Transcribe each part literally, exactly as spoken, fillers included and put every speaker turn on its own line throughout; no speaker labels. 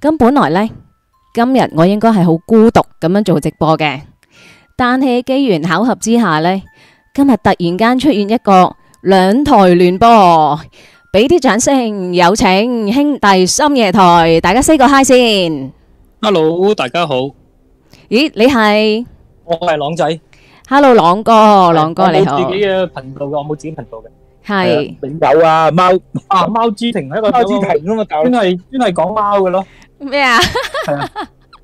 咁本來呢，今日我應該係好孤獨咁樣做直播嘅，但係機緣巧合之下呢，今日突然間出現一個兩台聯播，俾啲掌聲，有請兄弟深夜台，大家 say 個 hi 先。
Hello，大家好。
咦，你係？
我係朗仔。
Hello，朗哥，朗哥你好。
我冇自己嘅頻道嘅，我冇自己頻道嘅。
係。
你有啊？貓啊，貓之庭係一個貓之庭啊嘛，專係專係講貓嘅咯。
咩啊？
係啊。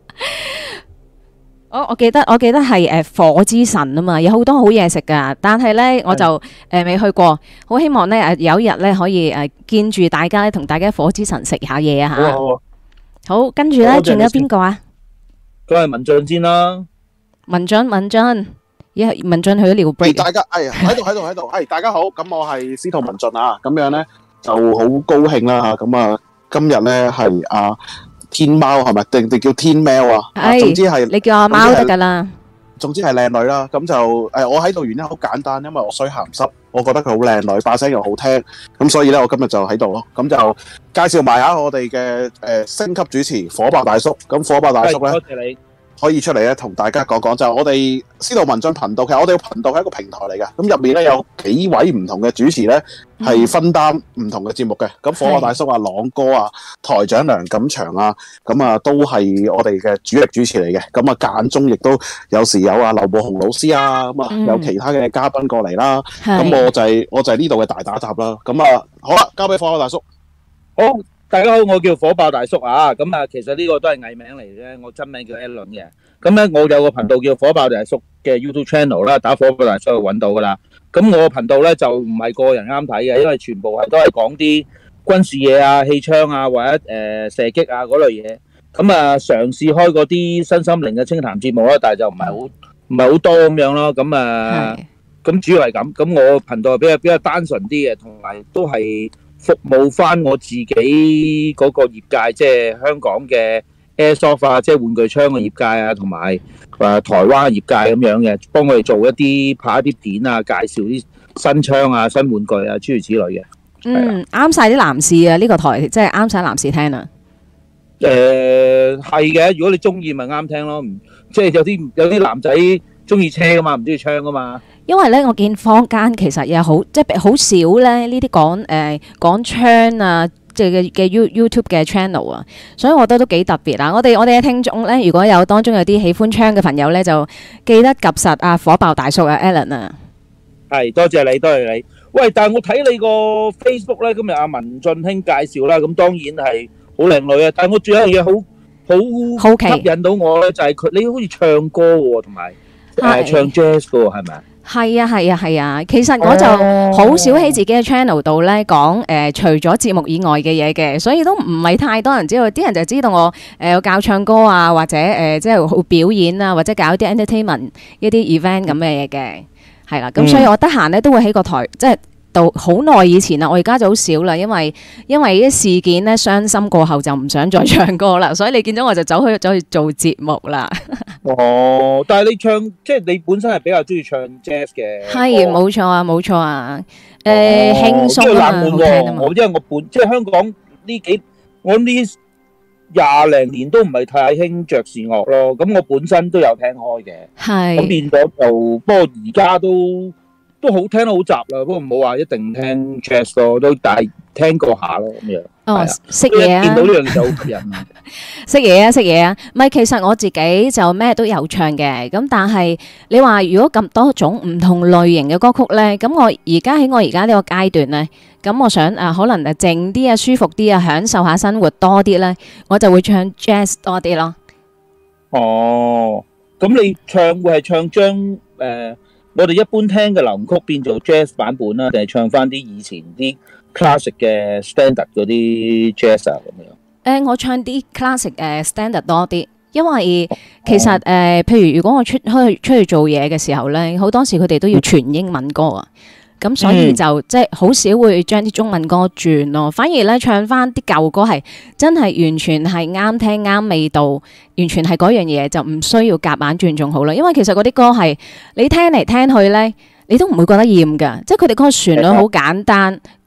我我記得我記得係誒火之神啊嘛，有好多好嘢食噶，但係咧我就誒未去過，好希望咧誒有一日咧可以誒見住大家咧，同大家火之神食下嘢啊吓。
好，
好，跟住咧仲有邊個啊？
佢係文進先啦。文
進文進，咦文進去咗尿 break。
大家誒喺度喺度喺度，係大家好，咁我係司徒文進啊，咁樣咧就好高興啦吓，咁啊今日咧係啊。天貓係咪定定叫天喵啊？
係，
總之係
你叫阿貓得噶啦。
總之係靚女啦，咁就誒，我喺度原因好簡單，因為我衰鹹濕，我覺得佢好靚女，把聲又好聽，咁所以咧我今日就喺度咯，咁就介紹埋下我哋嘅誒星級主持火爆大叔，咁火爆大叔咧，
多謝你。
可以出嚟咧，同大家講講就係我哋司徒文進頻道，其實我哋個頻道係一個平台嚟嘅，咁入面咧有幾位唔同嘅主持咧係分擔唔同嘅節目嘅，咁火爆大叔啊、朗哥啊、台長梁錦祥啊，咁啊都係我哋嘅主力主持嚟嘅，咁啊間中亦都有時有啊劉寶雄老師啊，咁啊有其他嘅嘉賓過嚟啦，咁我就係我就係呢度嘅大打雜啦，咁啊好啦，交俾火爆大叔。
好。大家好，我叫火爆大叔啊，咁啊，其實呢個都係藝名嚟嘅，我真名叫 Alan 嘅。咁咧，我有個頻道叫火爆大叔嘅 YouTube channel 啦，打火爆大叔就揾到噶啦。咁我個頻道咧就唔係個人啱睇嘅，因為全部係都係講啲軍事嘢啊、氣槍啊或者誒、呃、射擊啊嗰類嘢。咁啊，嘗試開嗰啲身心靈嘅清談節目啦，但係就唔係好唔係好多咁樣咯。咁啊，咁主要係咁。咁我頻道比較比較單純啲嘅，同埋都係服務翻我自己嗰個業界，即係香港嘅 Airsoft 啊，即係玩具槍嘅業界啊，同埋誒台灣嘅業界咁樣嘅，幫我哋做一啲拍一啲片啊，介紹啲新槍啊、新玩具啊，諸如此類嘅。
嗯，啱晒啲男士啊！呢個台即係啱晒男士聽啊。
誒係嘅，如果你中意咪啱聽咯。唔即係有啲有啲男仔中意車噶嘛，唔中意槍噶嘛。因為咧，我見坊間其實又好即係好少咧呢啲講誒講槍啊，即係嘅嘅 You YouTube 嘅 channel 啊，所以我覺得都幾特別啊！我哋我哋嘅聽眾咧，如果有當中有啲喜歡槍嘅朋友咧，就記得及實啊火爆大叔啊 Alan 啊。係，多謝你，多謝你。喂，但係我睇你個 Facebook 咧，今日阿文進兄介紹啦，咁當然係好靚女啊！但係我仲有一樣嘢好好好吸引到我咧，就係佢你好似唱歌喎，同埋誒唱 jazz 嘅喎，係咪啊？係啊係啊係啊，其實我就好少喺自己嘅 channel 度咧講誒，除咗節目以外嘅嘢嘅，所以都唔係太多人知道。啲人就知道我誒有教唱歌啊，或者誒即係好表演啊，或者搞啲 entertainment 一啲 event 咁嘅嘢嘅，係啦。咁所以我得閒咧都會喺個台即係。到好耐以前啦，我而家就好少啦，因為因為啲事件咧傷心過後就唔想再唱歌啦，所以你見到我就走去走去做節目啦。哦，但係你唱即係你本身係比較中意唱 jazz 嘅，係冇錯啊，冇錯啊，誒輕鬆啊，好聽啊嘛。我因為我本即係香港呢幾我呢廿零年都唔係太興爵士樂咯，咁我本身都有聽開嘅，係咁變咗就不過而家都。都好聽得好雜啦，不過唔好話一定聽 jazz 咯，都但係聽過下咯咁樣。哦，識嘢啊！見到呢樣嘢就好吸引啊！識嘢啊，識嘢啊！唔係，其實我自己就咩都有唱嘅，咁但係你話如果咁多種唔同類型嘅歌曲咧，咁我而家喺我而家呢個階段咧，咁我想啊，可能誒靜啲啊，舒服啲啊，享受下生活多啲咧，我就會唱 jazz 多啲咯。哦，咁你唱會係唱將誒？我哋一般聽嘅流行曲變做 jazz 版本啦，定係唱翻啲以前啲 classic 嘅 standard 嗰啲 jazz 啊咁樣？誒、呃，我唱啲 classic 誒、uh, standard 多啲，因為其實誒、哦呃，譬如如果我出去出去做嘢嘅時候咧，好多時佢哋都要全英文歌啊。咁所以就、嗯、即係好少會將啲中文歌轉咯，反而咧唱翻啲舊歌係真係完全係啱聽啱味道，完全係嗰樣嘢，就唔需要夾硬轉仲好啦。因為其實嗰啲歌係你聽嚟聽去咧，你都唔會覺得厭㗎，即係佢哋嗰個旋律好簡單，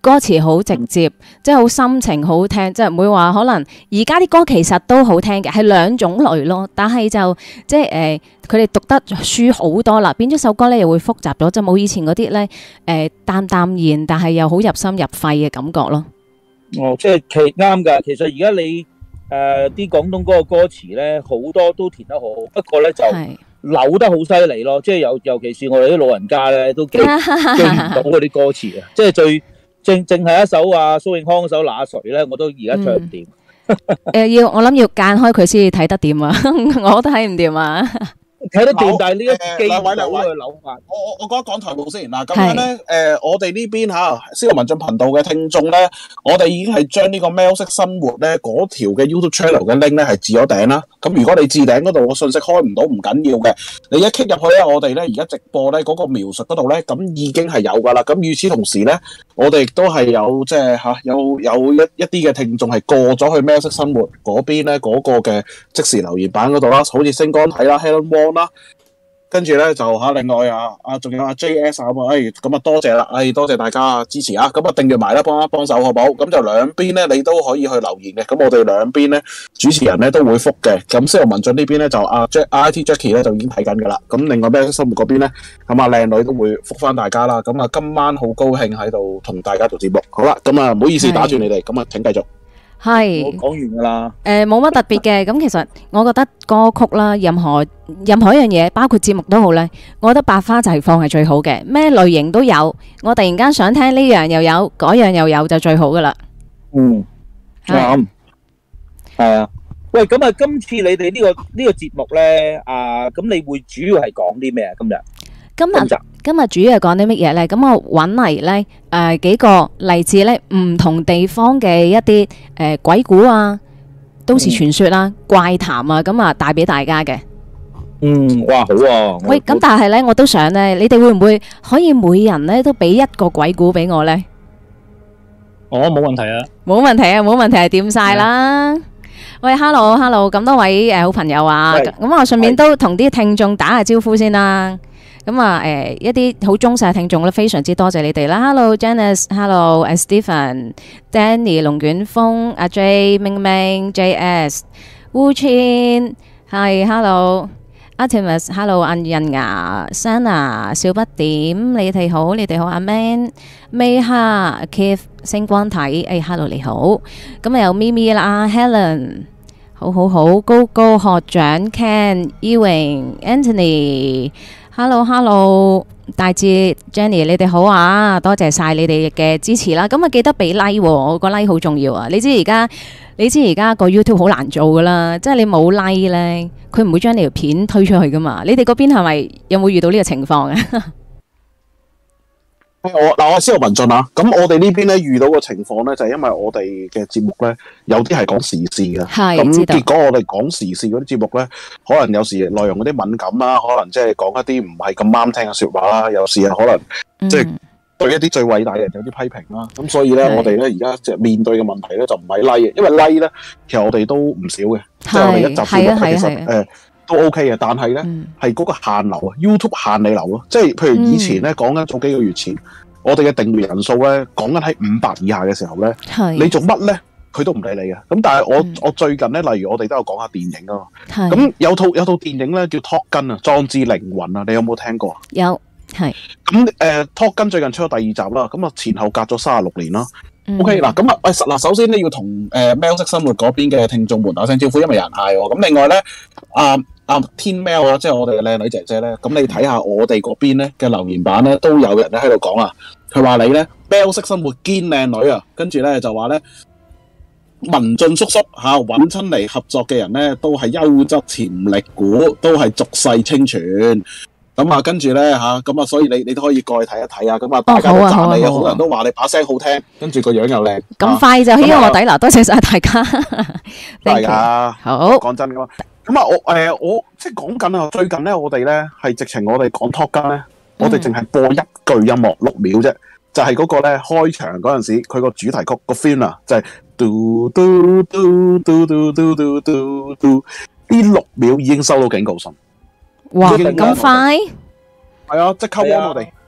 歌詞好直接，即係好心情好聽，即係唔會話可能而家啲歌其實都好聽嘅，係兩種類咯。但係就即係誒，佢哋讀得書好多啦，變咗首歌咧又會複雜咗，就冇以前嗰啲咧誒淡淡然，但係又好入心入肺嘅感覺咯。
哦，即係其啱㗎。其實而家你誒啲廣東歌嘅歌詞咧，好多都填得好，不過咧就扭得好犀利咯。即係尤尤其是我哋啲老人家咧，都記記唔到嗰啲歌詞啊。即係最正正係一首啊蘇永康嗰首《那誰》咧，我都而家唱唔掂。
誒要我諗要間開佢先至睇得掂啊，我都睇唔掂啊。
睇得掂，但係呢一記
兩位兩位
嘅扭法，
我我我覺得講台務先嗱，咁樣咧，誒，我哋呢邊嚇司徒文進頻道嘅聽眾咧，我哋已經係將呢個喵式生活咧嗰條嘅 YouTube channel 嘅 link 咧係置咗頂啦。咁如果你置頂嗰度個信息開唔到，唔緊要嘅，你一 click 入去咧，我哋咧而家直播咧嗰個描述嗰度咧，咁已經係有噶啦。咁與此同時咧，我哋亦都係有即係嚇有有一一啲嘅聽眾係過咗去喵式生活嗰邊咧嗰個嘅即時留言版嗰度啦，好似星光體啦、Helen Wong 啦，跟住咧就嚇另外啊啊仲有阿 J S 啊咁啊，誒咁啊多謝啦，誒多謝大家支持啊，咁啊訂閱埋啦，幫一幫手好唔好？咁就兩邊咧你都可以去留言嘅，咁我哋兩邊咧主持人咧都會覆嘅。咁司徒文進呢邊咧就阿 Jack I T Jackie 咧就已經睇緊噶啦，咁另外喵式生活嗰邊咧咁啊靚女都會覆翻大家啦。咁啊今晚好高興喺度同大家做節目，好啦，咁啊唔好意思打斷你哋，咁啊請繼續。
係，
我講完㗎啦。
誒冇乜特別嘅，咁其實我覺得歌曲啦，任何任何一樣嘢，包括節目都好咧，我覺得百花齊放係最好嘅，咩類型都有。我突然間想聽呢樣又有，嗰樣又有就最好噶啦。
嗯，啱，係啊。喂，咁啊，今次你哋呢個呢個節目咧，啊，咁你會主要係講啲咩啊？今日
今日今日主要係講啲乜嘢咧？咁我揾嚟咧誒幾個嚟自咧唔同地方嘅一啲誒鬼故啊、都市傳說啦、怪談啊，咁啊帶俾大家嘅。
嗯，哇，好啊！
喂，咁但係咧，我都想咧，你哋會唔會可以每人咧都俾一個鬼故俾我咧？
哦，冇問題啊！
冇問題啊，冇問題係掂晒啦。喂 ，hello，hello，咁多位誒好朋友啊，咁我順便都同啲聽眾打下招呼先啦。咁啊，誒一啲好忠實嘅聽眾咧，非常之多謝你哋啦。Hello，Janice，Hello，誒 Stephen，Danny，龍捲風，阿 J，明明，J S，Wu Chin，係 Hello，Artemis，Hello，阿印牙，Sana，小不點，你哋好，你哋好，阿 Man，Mayha，Keith，星光體，誒 Hello 你好，咁啊有咪咪啦 ，Helen。好好好，高高學長 Ken、Ewing、Anthony，Hello Hello，大志 Jenny，你哋好啊，多謝晒你哋嘅支持啦。咁啊記得俾 like，我個 like 好重要啊。你知而家你知而家個 YouTube 好難做噶啦，即係你冇 like 咧，佢唔會將你條片推出去噶嘛。你哋嗰邊係咪有冇遇到呢個情況啊？
我嗱，我係司徒文進啊。咁我哋呢邊咧遇到嘅情況咧，就係、是、因為我哋嘅節目咧，有啲係講時事嘅。係，咁結果我哋講時事嗰啲節目咧，可能有時內容嗰啲敏感啦，可能即係講一啲唔係咁啱聽嘅說話啦，有時啊可能即係對一啲最偉大嘅人有啲批評啦。咁所以咧，我哋咧而家即係面對嘅問題咧，就唔係 like 嘅，因為 like 咧，其實我哋都唔少嘅，即係我哋一集節目其實誒。都 OK 嘅，但係咧係嗰個限流啊 ，YouTube 限你流咯，即係譬如以前咧講緊早幾個月前，我哋嘅訂閱人數咧講緊喺五百以下嘅時候咧，你做乜咧佢都唔理你嘅。咁但係我、嗯、我最近咧，例如我哋都有講下電影啊嘛，咁有套有套電影咧叫 Top Gun 啊，壯志凌雲啊，你有冇聽過啊？
有，係。
咁誒 Top Gun 最近出咗第二集啦，咁啊前後隔咗三十六年啦。OK 嗱，咁啊，喂，嗱，首先咧要同誒喵式生活嗰邊嘅聽眾們打聲招呼，因為有人嗌我。咁另外咧，啊啊天喵啊，即係我哋嘅靚女姐姐咧，咁你睇下我哋嗰邊咧嘅留言版咧，都有人咧喺度講啊，佢話你咧喵式生活堅靚女啊，跟住咧就話咧文進叔叔嚇揾親嚟合作嘅人咧，都係優質潛力股，都係俗世清泉。咁啊，跟住咧吓，咁啊，所以你你都可以過去睇一睇啊。咁啊，大家都讚你啊，好多人都話你把聲好聽，跟住個樣又靚。咁
快就起我底啦，多謝晒大家。
係啊，
好。
講真噶嘛，咁啊，我誒，我即係講緊啊，最近咧，我哋咧係直情我哋講 Top Gun咧，我哋淨係播一句音樂六秒啫，就係嗰個咧開場嗰陣時，佢個主題曲個 theme 啊，就係嘟嘟嘟嘟嘟嘟嘟嘟嘟，呢六秒已經收到警告信。
哇，咁快？
係啊，即刻幫我哋。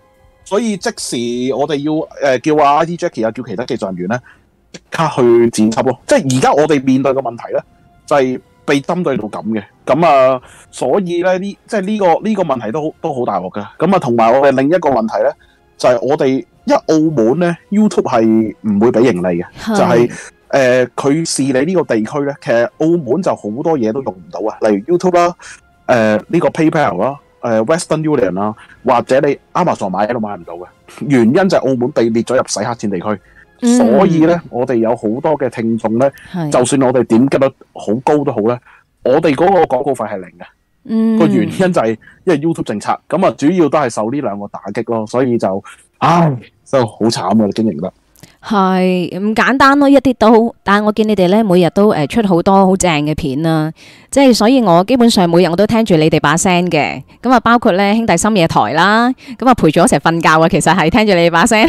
所以即時我哋要誒、呃、叫阿 I T Jackie 啊，叫其他技術人員咧即刻去剪輯咯。即係而家我哋面對嘅問題咧，就係、是、被針對到咁嘅。咁啊，所以咧呢即係呢、這個呢、這個問題都都好大鑊嘅。咁啊，同埋我哋另一個問題咧，就係、是、我哋因為澳門咧 YouTube 係唔會俾盈利嘅，就係、是。誒佢視你呢個地區咧，其實澳門就好多嘢都用唔到啊，例如 YouTube 啦、呃，誒、這、呢個 PayPal 啦、呃，誒 Western Union 啦，或者你 Amazon 買喺度買唔到嘅，原因就係澳門被列咗入洗黑錢地區，嗯、所以咧我哋有好多嘅聽眾咧，就算我哋點擊率好高都好咧，我哋嗰個廣告費係零嘅，嗯、個原因就係因為 YouTube 政策，咁啊主要都係受呢兩個打擊咯，所以就唉真係好慘啊，經營得。
係唔簡單咯，一啲都好。但係我見你哋咧，每日都誒出好多好正嘅片啦，即係所以我基本上每日我都聽住你哋把聲嘅。咁啊，包括咧兄弟深夜台啦，咁啊陪住我一齊瞓覺啊。其實係聽住你哋把聲。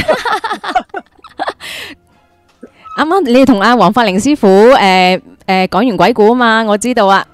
啱啱你哋同阿黃法寧師傅誒誒講完鬼故啊嘛，我知道啊。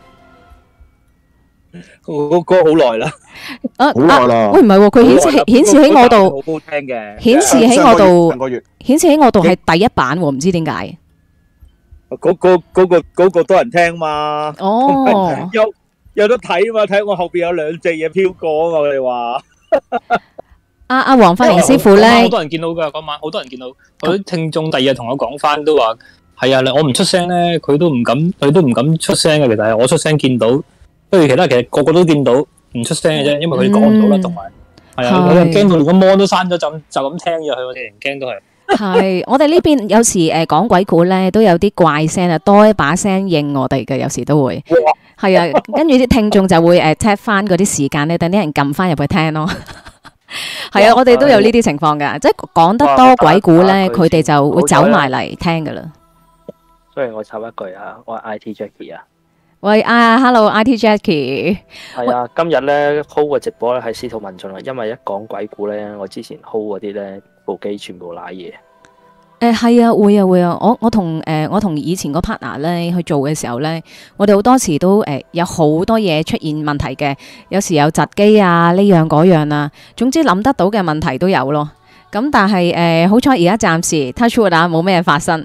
嗰嗰好耐啦，
啊好耐啦。喂唔係喎，佢顯示顯示喺我度，
好好聽嘅，
顯示喺我度，
上個月
顯示喺我度係第一版喎，唔知點解。
嗰個嗰個嗰個多人聽嘛，
哦，
有有得睇嘛，睇我後邊有兩隻嘢飄過啊！我哋話，
阿阿黃法寧師傅咧，
好多人見到噶嗰晚，好多人見到，嗰啲聽眾第二日同我講翻都話，係啊，我唔出聲咧，佢都唔敢，佢都唔敢出聲嘅。其實係我出聲見到。不如其他其實個個都見到唔出聲嘅啫，因為佢哋講唔到啦，同埋係啊，我又驚到連個芒都閂咗，就就咁聽咗佢，我哋人驚都係。係，
我哋呢邊有時誒講鬼故咧，都有啲怪聲啊，多一把聲應我哋嘅，有時都會係啊，跟住啲聽眾就會誒 tap 翻嗰啲時間咧，等啲人撳翻入去聽咯。係啊，我哋都有呢啲情況噶，即係講得多鬼故咧，佢哋就會走埋嚟聽噶啦。
雖然我插一句啊，我係 I T Jackie 啊。
喂啊 ，Hello，I T Jackie。
係啊，今日咧 hold 個直播咧係司徒文進啊，因為一講鬼故咧，我之前 hold 嗰啲咧部機全部瀨嘢。
誒係啊，會啊會啊，我我同誒我同以前個 partner 咧去做嘅時候咧，我哋好多時都誒有好多嘢出現問題嘅，有時有窒機啊，呢樣嗰樣啊，總之諗得到嘅問題都有咯。咁但係誒好彩而家暫時 touch wood 啊，冇咩發生。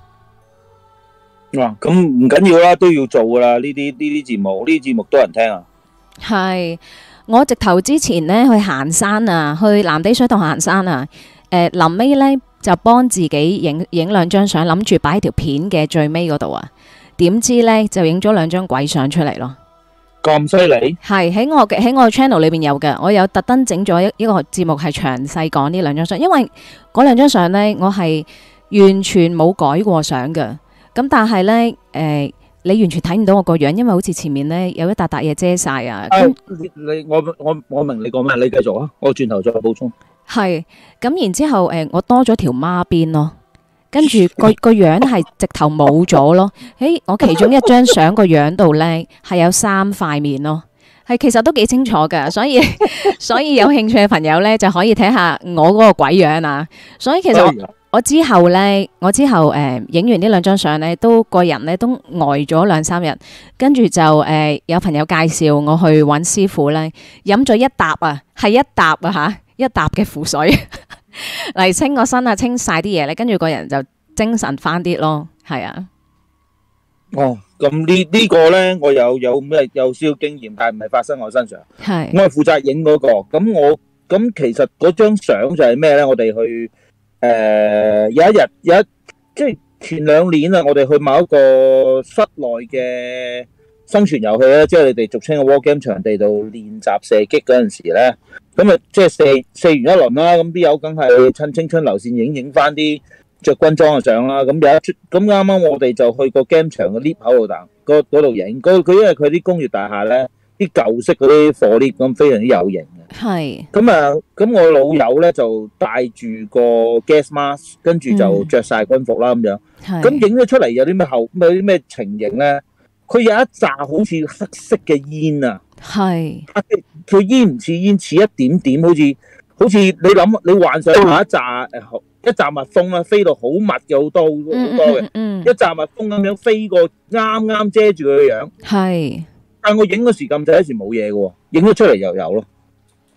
哇，咁唔緊要啦，都要做噶啦。呢啲呢啲節目，呢啲節目多人聽啊。
係，我直頭之前咧去行山啊，去藍地水塘行山啊。誒，臨尾咧就幫自己影影兩張相，諗住擺喺條片嘅最尾嗰度啊。點知咧就影咗兩張鬼相出嚟咯。
咁犀利？
係喺我嘅喺我 channel 裏邊有嘅，我有特登整咗一一個節目係詳細講呢兩張相，因為嗰兩張相咧我係完全冇改過相嘅。咁但係咧，誒、呃，你完全睇唔到我個樣，因為好似前面咧有一笪笪嘢遮晒啊。
誒、哎，你我我我明你講咩，你繼續啊，我轉頭再補充。係，
咁然之後，誒、呃，我多咗條孖辮咯，跟住個個樣係直頭冇咗咯。喺我其中一張相個樣度咧係有三塊面咯，係其實都幾清楚噶，所以所以有興趣嘅朋友咧就可以睇下我嗰個鬼樣啊。所以其實我。我之後咧，我之後誒影、呃、完呢兩張相咧，都個人咧都呆咗兩三日，跟住就誒、呃、有朋友介紹我去揾師傅咧，飲咗一沓啊，係一沓啊吓，一沓嘅符水嚟清個身啊，清晒啲嘢咧，跟住個人就精神翻啲咯，係啊。
哦，咁呢呢個咧，我有有咩有少少經驗，但係唔係發生我身上，係我係負責影嗰個，咁我咁其實嗰張相就係咩咧？我哋去。誒、呃，有一日有一即係前兩年啊，我哋去某一個室內嘅生存遊戲咧，即係你哋俗稱嘅 war game 場地度練習射擊嗰陣時咧，咁啊即係射射完一輪啦，咁啲友梗係趁青春流線影影翻啲着軍裝嘅相啦，咁有一出咁啱啱我哋就去個 game 場嘅 lift 口度等，嗰嗰度影，佢佢因為佢啲工業大廈咧，啲舊式嗰啲火 lift 咁非常之有型。係咁啊！咁我老友咧就戴住個 gas mask，跟住就着晒軍服啦咁樣。咁影咗出嚟有啲咩後有啲咩情形咧？佢有一紮好似黑色嘅煙啊！係佢煙唔似煙，似一點點，好似好似你諗你幻想下一紮誒一紮蜜蜂啦，飛到好密嘅好多好多嘅，一紮蜜蜂咁樣飛過，啱啱遮住佢嘅樣。係，但我影嗰時咁就一時冇嘢嘅喎，影咗出嚟又有咯。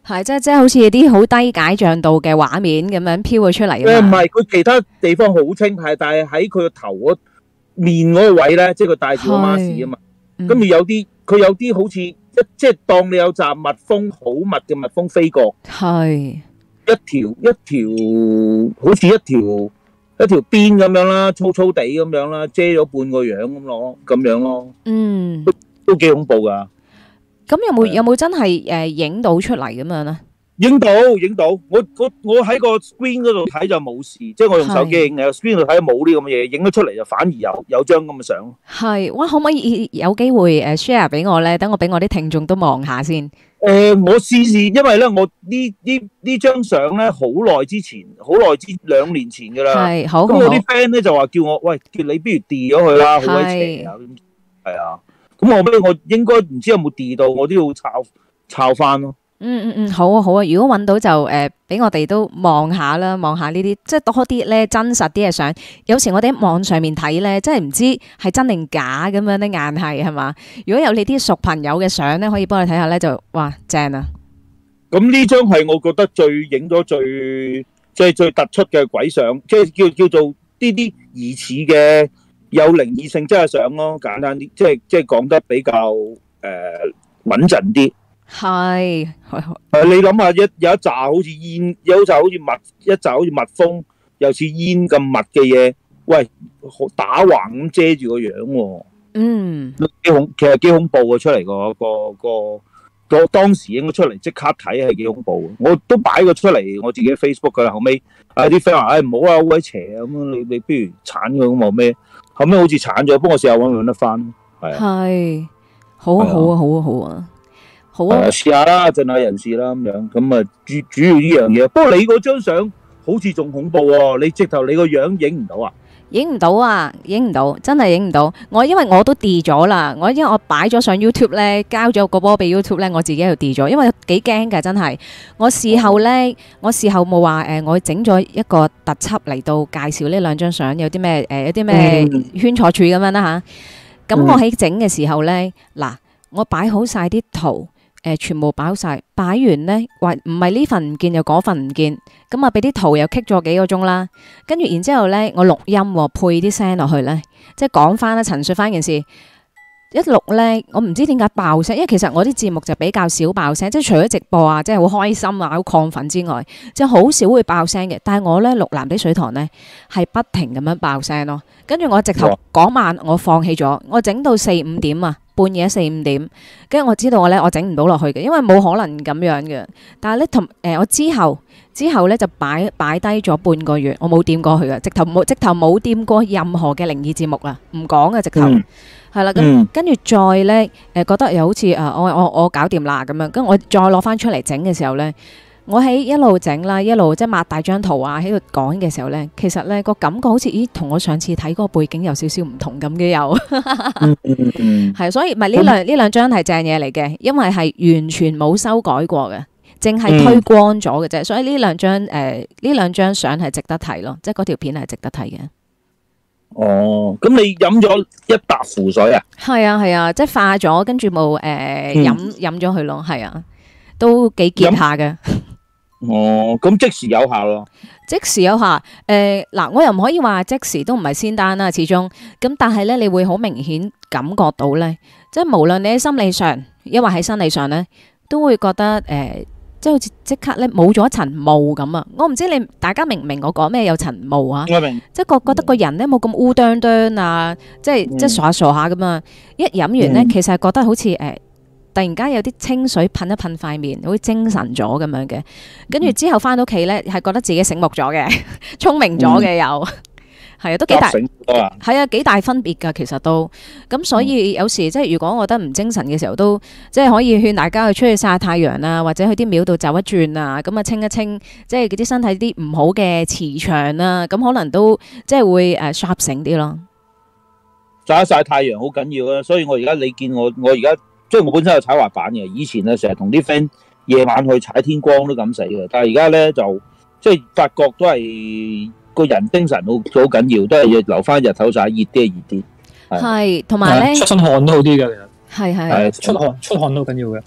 係即係即係好似啲好低解像度嘅畫面咁樣飄咗出嚟
誒唔
啊嘛。
係，佢其他地方好清，係但係喺佢個頭嗰面嗰個位咧，即係佢戴住個 mask 啊嘛。
嗯
跟住有啲佢有啲好似一即係當你有紮蜜蜂好密嘅蜜蜂飛過，
係
一條一條好似一條一條邊咁樣啦，粗粗地咁樣啦，遮咗半個樣咁咯，咁樣咯，
嗯。
都幾恐怖噶。
咁有冇
係啊
有冇真係誒影到出嚟咁樣咧？
影到影到，我我我喺個 screen 嗰度睇就冇事，即係我用手機影嘅 screen 度睇冇呢咁嘅嘢，影咗出嚟就反而有有張咁嘅相。
係，哇！可唔可以有機會誒 share 俾我咧？等我俾我啲聽眾都望下先。
誒，我試試，因為咧，我呢呢呢張相咧，好耐之前，好耐之兩年前噶啦。
係，好好好
咁我啲 friend 咧就話叫我，喂，叫你不如 delete 咗佢啦，好鬼邪啊！咁係啊，咁我俾我應該唔知有冇 delete到，我都要抄抄翻咯。
嗯嗯嗯，好啊好啊！如果揾到就誒，俾、我哋都望下啦，望下呢啲即係多啲咧真實啲嘅相。有時我哋喺網上面睇咧，真係唔知係真定假咁樣咧，硬係係嘛？如果有你啲熟朋友嘅相咧，可以幫你睇下咧，就哇正啊！
咁呢張係我覺得最影咗最最最突出嘅鬼相，即係叫叫做呢啲疑似嘅有靈異性質嘅相咯，簡單啲，即係即係講得比較誒穩陣啲。
係，
誒，你諗下，一有一紮好似煙，有一紮好似蜜，一紮好似蜜蜂，又似煙咁密嘅嘢，喂，打橫咁遮住個樣喎，
嗯，
幾恐，其實幾恐怖嘅出嚟個個個個當時應該出嚟即刻睇係幾恐怖嘅，我都擺咗出嚟我自己 Facebook 噶啦，後尾啊啲 friend 話，誒唔好啊，好鬼邪啊，咁你你不如鏟佢咁話咩？後尾好似鏟咗，不過我試下搵唔搵得翻，係啊，
係，好啊好啊好啊好啊！好啊，
試下啦，盡下人事啦，咁樣咁啊，主主要呢樣嘢。不過你嗰張相好似仲恐怖喎，你直頭你個樣影唔到啊？
影唔到啊，影唔到，真係影唔到。我因為我都 delete 咗啦，我因為我擺咗上 YouTube 咧，交咗個波俾 YouTube 咧，我自己喺度 delete 咗，因為幾驚㗎，真係。我事後咧，我事後冇話誒，我整咗一個特輯嚟到介紹呢兩張相，有啲咩誒，有啲咩圈錯處咁樣啦吓。咁我喺整嘅時候咧，嗱，我擺好晒啲圖。誒全部擺晒，擺完呢，話唔係呢份唔見又嗰份唔見，咁啊俾啲圖又棘咗幾個鐘啦，跟住然之後呢，我錄音喎，配啲聲落去呢，即係講翻啦，陳述翻件事，一錄呢，我唔知點解爆聲，因為其實我啲節目就比較少爆聲，即係除咗直播啊，即係好開心啊，好亢奮之外，即係好少會爆聲嘅。但係我呢，錄藍地水塘呢，係不停咁樣爆聲咯，跟住我直頭嗰晚我放棄咗，我整到四五點啊。半夜四五點，跟住我知道我咧，我整唔到落去嘅，因為冇可能咁樣嘅。但係咧，同誒我之後之後咧就擺擺低咗半個月，我冇掂過去嘅，直頭冇直頭冇掂過任何嘅靈異節目啦，唔講嘅直頭係啦。咁跟住再咧誒覺得又好似誒我我我搞掂啦咁樣，跟住我再攞翻出嚟整嘅時候咧。我喺一路整啦，一路即係擘大張圖啊，喺度講嘅時候咧，其實咧個感覺好似咦，同我上次睇嗰個背景有少少唔同咁嘅又，係所以唔係呢兩呢兩張係正嘢嚟嘅，因為係完全冇修改過嘅，淨係推光咗嘅啫，所以呢兩張誒呢兩張相係值得睇咯，即係嗰條片係值得睇嘅。
哦，咁你飲咗一笪符水啊？
係啊係啊，即係化咗，跟住冇誒飲飲咗佢咯，係啊，都幾結下嘅。
哦，咁即時有效咯？
即時有效，誒、呃、嗱，我又唔可以話即時都唔係仙丹啦，始終咁，但係咧，你會好明顯感覺到咧，即係無論你喺心理上，抑或喺生理上咧，都會覺得誒、呃，即係好似即刻咧冇咗一層霧咁啊！我唔知你大家明唔明我講咩有層霧啊？
我明，
即係覺覺得個人咧冇咁烏啄啄啊，即係、嗯、即係傻下傻下咁啊！一飲完咧，嗯、其實係覺得好似誒。呃突然間有啲清水噴一噴塊面，好似精神咗咁樣嘅。跟住之後翻到屋企咧，係覺得自己醒目咗嘅，聰明咗嘅又係啊，都幾大係啊，幾大分別㗎。其實都咁，所以有時即係如果我覺得唔精神嘅時候，都即係可以勸大家去出去曬下太陽啊，或者去啲廟度走一轉啊，咁啊清一清，即係嗰啲身體啲唔好嘅磁場啊，咁可能都即係會誒 sharp 醒啲咯。
曬一曬太陽好緊要啊！所以我而家你見我，我而家。即係我本身有踩滑板嘅，以前咧成日同啲 friend 夜晚去踩天光都敢死嘅，但係而家咧就即係發覺都係個人精神好好緊要，都係要留翻日頭踩，熱啲係熱啲。係，
同埋咧
出身汗都好啲嘅，
其實係係
出汗出汗都緊要嘅。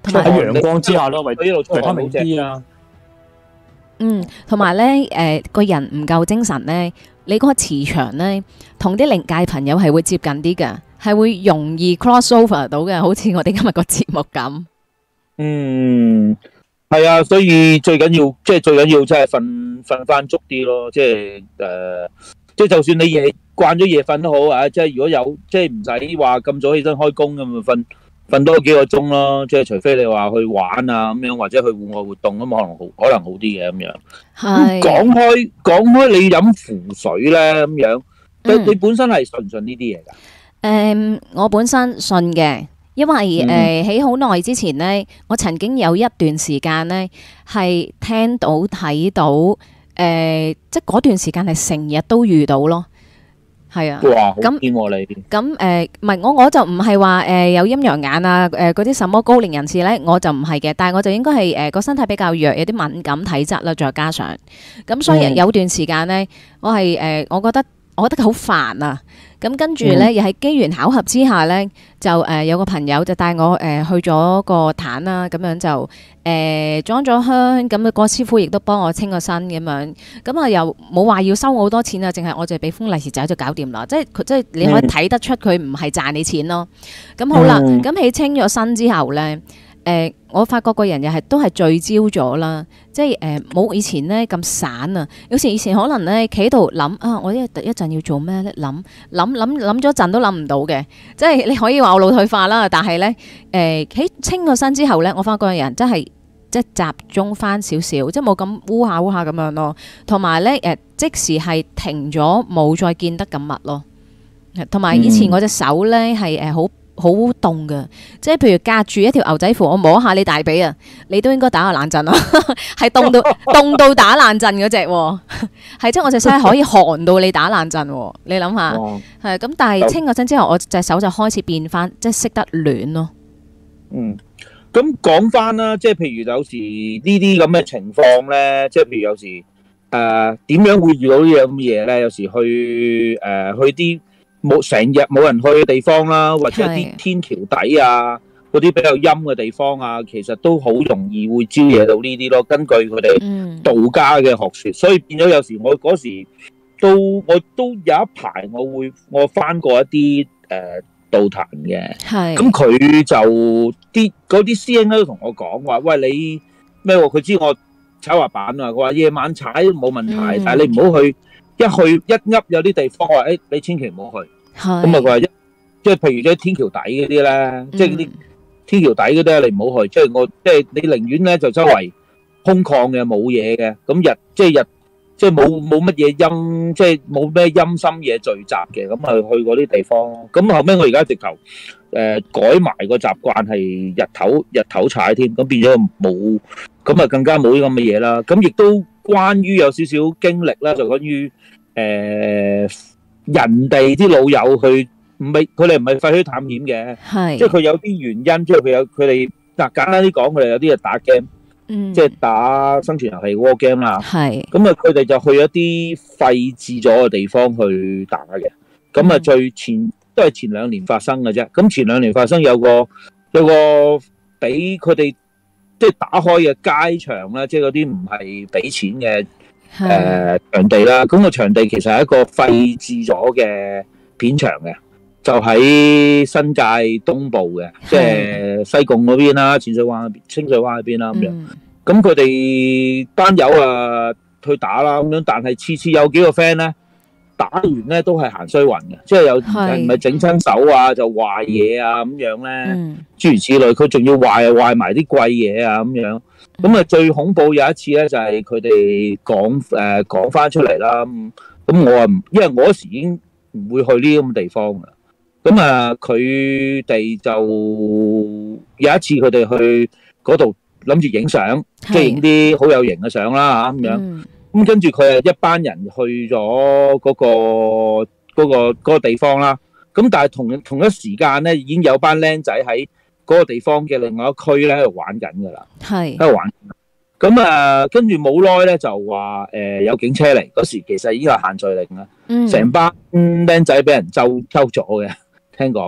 同埋
喺陽光之下咯，為
佢一路出
維他
汗好正。
命 D 啊，
嗯，同埋咧，誒、個人唔夠精神咧，你嗰個磁場咧，同啲靈界朋友係會接近啲嘅，係會容易 cross over 到嘅，好似我哋今日個節目咁。
嗯，係啊，所以最緊要即係最緊要真係瞓瞓翻足啲咯，即係誒，即係就算你夜慣咗夜瞓都好啊，即係如果有即係唔使話咁早起身開工咁咪瞓瞓多幾個鐘咯，即係除非你話去玩啊咁樣，或者去戶外活動咁可能好可能好啲嘅咁樣。
係
講開講開，你飲符水咧咁樣，你
嗯
你本身係信唔信呢啲嘢㗎？
誒、我本身信嘅，因為誒喺好耐之前呢，我曾經有一段時間呢係聽到睇到誒、即係嗰段時間係成日都遇到咯，係啊。
哇，好
咁
堅喎你！
咁誒，唔係我我就唔係話誒有陰陽眼啊，誒嗰啲什麼高齡人士咧，我就唔係嘅，但係我就應該係誒個身體比較弱，有啲敏感體質啦，再加上咁，所以
嗯
有段時間咧，我係誒、呃我覺得我覺得好煩啊。咁跟住咧，又係機緣巧合之下咧，就誒、呃有個朋友就帶我誒、呃、去咗個壇啦，咁樣就誒、呃裝咗香，咁、那個師傅亦都幫我清個身咁樣，咁啊又冇話要收我好多錢啊，淨係我就俾封利是仔就搞掂啦，即係佢即係你可以睇得出佢唔係賺你錢咯。咁好啦，
嗯
咁喺清咗身之後咧。誒、我發覺個人又係都係聚焦咗啦，即係誒冇以前咧咁散啊。有時以前可能咧企喺度諗啊，我一一陣要做咩咧？諗諗諗諗咗陣都諗唔到嘅，即係你可以話我腦退化啦。但係咧誒喺清咗身之後咧，我發覺個人真係即係集中翻少少，即係冇咁烏下烏下咁樣咯。同埋咧誒，即時係停咗，冇再見得咁密咯。同埋以前我隻手咧係誒好。好凍噶，即係譬如隔住一條牛仔褲，我摸下你大髀啊，你都應該打個冷震咯，係凍到凍到打冷震嗰隻，係即係我隻手可以寒到你打冷震，你諗下，
哇
係咁。但係清咗身之後，我隻手就開始變翻，即係識得暖咯。
嗯，咁講翻啦，即係譬如有時呢啲咁嘅情況咧，即係譬如有時誒點樣會遇到呢樣咁嘅嘢咧？有時去誒、呃、去啲冇成日冇人去嘅地方啦，或者啲天橋底啊，嗰啲比較陰嘅地方啊，其實都好容易會招惹到呢啲咯。根據佢哋道家嘅學説，所以變咗有時我嗰時都我都有一排我會我翻過一啲誒、呃、道壇嘅，咁佢就啲嗰啲師兄都同我講話，喂你咩喎？佢知我踩滑板啊，佢話夜晚踩都冇問題，嗯、但係你唔好去。一去一噏有啲地方，我話誒，你千祈唔好去。咁啊，佢話一即係譬如啲天橋底嗰啲咧，即係嗰啲天橋底嗰啲咧，你唔好去。即係我即係你寧願咧就周圍空曠嘅冇嘢嘅，咁日即係日即係冇冇乜嘢陰，即係冇咩陰森嘢聚集嘅，咁啊去嗰啲地方。咁後尾我而家直頭誒改埋個習慣係日頭日頭踩添，咁變咗冇，咁啊更加冇呢咁嘅嘢啦。咁亦都關於有少少經歷啦，就關於。誒、呃，人哋啲老友去唔係佢哋唔係廢墟探險嘅，即係佢有啲原因，即係佢有佢哋嗱簡單啲講，佢哋有啲係打 game，嗯，即係打生存遊戲 war game 啦，係，咁啊佢哋就去一啲廢置咗嘅地方去打嘅，咁啊最前都係前兩年發生嘅啫，咁前兩年發生有個有個俾佢哋即係打開嘅街場啦，即係嗰啲唔係俾錢嘅。誒、呃、場地啦，咁、那個場地其實係一個廢置咗嘅片場嘅，就喺新界東部嘅，即係西貢嗰邊啦、淺水灣、清水灣嗰邊啦咁樣。咁佢哋班友啊去打啦咁樣，但係次次有幾個 friend 咧打完咧都係行衰運嘅，即係有唔係整親手啊，就壞嘢啊咁樣咧，諸如此類。佢仲要壞啊壞埋啲貴嘢啊咁樣。咁啊，最恐怖有一次咧，就係佢哋講誒講翻出嚟啦。咁我啊，因為我嗰時已經唔會去呢啲咁嘅地方噶。咁啊，佢哋就有一次佢哋去嗰度諗住影相，即係影啲好有型嘅相啦嚇咁樣。咁跟住佢係一班人去咗嗰個嗰個嗰個地方啦。咁但係同同一時間咧，已經有班僆仔喺嗰個地方嘅另外一區咧喺度玩緊噶啦，係喺度玩。咁啊，跟住冇耐咧就話誒、呃、有警車嚟，嗰時其實已經係限聚令啦，成、嗯、班僆仔俾人揪揪咗嘅，聽講。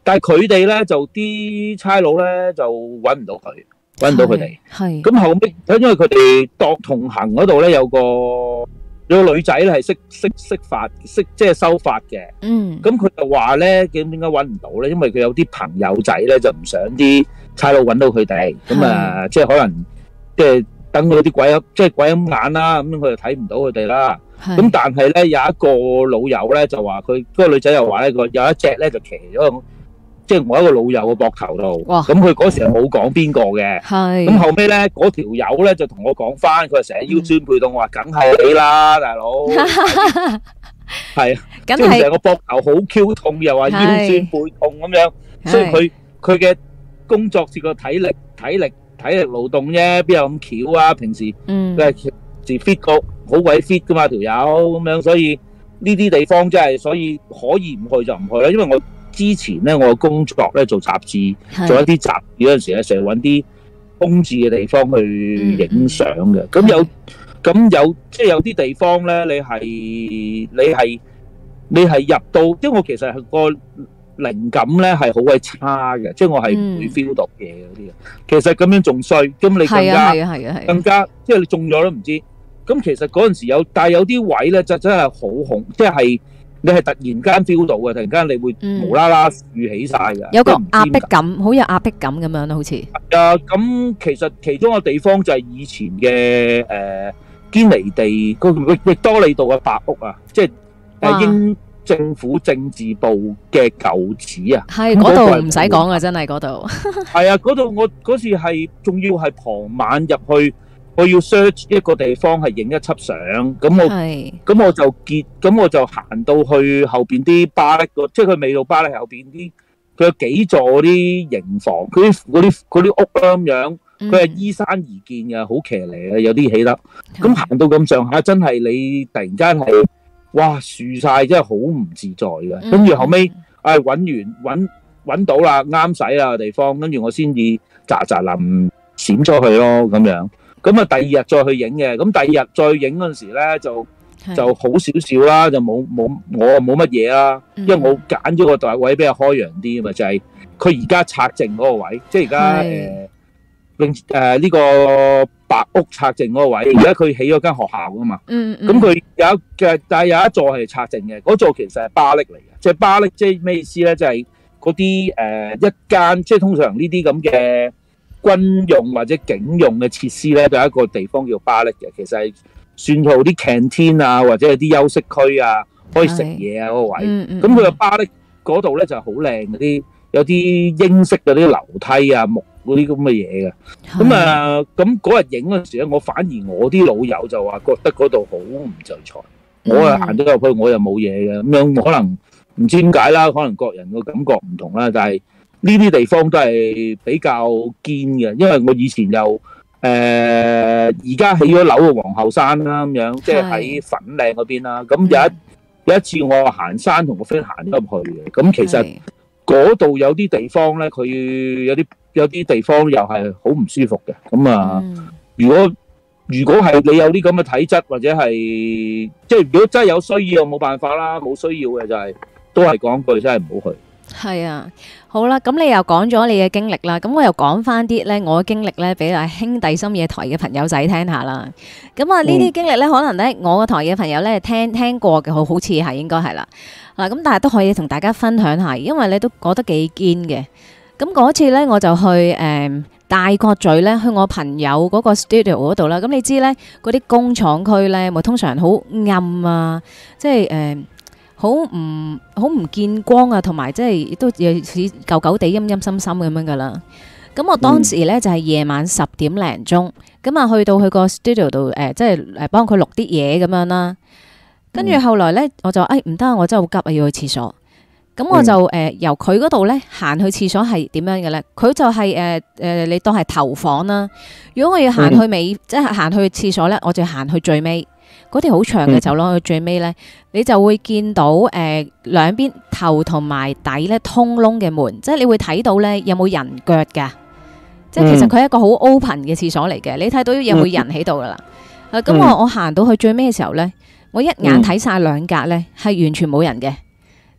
但係佢哋咧就啲差佬咧就揾唔到佢，揾唔到佢哋。
係。
咁後尾，因為佢哋當同行嗰度咧有個有個女仔咧係識識識法識即係修法嘅。
嗯。
咁佢就話咧，點點解揾唔到咧？因為佢有啲朋友仔咧就唔想啲差佬揾到佢哋，咁啊即係可能即係等嗰啲鬼即係鬼咁眼啦，咁佢就睇唔到佢哋啦。咁但係咧有一個老友咧就話佢嗰個女仔又話咧，個有一隻咧就騎咗即係我一個老友嘅膊頭度。咁佢嗰時係冇講邊個嘅。係。咁後尾咧嗰條友咧就同我講翻，佢話成日腰酸背痛，我話梗係你啦，大佬。係啊，即係成個膊頭好 Q 痛，又話腰酸背痛咁樣，所以佢佢嘅工作是個體力體力體力勞動啫，邊有咁巧啊？平時佢係自 fit 個好鬼 fit 噶嘛條友咁樣，所以呢啲地方真係所以可以唔去就唔去啦。因為我之前咧我嘅工作咧做雜誌，做一啲雜誌嗰陣時咧，成日揾啲空置嘅地方去影相嘅。咁有咁有即係有啲地方咧，你係你係你係入到，因為我其實係個靈感咧係好鬼差嘅，即係我係唔會 feel 到嘢嗰啲嘅。其實咁樣仲衰，咁你更加
係啊係啊係
更加即係你中咗都唔知。咁其實嗰陣時有，但係有啲位咧就真係好紅，即係你係突然間 feel 到嘅，突然間你會無啦啦豎起晒嘅，
有個壓迫感，好有壓迫感咁樣咯，好似。
係啊，咁其實其中個地方就係以前嘅誒堅尼地個域域多利道嘅白屋啊，即係誒英政府政治部嘅舊址啊。
係嗰度唔使講啊，真係嗰度。
係啊，嗰度我嗰時係仲要係傍晚入去。我要 search 一個地方係影一輯相，咁我咁我就結，咁我就行到去後邊啲巴力個，即係佢未到巴力後邊啲，佢有幾座嗰啲營房，嗰啲嗰啲嗰啲屋啦咁樣，佢係依山而建嘅，好騎呢嘅，有啲起得。咁行到咁上下，真係你突然間係哇豎晒，真係好唔自在嘅。跟住後尾，唉揾完揾揾到啦，啱使啦地方，跟住我先至喳喳臨閃咗去咯，咁樣。咁啊，第二日再去影嘅，咁第二日再影嗰陣時咧，就就好少少啦，就冇冇我冇乜嘢啦，因為我揀咗個位比較開揚啲啊嘛，就係佢而家拆剩嗰個位，即係而家誒並誒呢個白屋拆剩嗰個位，而家佢起咗間學校噶嘛，嗯嗯，咁佢有一嘅，但係有一座係拆剩嘅，嗰座其實係巴力嚟嘅，即係巴力即係咩意思咧？即係嗰啲誒一間，即係通常呢啲咁嘅。軍用或者警用嘅設施咧，就有一個地方叫巴力嘅，其實係算做啲 canteen 啊，或者係啲休息區啊，可以食嘢啊嗰個位。咁佢個巴力嗰度咧就係好靚嗰啲，有啲英式嗰啲樓梯啊、木嗰啲咁嘅嘢嘅。咁啊，咁嗰日影嗰陣時咧，我反而我啲老友就話覺得嗰度好唔就財，我啊行咗入去我又冇嘢嘅，咁樣可能唔知點解啦，可能各人個感覺唔同啦，但係。呢啲地方都係比較堅嘅，因為我以前又誒而家起咗樓嘅皇后山啦，咁樣即係喺粉嶺嗰邊啦。咁有一有一次我行山同個 friend 行咗入去嘅，咁其實嗰度有啲地方咧，佢有啲有啲地方又係好唔舒服嘅。咁啊，如果如果係你有啲咁嘅體質或者係即係如果真係有需要，冇辦法啦。冇需要嘅就係都係講句，真係唔好去。
係啊，好啦，咁你又講咗你嘅經歷啦，咁我又講翻啲咧，我嘅經歷咧，俾阿兄弟深夜台嘅朋友仔聽下啦。咁啊，呢啲經歷咧，可能咧，我個台嘅朋友咧聽聽過嘅，好好似係應該係啦。嗱，咁但係都可以同大家分享下，因為咧都覺得幾堅嘅。咁嗰次咧，我就去誒、呃、大角咀咧，去我朋友嗰個 studio 嗰度啦。咁你知咧，嗰啲工廠區咧，咪通常好暗啊，即係誒。呃好唔好唔見光啊，同埋即係都有似舊舊地陰陰森森咁樣噶啦。咁我當時咧就係、是、夜晚十點零鐘，咁啊去到佢個 studio 度誒，即係誒幫佢錄啲嘢咁樣啦。跟住後來咧，我就誒唔得啊，我真係好急啊，要去廁所。咁我就誒、呃、由佢嗰度咧行去廁所係點樣嘅咧？佢就係誒誒，你當係頭房啦。如果我要行去尾，即係行去廁所咧，我就行去最尾。嗰條好長嘅走廊去最尾咧，你就會見到誒兩邊頭同埋底咧通窿嘅門，即係你會睇到咧有冇人腳㗎，即係其實佢係一個好 open 嘅廁所嚟嘅，你睇到有冇人喺度噶啦。啊，咁我我行到去最尾嘅時候咧，我一眼睇晒兩格咧係完全冇人嘅，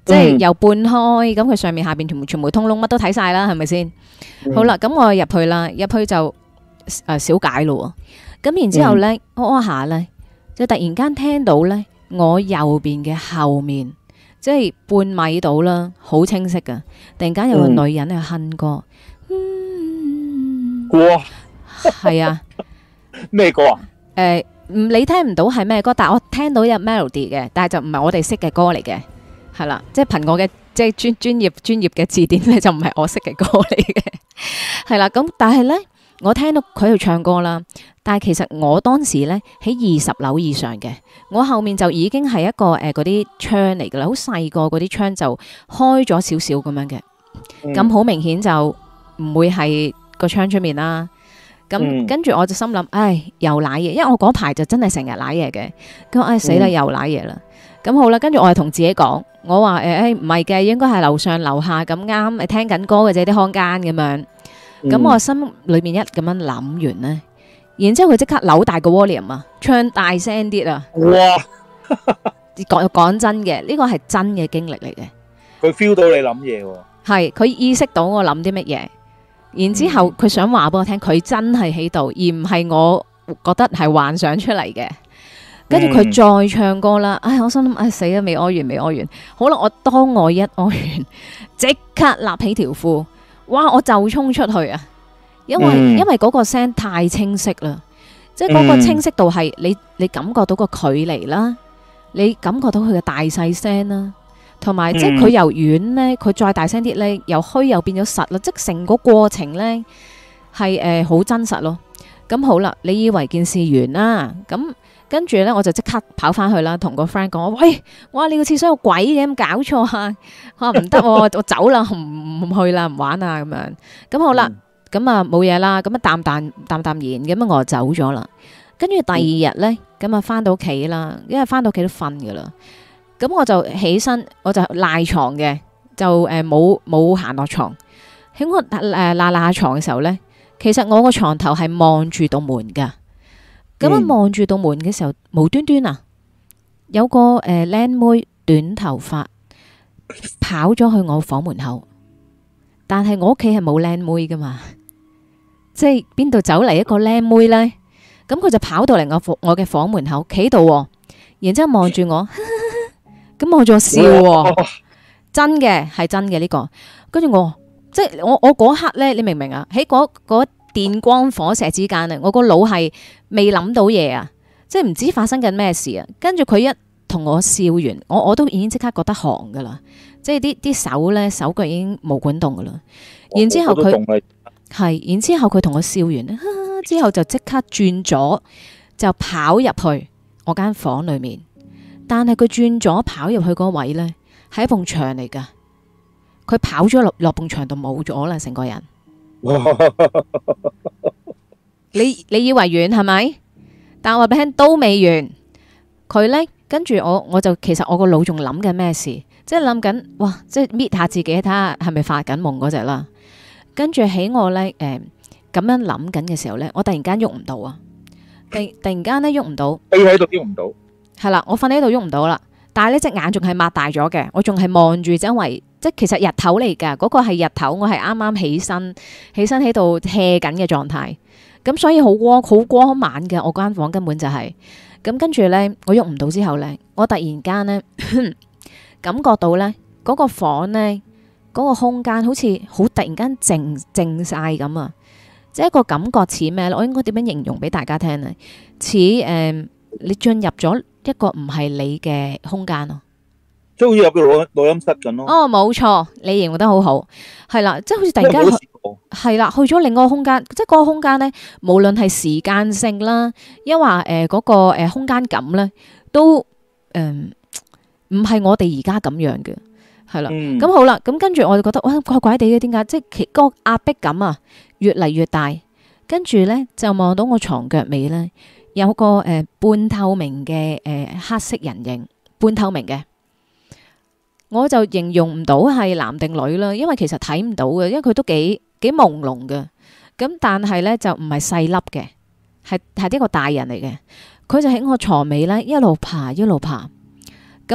即係又半開，咁佢上面下邊全部全部通窿，乜都睇晒啦，係咪先？
嗯
好啦，咁我入去啦，入去就誒小解咯。咁然之後咧，屙屙下咧，就突然間聽到咧，我右邊嘅後面，即係半米到啦，好清晰噶。突然間有個女人喺度哼歌，嗯，
哇，
係啊，
咩歌啊？
誒，唔你聽唔到係咩歌，但係我聽到有 melody 嘅，但係就唔係我哋識嘅歌嚟嘅，係啦，即係憑我嘅即係專專業專業嘅字典咧，就唔係我識嘅歌嚟嘅，係啦。咁但係咧，我聽到佢喺度唱歌啦，但係其實我當時咧喺二十樓以上嘅，我後面就已經係一個誒嗰啲窗嚟噶啦，好細個嗰啲窗就開咗少少咁樣嘅，咁好、嗯、明顯就唔會係個窗出面啦。咁、嗯、跟住我就心諗，唉，又瀨嘢，因為我嗰排就真係成日瀨嘢嘅。咁唉死啦，又瀨嘢啦。咁好啦，跟住我係同自己講，我話誒誒唔係嘅，應該係樓上樓下咁啱，誒聽緊歌嘅啫，啲康間咁樣。咁、嗯、我心裏面一咁樣諗完咧，然之後佢即刻扭大個 volume 啊，唱大聲啲啊！哇！講講真嘅，呢個係真嘅經歷嚟嘅。
佢 feel 到你諗嘢喎。係，
佢意識到我諗啲乜嘢。然之後佢想話俾我聽，佢真係喺度，而唔係我覺得係幻想出嚟嘅。跟住佢再唱歌啦，唉，我心諗，唉死啦，未屙完，未屙完。好啦，我當我一屙完，即刻立起條褲，哇！我就衝出去啊，因為、嗯、因為嗰個聲太清晰啦，即係嗰個清晰度係你你感覺到個距離啦，你感覺到佢嘅大細聲啦。同埋，即係佢由遠咧，佢再大聲啲咧，由虛又變咗實啦，即係成個過程咧係誒好真實咯。咁好啦，你以為件事完啦，咁跟住咧我就即刻跑翻去啦，同個 friend 講：喂，哇，你個廁所有鬼嘅，咁搞錯啊！我話唔得，我走啦，唔唔去啦，唔玩啊咁樣。咁好啦，咁啊冇嘢啦，咁啊淡淡淡淡然，咁啊我就走咗啦。跟住第二日咧，咁啊翻到屋企啦，因為翻到屋企都瞓噶啦。咁我就起身，我就賴床嘅，就誒冇冇行落床。喺我誒賴賴下床嘅時候咧，其實我個床頭係望住道門噶。咁樣望住道門嘅時候，無端端啊，有個誒靚妹短頭髮跑咗去我房門口。但係我屋企係冇靚妹噶嘛，即係邊度走嚟一個靚妹咧？咁佢就跑到嚟我我嘅房門口，企度，然之後望住我。咁我仲笑喎，真嘅係真嘅呢個。跟住我，即係我我嗰刻咧，你明唔明啊？喺嗰嗰電光火石之間啊，我個腦係未諗到嘢啊，即係唔知發生緊咩事啊。跟住佢一同我笑完，我我都已經即刻覺得寒噶啦，即係啲啲手咧手腳已經冇管動噶啦。然之後佢係，然之後佢同我笑完咧，之後就即刻轉咗，就跑入去我間房裏面。但係佢轉咗跑入去嗰位呢，係一埲牆嚟噶。佢跑咗落落埲牆度冇咗啦，成個人。你你以為完係咪？但我話俾你聽都未完。佢呢，跟住我，我就其實我個腦仲諗緊咩事，即係諗緊哇，即係搣下自己睇下係咪發緊夢嗰隻啦。跟住喺我呢，誒、呃、咁樣諗緊嘅時候呢，我突然間喐唔到啊！突突然間呢，喐唔到，
飛喺度喐唔到。
係啦，我瞓喺度喐唔到啦，但係呢隻眼仲係擘大咗嘅，我仲係望住周圍，即係其實日頭嚟噶，嗰個係日頭，我係啱啱起身，起身喺度 hea 緊嘅狀態，咁所以好光好光猛嘅，我間房根本就係，咁跟住呢，我喐唔到之後呢，我突然間呢，感覺到呢嗰個房呢，嗰個空間好似好突然間靜靜晒咁啊，即係一個感覺似咩咧？我應該點樣形容俾大家聽呢？似誒，你進入咗一個唔係你嘅空間咯，
即係好似入個錄錄音室咁咯。
哦，冇錯，你形容得好好，係啦，即係好似突然間係啦，去咗另外一個空間，即係嗰個空間咧，無論係時間性啦，抑或誒嗰個誒空間感咧，都誒唔係我哋而家咁樣嘅，係啦。咁、嗯、好啦，咁跟住我就覺得哇怪怪地嘅，點解？即係其嗰個壓迫感啊，越嚟越大。跟住咧就望到我床腳尾咧。有個誒、呃、半透明嘅誒、呃、黑色人形，半透明嘅，我就形容唔到係男定女啦，因為其實睇唔到嘅，因為佢都幾幾朦朧嘅。咁但係咧就唔係細粒嘅，係係一個大人嚟嘅。佢就喺我床尾咧一路爬一路爬。咁啊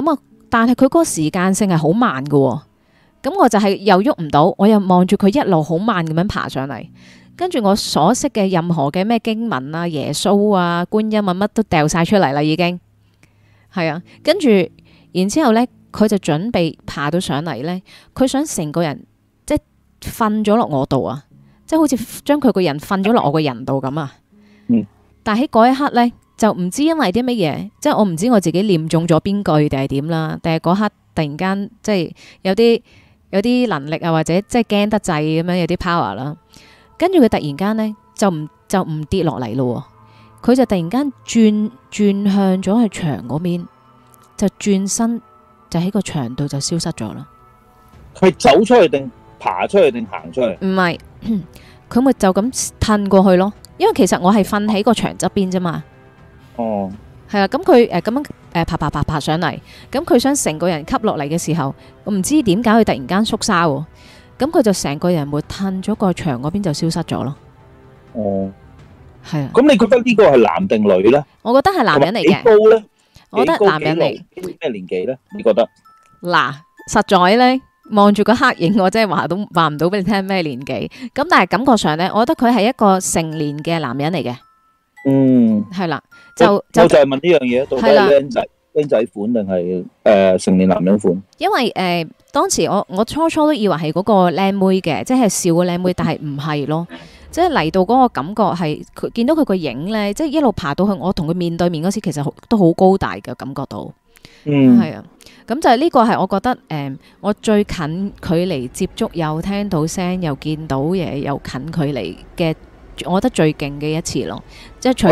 但係佢嗰個時間性係好慢嘅喎。咁我就係又喐唔到，我又望住佢一路好慢咁樣爬上嚟，跟住我所識嘅任何嘅咩經文啊、耶穌啊、觀音啊乜都掉晒出嚟啦，已經係啊。跟住然之後呢，佢就準備爬到上嚟呢，佢想成個人即係瞓咗落我度啊，即係好似將佢個人瞓咗落我個人度咁啊。
嗯。
但喺嗰一刻呢，就唔知因為啲乜嘢，即係我唔知我自己念中咗邊句定係點啦，定係嗰刻突然間即係有啲。有啲能力啊，或者即係驚得滯咁樣，有啲 power 啦。跟住佢突然間呢，就唔就唔跌落嚟咯。佢就突然間轉轉向咗去牆嗰邊，就轉身就喺個牆度就消失咗啦。
係走出去定爬出去定行出去？
唔係，佢咪就咁褪過去咯。因為其實我係瞓喺個牆側邊啫嘛。
哦。
係啦，咁佢誒咁樣誒爬爬爬爬上嚟，咁佢想成個人吸落嚟嘅時候，我唔知點解佢突然間縮沙喎，咁佢就成個人會褪咗個牆嗰邊就消失咗咯。
哦，
係啊。
咁你覺得呢個係男定女咧？
我覺得係男人嚟嘅。
幾高咧？
我覺得男人嚟。
咩年紀咧？你覺得？
嗱，實在咧望住個黑影，我真係話都話唔到俾你聽咩年紀。咁但係感覺上咧，我覺得佢係一個成年嘅男人嚟嘅。
嗯，
係啦，就
就就係問呢樣嘢，到底係僆仔僆仔款定係誒成年男人款？
因為誒、呃、當時我我初初都以為係嗰個僆妹嘅，即係笑個僆妹，但係唔係咯，即係嚟到嗰個感覺係佢見到佢個影咧，即係一路爬到去我同佢面對面嗰時，其實都好高大嘅感覺到。
嗯，
係啊，咁就係呢個係我覺得誒、呃，我最近距離接觸又聽到聲又見到嘢又近距離嘅。我覺得最勁嘅一次咯，即係除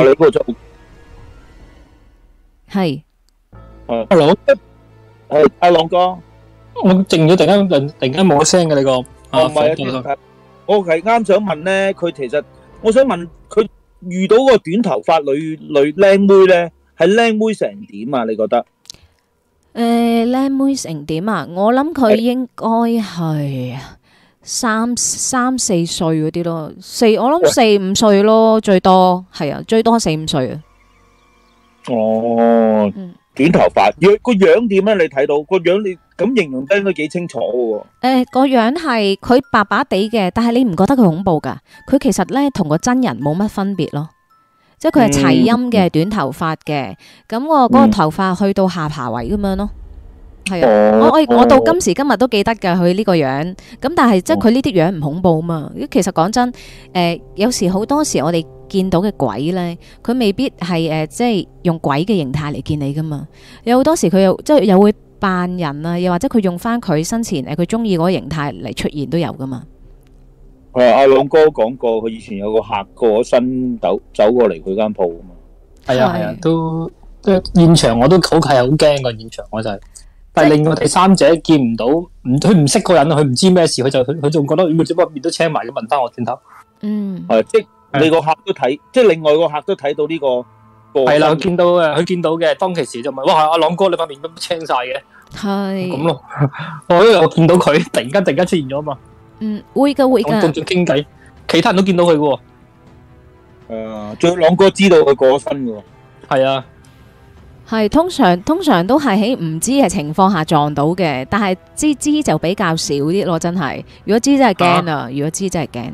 係
阿朗，
係阿朗哥，
我靜咗，突然間突然間冇咗聲嘅你個，
唔係啊，我係啱想問咧，佢其實我想問佢遇到個短頭髮女女靚妹咧，係靚妹成點啊？你覺得？
誒，靚妹成點啊？我諗佢應該係。三三四歲嗰啲咯，四我諗四五歲咯，最多係啊，最多四五歲啊。
哦，嗯、短頭髮，樣個樣點咧？你睇到個樣，你咁形容得應該幾清楚嘅。誒、
呃，個樣係佢白白地嘅，但係你唔覺得佢恐怖噶？佢其實咧同個真人冇乜分別咯，即係佢係齊陰嘅短頭髮嘅，咁我嗰個頭髮去到下巴位咁樣咯。係啊，我我我到今時今日都記得㗎佢呢個樣，咁但係即係佢呢啲樣唔恐怖啊嘛。其實講真，誒、呃、有時好多時我哋見到嘅鬼咧，佢未必係誒、呃、即係用鬼嘅形態嚟見你噶嘛。有好多時佢又即係又會扮人啊，又或者佢用翻佢生前誒佢中意嗰個形態嚟出現都有噶嘛。
係阿朗哥講過，佢以前有個客過咗身走走過嚟佢間鋪啊嘛。
係啊係啊，都即係現場我都好係好驚個現場，我就係。但係另外第三者見唔到，唔佢唔識個人，佢唔知咩事，佢就佢佢仲覺得點解面都青埋咁問翻我轉頭。
嗯，
係即係你個客都睇，即係另外個客都睇到呢個。
係啦，佢見到嘅，佢見到嘅，當其時就問：哇，阿朗哥你塊面都青晒嘅。
係。咁
咯，我因為我見到佢突然間突然間出現咗嘛。
嗯，會噶會噶。
仲仲傾偈，其他人都見到佢嘅。
誒，仲有朗哥知道佢過咗身嘅。
係啊。
係通常通常都係喺唔知嘅情況下撞到嘅，但係知知就比較少啲咯，真係。如果知真係驚啊！如果知真係驚。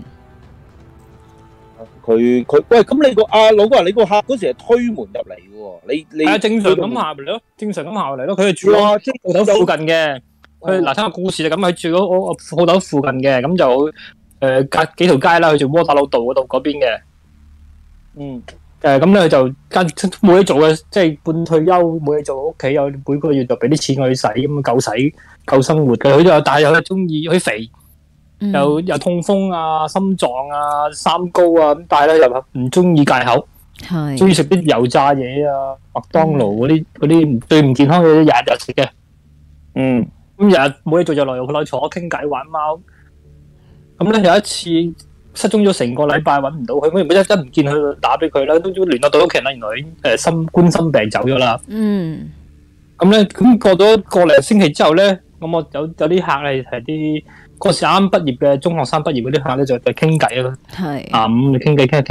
佢佢喂，咁你個阿老哥，你個客嗰時係推門入嚟嘅喎，你你
係正常咁下嚟咯，正常咁下嚟咯。佢係住喺鋪頭附近嘅。佢嗱，聽個故事就咁，佢住嗰我鋪頭附近嘅，咁就誒隔幾條街啦，佢住窩打老道嗰度嗰邊嘅。
嗯。
誒，咁咧佢就間冇嘢做嘅，即係半退休冇嘢做，屋企有每個月就俾啲錢佢使，咁夠使夠生活嘅。佢就但係又中意佢肥，又又痛風啊、心臟啊、三高啊，咁但係咧又唔中意戒口，係中意食啲油炸嘢啊、麥當勞嗰啲嗰啲最唔健康嘅嘢，日日食嘅。嗯，咁日日冇嘢做就來來坐傾偈玩貓。咁咧有一次。失蹤咗成個禮拜，揾唔到佢，咁一一唔見佢，打俾佢啦，都都聯絡到屋企人啦。原來已經誒心冠心病走咗啦。嗯。咁咧，咁過咗個零星期之後咧，咁我有有啲客係係啲嗰時啱畢業嘅中學生畢業嗰啲客咧，就就傾偈咯。係。啊，咁你傾偈傾下傾下，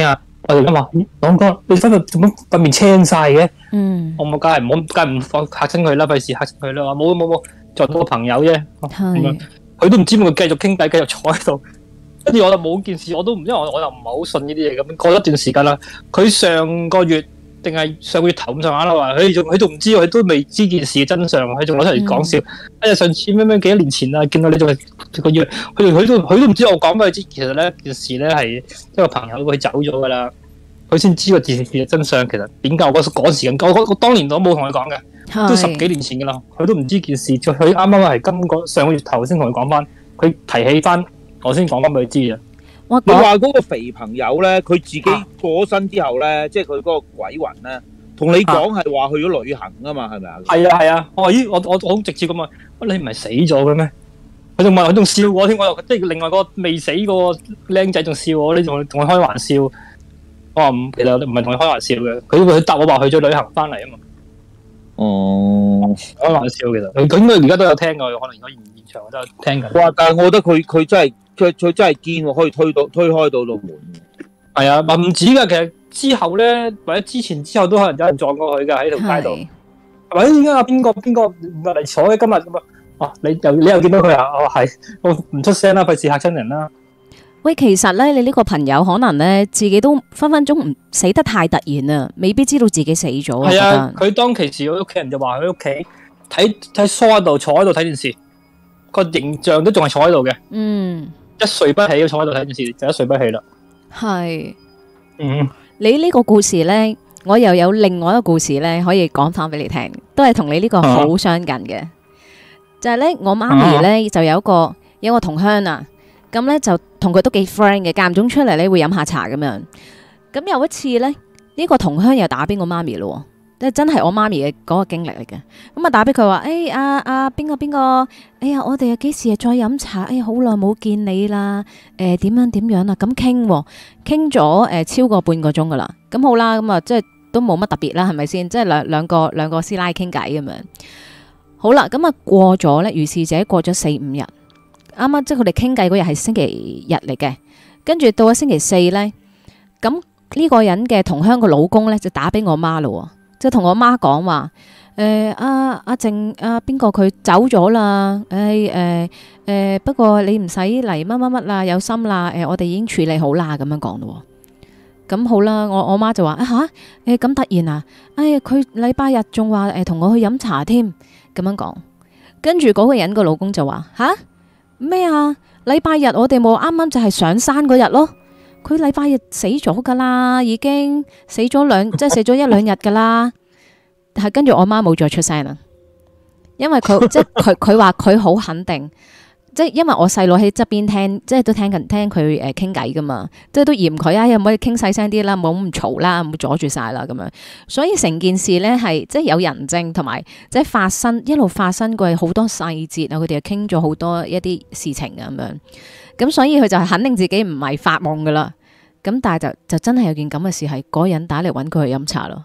我哋咁話，朗哥，你今日做乜塊面青晒嘅？
嗯，
我冇，梗係唔好，梗係唔放嚇親佢啦，費事嚇親佢啦。話冇冇冇，撞到個朋友啫。
係，
佢都唔知點，佢繼續傾偈，繼續坐喺度。跟住我就冇件事，我都唔，因為我我又唔係好信呢啲嘢咁。過咗一段時間啦，佢上個月定係上個月頭咁上下啦，話佢仲佢仲唔知，佢都未知件事嘅真相，佢仲攞出嚟講笑。哎呀，上次咩咩幾多年前啊，見到你仲係個月，佢佢都佢都唔知我講俾佢知。其實咧件事咧係一個朋友佢走咗噶啦，佢先知個件事嘅真相。其實點解我嗰嗰時間，我我我當年我冇同佢講嘅，都十幾年前噶啦，佢都唔知件事。佢啱啱係今個上個月頭先同佢講翻，佢提起翻。我先講翻俾佢知啊！
你話嗰個肥朋友咧，佢自己過咗身之後咧，啊、即係佢嗰個鬼魂咧，同你講係話去咗旅行啊嘛，係咪啊？係啊係啊！我話咦，我我我好直接咁問，你唔係死咗嘅咩？佢仲問，佢仲笑我添，我又即係另外個未死個僆仔仲笑我，你仲同佢開玩笑？我話唔，其實唔係同佢開玩笑嘅，佢佢答我話去咗旅行翻嚟啊嘛。哦，開玩笑其實，佢佢應該而家都有聽㗎，可能而家現現場都有聽緊。哇！但係我覺得佢佢真係。佢佢真係堅喎，可以推到推開到度門。係啊，唔止㗎，其實之後咧，或者之前之後都可能有人撞過佢㗎喺條街度。係咪？點解啊？邊個邊個嚟坐嘅今日咁啊？哦，你又你又見到佢啊？哦，係，我唔出聲啦，費事嚇親人啦。喂，其實咧，你呢個朋友可能咧自己都分分鐘唔死得太突然啊，未必知道自己死咗。係啊，佢當其時佢屋企人就話佢屋企睇睇梳喺度坐喺度睇電視，個形象都仲係坐喺度嘅。嗯。一睡不起，坐喺度睇電視就一睡不起啦。係，嗯，你呢個故事呢，我又有另外一個故事呢，可以講翻俾你聽，都係同你呢個好相近嘅。啊、就係呢，我媽咪呢，就有一個有一個同鄉啊，咁呢，就同佢都幾 friend 嘅，間唔中出嚟呢會飲下茶咁樣。咁有一次呢，呢、呢個同鄉又打俾我媽咪咯。即係真係我媽咪嘅嗰個經歷嚟嘅，咁啊打俾佢話，誒阿阿邊個邊個，哎呀我哋又幾時再飲茶？哎呀好耐冇見你啦，誒點樣點樣啊？咁傾傾咗誒超過半個鐘噶啦，咁好啦，咁啊即係都冇乜特別啦，係咪先？即係兩兩個兩個師奶傾偈咁樣，好啦，咁啊過咗咧，如是者過咗四五日，啱啱即係佢哋傾偈嗰日係星期日嚟嘅，跟住到咗星期四咧，咁呢個人嘅同鄉個老公咧就打俾我媽咯。即係同我媽講話，誒阿阿靜阿邊個佢走咗啦，誒誒誒不過你唔使嚟乜乜乜啦，有心啦，誒、呃、我哋已經處理好啦，咁樣講咯。咁好啦，我我媽就話啊吓，誒咁突然啊，哎呀佢禮拜日仲話誒同我去飲茶添，咁樣講。跟住嗰個人個老公就話吓咩啊？禮拜日我哋冇啱啱就係上山嗰日咯。佢禮拜日死咗噶啦，已經死咗兩即係死咗一兩日噶啦。係跟住我媽冇再出聲啦，因為佢即係佢佢話佢好肯定，即係因為我細佬喺側邊聽，即係都聽緊聽佢誒傾偈噶嘛，即係都嫌佢啊，可唔可以傾細聲啲啦，冇咁嘈啦，唔好阻住晒啦咁樣。所以成件事咧係即係有人證同埋即係發生一路發生過好多細節啊，佢哋又傾咗好多一啲事情啊咁樣。咁所以佢就係肯定自己唔係發夢噶啦，咁但係就就真係有件咁嘅事，係嗰個人打嚟搵佢去飲茶咯。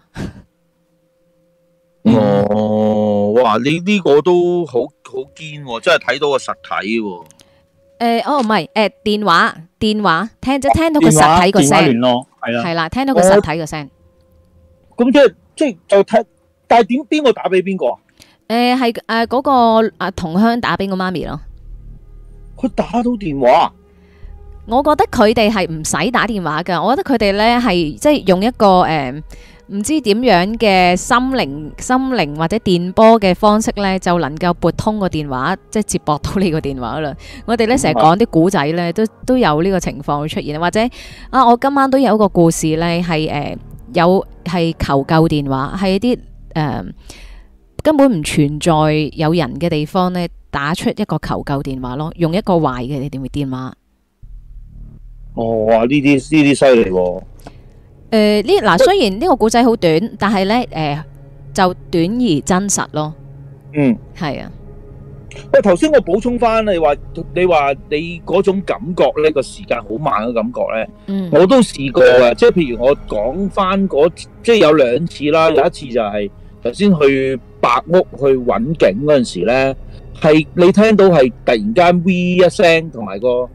哦，哇！你呢個都好好堅喎，真係睇到個實體喎。誒，哦，唔係，誒，電話電話聽即係聽到個實體個聲，電話聯絡係啦，係啦，聽到個實體個聲。咁即係即係就聽，但係點邊個打俾邊個啊？誒，係誒嗰個啊同鄉打俾我媽咪咯。佢打到電話，我覺得佢哋係唔使打電話噶。我覺得佢哋咧係即係用一個誒唔知點樣嘅心靈心靈或者電波嘅方式咧，就能夠撥通個電話，即係接駁到呢個電話啦。我哋咧成日講啲古仔咧，都都有呢個情況出現。或者啊，我今晚都有一個故事咧，係誒有係求救電話，係一啲誒根本唔存在有人嘅地方咧，打出一個求救電話咯，用一個壞嘅電電話。哦，哇！呢啲呢啲犀利喎。誒，呢嗱雖然呢個故仔好短，但係咧誒就短而真實咯。嗯，係啊。喂，頭先我補充翻，你話你話你嗰種感覺咧，個時間好慢嘅感覺咧，嗯，我都試過嘅。即係譬如我講翻嗰，即係有兩次啦。有一次就係頭先去白屋去揾景嗰陣時咧，係你聽到係突然間 V 一聲，同埋個。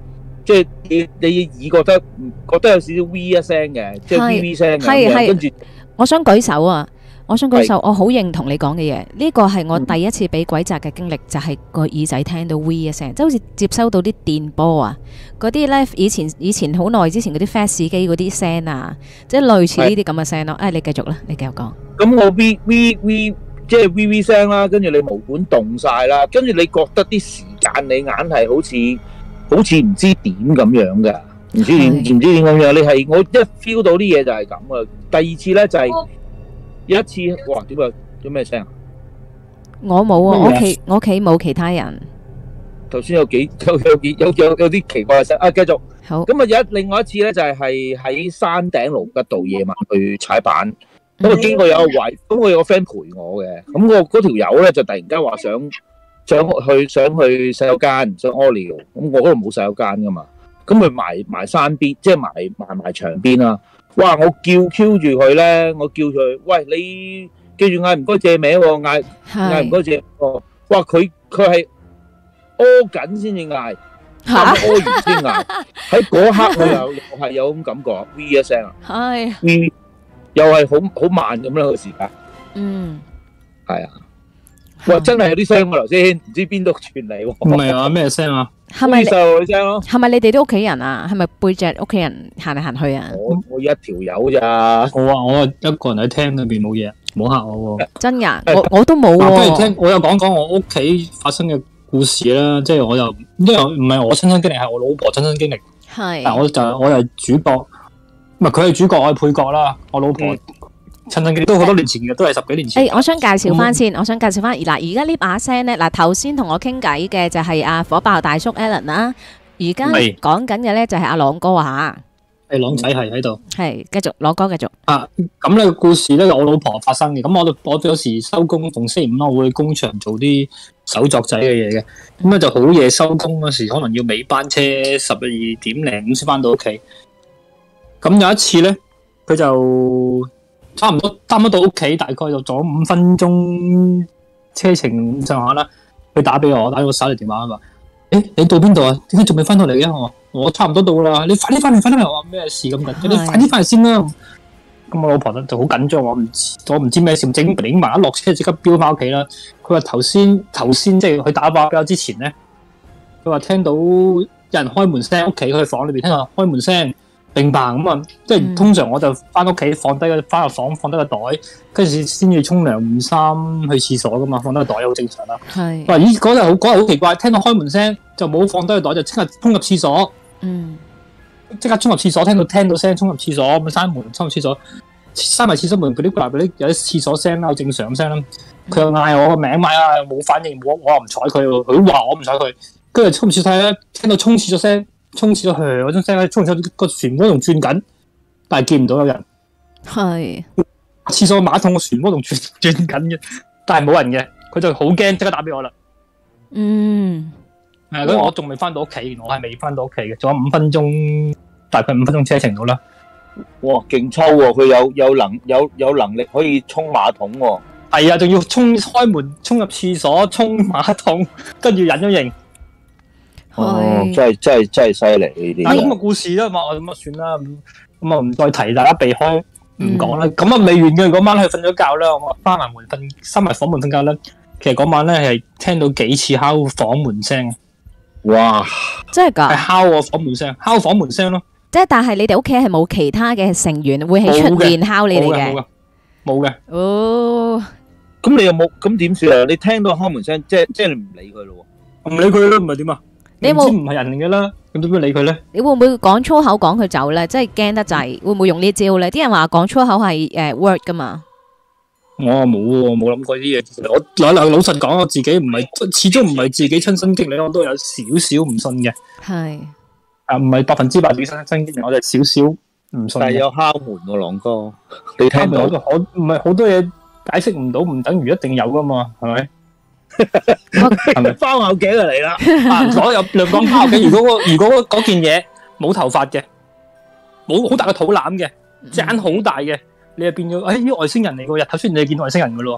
即係你你耳覺得覺得有少少 V 一聲嘅，即係 V V 聲嘅咁樣，跟住
我想舉手啊！我想舉手，我好認同你講嘅嘢。呢個係我第一次俾鬼責嘅經歷，就係個耳仔聽到 V 一聲，即係好似接收到啲電波啊！嗰啲咧以前以前好耐之前嗰啲 fax 機嗰啲聲啊，即係類似呢啲咁嘅聲咯。誒，你繼續啦，你繼續講。
咁我 V V V 即係 V V 聲啦，跟住你毛管凍晒啦，跟住你覺得啲時間你硬係好似好似唔知點咁樣嘅，唔知點唔知點咁樣。你係我一 feel 到啲嘢就係咁啊！第二次咧就係。有一次，哇！點啊？有咩聲啊？
我冇啊，我屋企我屋企冇其他人。
頭先有幾有有幾有有有啲奇怪嘅聲啊！繼續。
好。
咁啊，有另外一次咧，就係係喺山頂盧吉道夜晚去踩板，咁啊經過有個位，咁我有個 friend 陪我嘅，咁我嗰條友咧就突然間話想想去想去洗手間，想屙尿，咁我嗰度冇洗手間噶嘛，咁佢埋埋山邊，即係埋埋埋牆邊啦。哇！我叫 Q 住佢咧，我叫佢，喂，你記住嗌唔該借名喎，嗌嗌唔該借喎。哇！佢佢係屙緊先至嗌，咁屙完先嗌。喺嗰刻我又又係有咁感覺 ，V 一聲啊，係 V 又係好好慢咁啦個時間。嗯，係啊。哇！真係有啲聲喎，頭先唔知邊度傳嚟喎。
唔係啊，咩聲啊？
係咪
細路女聲咯？
係咪你哋啲屋企人啊？係咪背脊屋企人行嚟行去啊？
我我一條友咋？
我話我一個人喺廳裏邊冇嘢，冇嚇我喎。
真㗎？我我都冇喎。
不如聽我又講講我屋企發生嘅故事啦。即係我又因為唔係我親身經歷，係我老婆親身經歷。係。但我就我係主角，唔係佢係主角，我係配角啦。我老婆親身經歷都好多年前嘅，都係十幾年前。
誒，我想介紹翻先，我想介紹翻嗱，而家呢把聲咧，嗱頭先同我傾偈嘅就係阿火爆大叔 Alan 啦。而家講緊嘅咧就係阿朗哥啊，
係朗仔係喺度，
係繼續朗哥繼續
啊。咁呢個故事咧，我老婆發生嘅。咁我我有時收工逢星期五啦，我會去工場做啲手作仔嘅嘢嘅。咁咧就好夜收工嗰時，可能要尾班車十二點零先翻到屋企。咁有一次咧，佢就差唔多差唔多到屋企，大概就咗五分鐘車程上下啦。佢打俾我，打咗個手提電話啊嘛。誒，你到邊度啊？點解仲未翻到嚟嘅？我我差唔多到啦，你快啲翻嚟，快啲翻嚟！我話咩事咁緊？你快啲翻嚟先啦！咁我老婆咧就好緊張，我唔我唔知咩事，整整埋一落車即刻飆翻屋企啦。佢話頭先頭先即係佢打電話俾我之前咧，佢話聽到有人開門聲，屋企佢房裏邊聽到開門聲，乒乓咁啊！即係通常我就翻屋企放低個翻入房放低個袋，跟住先至沖涼換衫去廁所噶嘛，放低個袋好正常啦。係。話咦嗰日好嗰日好奇怪，聽到開門聲就冇放低個袋，就即刻衝入廁所。嗯。即刻衝入廁所，聽到聽到聲衝入廁所，咁閂門衝入廁所，閂埋廁所門嗰啲掛嗰啲有啲廁所聲啦，好正常聲啦。佢又嗌我個名，嗌啊冇反應，我我又唔睬佢，佢話我唔睬佢，跟住衝廁所咧，聽到衝廁所聲。沖廁所噓嗰種聲咧，沖廁所個漩渦仲轉緊，但係見唔到有人。係廁所馬桶個漩渦仲轉轉緊嘅，但係冇人嘅，佢就好驚，即刻打俾我啦。嗯，係，咁我仲未翻到屋企，我係未翻到屋企嘅，仲有五分鐘，大概五分鐘車程到啦。
哇，勁粗喎！佢有有能有有能力可以沖馬桶喎。
係啊，仲要沖開門，沖入廁所，沖馬桶，跟住隱咗形。
哦，真係真係真係犀利呢啲。
但係咁嘅故事啦嘛，我咁啊算啦，咁啊唔再提，大家避開唔講啦。咁啊未完嘅，嗰晚去瞓咗覺啦，我閂埋門瞓，閂埋房門瞓覺啦。其實嗰晚咧係聽到幾次敲房門聲。哇！真係噶？係敲我房門聲，敲房門聲咯。
即係但係你哋屋企係冇其他嘅成員會喺出面敲你哋嘅？
冇嘅，冇嘅。
哦。
咁你有冇？咁點算啊？你聽到敲門聲，即係即係你唔理佢咯？
唔理佢咯，唔係點啊？你有冇唔係人嚟嘅啦？咁點樣理佢咧？
你會唔會講粗口趕佢走咧？即係驚得滯，會唔會用呢招咧？啲人話講粗口係誒 work 噶嘛？
我冇喎，冇諗過呢啲嘢。其實我嗱嗱老實講，我自己唔係，始終唔係自己親身經歷，我都有少少唔信嘅。係啊，唔係百分之百自己親身經歷，我就少少唔信。
但係有敲門喎，朗哥，你聽到？
我唔係好多嘢解釋唔到，唔等於一定有噶嘛，係咪？
係咪包拗頸就嚟啦？
啊，我有兩講包拗頸。如果如果嗰件嘢冇頭髮嘅，冇好大個肚腩嘅，隻眼好大嘅，你就變咗誒啲外星人嚟嘅。日頭出現你就見外星人噶咯。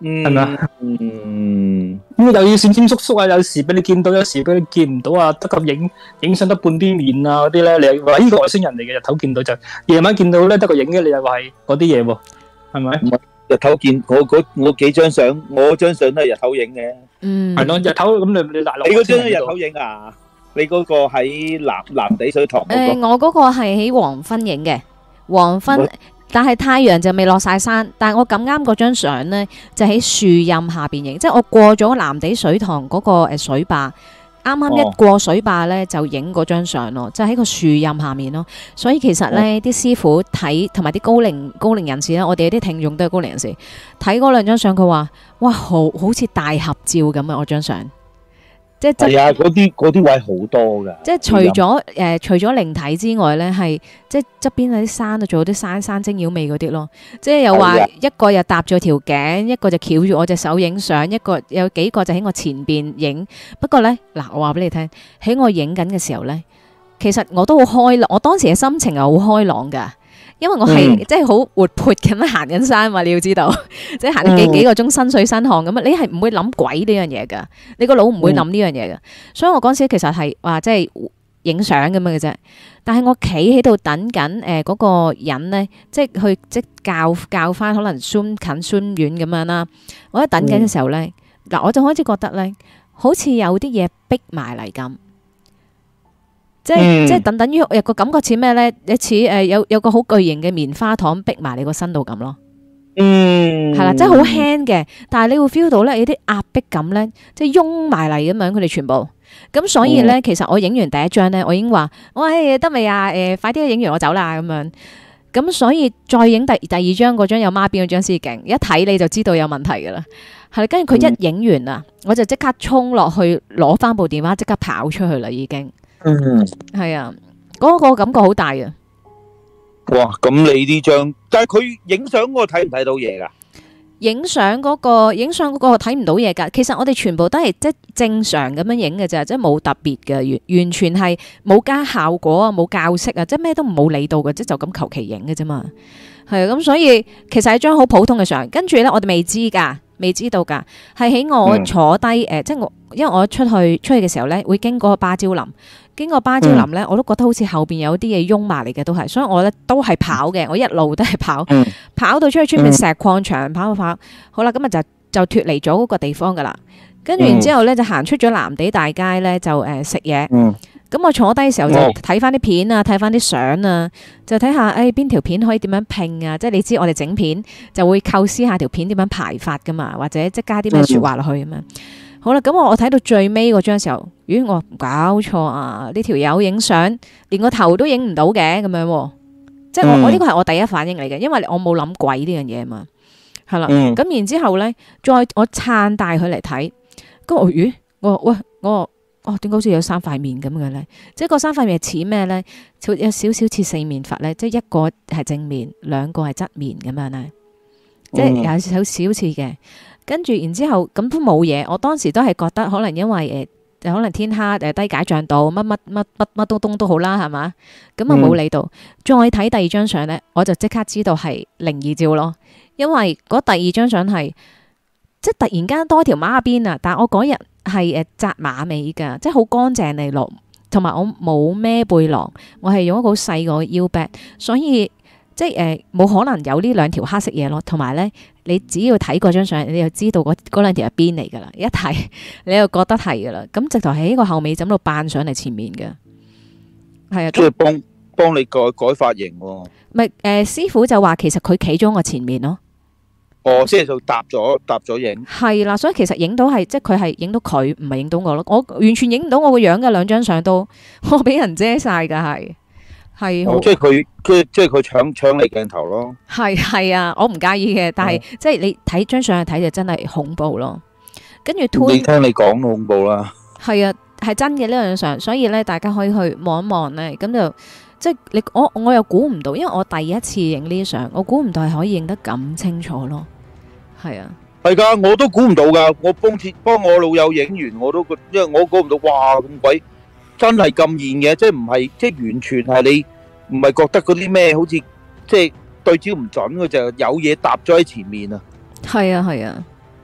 係咪啊？
嗯，
咁又要閃閃縮縮啊，有時俾你見到，有時俾你見唔到啊，得咁影影相得半邊面啊嗰啲咧，你又話呢個外星人嚟嘅，日頭見到就夜晚見到咧得個影嘅，你又話係嗰啲嘢喎，係咪？
日頭見我嗰我幾張相，我張相都係日頭影嘅。
嗯，
係咯，日頭咁你你大陸
你嗰張都日頭影啊？你嗰個喺藍藍地水塘嗰
誒，
個？
我嗰個係喺黃昏影嘅，黃昏，但係太陽就未落晒山，但係我咁啱嗰張相呢，就喺樹蔭下邊影，即係我過咗藍地水塘嗰個誒水壩，啱啱一過水壩呢，就影嗰張相咯，就喺個樹蔭下面咯。所以其實呢啲師傅睇同埋啲高齡高齡人士咧，我哋有啲聽眾都係高齡人士，睇嗰兩張相，佢話：哇，好好似大合照咁啊！我張相。即係
係啊，嗰啲嗰啲位好多噶。
即係除咗誒、呃，除咗靈體之外咧，係即係側邊嗰啲山啊，仲有啲山山精妖味嗰啲咯。即係又話一個又搭咗條頸，一個就翹住我隻手影相，一個有幾個就喺我前邊影。不過咧，嗱，我話俾你聽，喺我影緊嘅時候咧，其實我都好開朗，我當時嘅心情係好開朗噶。因為我係、嗯、即係好活潑咁樣行緊山嘛，你要知道，即係行咗幾幾個鐘，身水身汗咁啊！你係唔會諗鬼呢樣嘢噶，你個腦唔會諗呢樣嘢噶。所以我嗰時其實係話即係影相咁樣嘅啫。但係我企喺度等緊誒嗰個人咧，即係去即教教翻可能 zoom 近 zoom 遠咁樣啦。我喺等緊嘅時候咧，嗱、嗯、我就開始覺得咧，好似有啲嘢逼埋嚟咁。即係、嗯、即係等等於有個感覺似咩咧？你似誒有有個好巨型嘅棉花糖逼埋你個身度咁咯。嗯，係啦，即係好輕嘅，但係你會 feel 到咧有啲壓迫感咧，即係擁埋嚟咁樣，佢哋全部。咁所以咧，嗯、其實我影完第一張咧，我已經話：喂，得未啊？誒、呃，快啲影完我走啦咁樣。咁所以再影第第二張嗰張有孖辮嗰張先勁，一睇你就知道有問題噶啦。係啦，跟住佢一影完啊，我就即刻衝落去攞翻部電話，即刻跑出去啦，已經。嗯，係啊，嗰、那個感覺好大啊！
哇，咁你呢張，但係佢影相嗰個睇唔睇到嘢噶？
影相嗰個，影相嗰個睇唔到嘢噶。其實我哋全部都係即係正常咁樣影嘅咋，即係冇特別嘅，完完全係冇加效果啊，冇校色啊，即係咩都冇理到嘅，即係就咁求其影嘅啫嘛。係啊，咁所以其實係張好普通嘅相，跟住咧我哋未知噶。未知道㗎，係喺我坐低誒、嗯呃，即係我，因為我出去出去嘅時候咧，會經過芭蕉林，經過芭蕉林咧，嗯、我都覺得好似後邊有啲嘢擁埋嚟嘅，都係，所以我咧都係跑嘅，我一路都係跑，嗯、跑到出去出面石礦場，跑跑跑，好啦，咁啊就就脫離咗嗰個地方㗎啦，跟住然之後咧就行出咗藍地大街咧，就誒食嘢。嗯咁我坐低嘅時候就睇翻啲片啊，睇翻啲相啊，就睇下誒邊條片可以點樣拼啊，即係你知我哋整片就會構思下條片點樣排法噶嘛，或者即係加啲咩説話落去咁樣。嗯、好啦，咁我我睇到最尾嗰張時候，咦我搞錯啊！呢條友影相連個頭都影唔到嘅咁樣、啊，即係我、嗯、我呢個係我第一反應嚟嘅，因為我冇諗鬼呢樣嘢嘛，係啦。咁、嗯、然之後咧，再我撐大佢嚟睇，咁我咦我喂我。哦，點解好似有三塊面咁嘅咧？即係個三塊面似咩咧？有少少似四面佛咧，即係一個係正面，兩個係側面咁樣咧，即係有少少似嘅。跟住然之後咁都冇嘢，我當時都係覺得可能因為誒、呃，可能天黑誒低解像度乜乜乜乜乜東東都好啦，係嘛？咁啊冇理到。嗯、再睇第二張相咧，我就即刻知道係靈異照咯，因為嗰第二張相係即係突然間多條孖辮啊！但係我嗰日。係誒紮馬尾噶，即係好乾淨利落，同埋我冇孭背囊，我係用一個好細個腰 bag，所以即係誒冇可能有呢兩條黑色嘢咯。同埋咧，你只要睇嗰張相，你就知道嗰嗰兩條係邊嚟噶啦。一睇你就覺得係噶啦。咁直頭喺個後尾枕度扮上嚟前面嘅，係啊，
即係幫幫你改改髮型喎。
咪誒、呃、師傅就話其實佢企咗我前面咯。
哦，即係就搭咗搭咗影，係
啦，所以其實影到係即係佢係影到佢，唔係影到我咯。我完全影唔到我個樣嘅，兩張相都我俾人遮晒噶，係係、
哦。即係佢佢即係佢搶搶你鏡頭咯。係
係啊，我唔介意嘅，但係、嗯、即係你睇張相去睇就真係恐怖咯。跟住
你聽你講都恐怖啦。
係啊，係真嘅呢兩張相，所以咧大家可以去望一望咧，咁就即係你我我又估唔到，因為我第一次影呢啲相，我估唔到係可以影得咁清楚咯。係啊，
係噶，我都估唔到噶。我幫貼幫我老友影完，我都覺，因為我估唔到，哇咁鬼真係咁現嘅，即係唔係即係完全係你唔係覺得嗰啲咩，好似即係對焦唔準，佢就有嘢搭咗喺前面啊。
係啊係啊，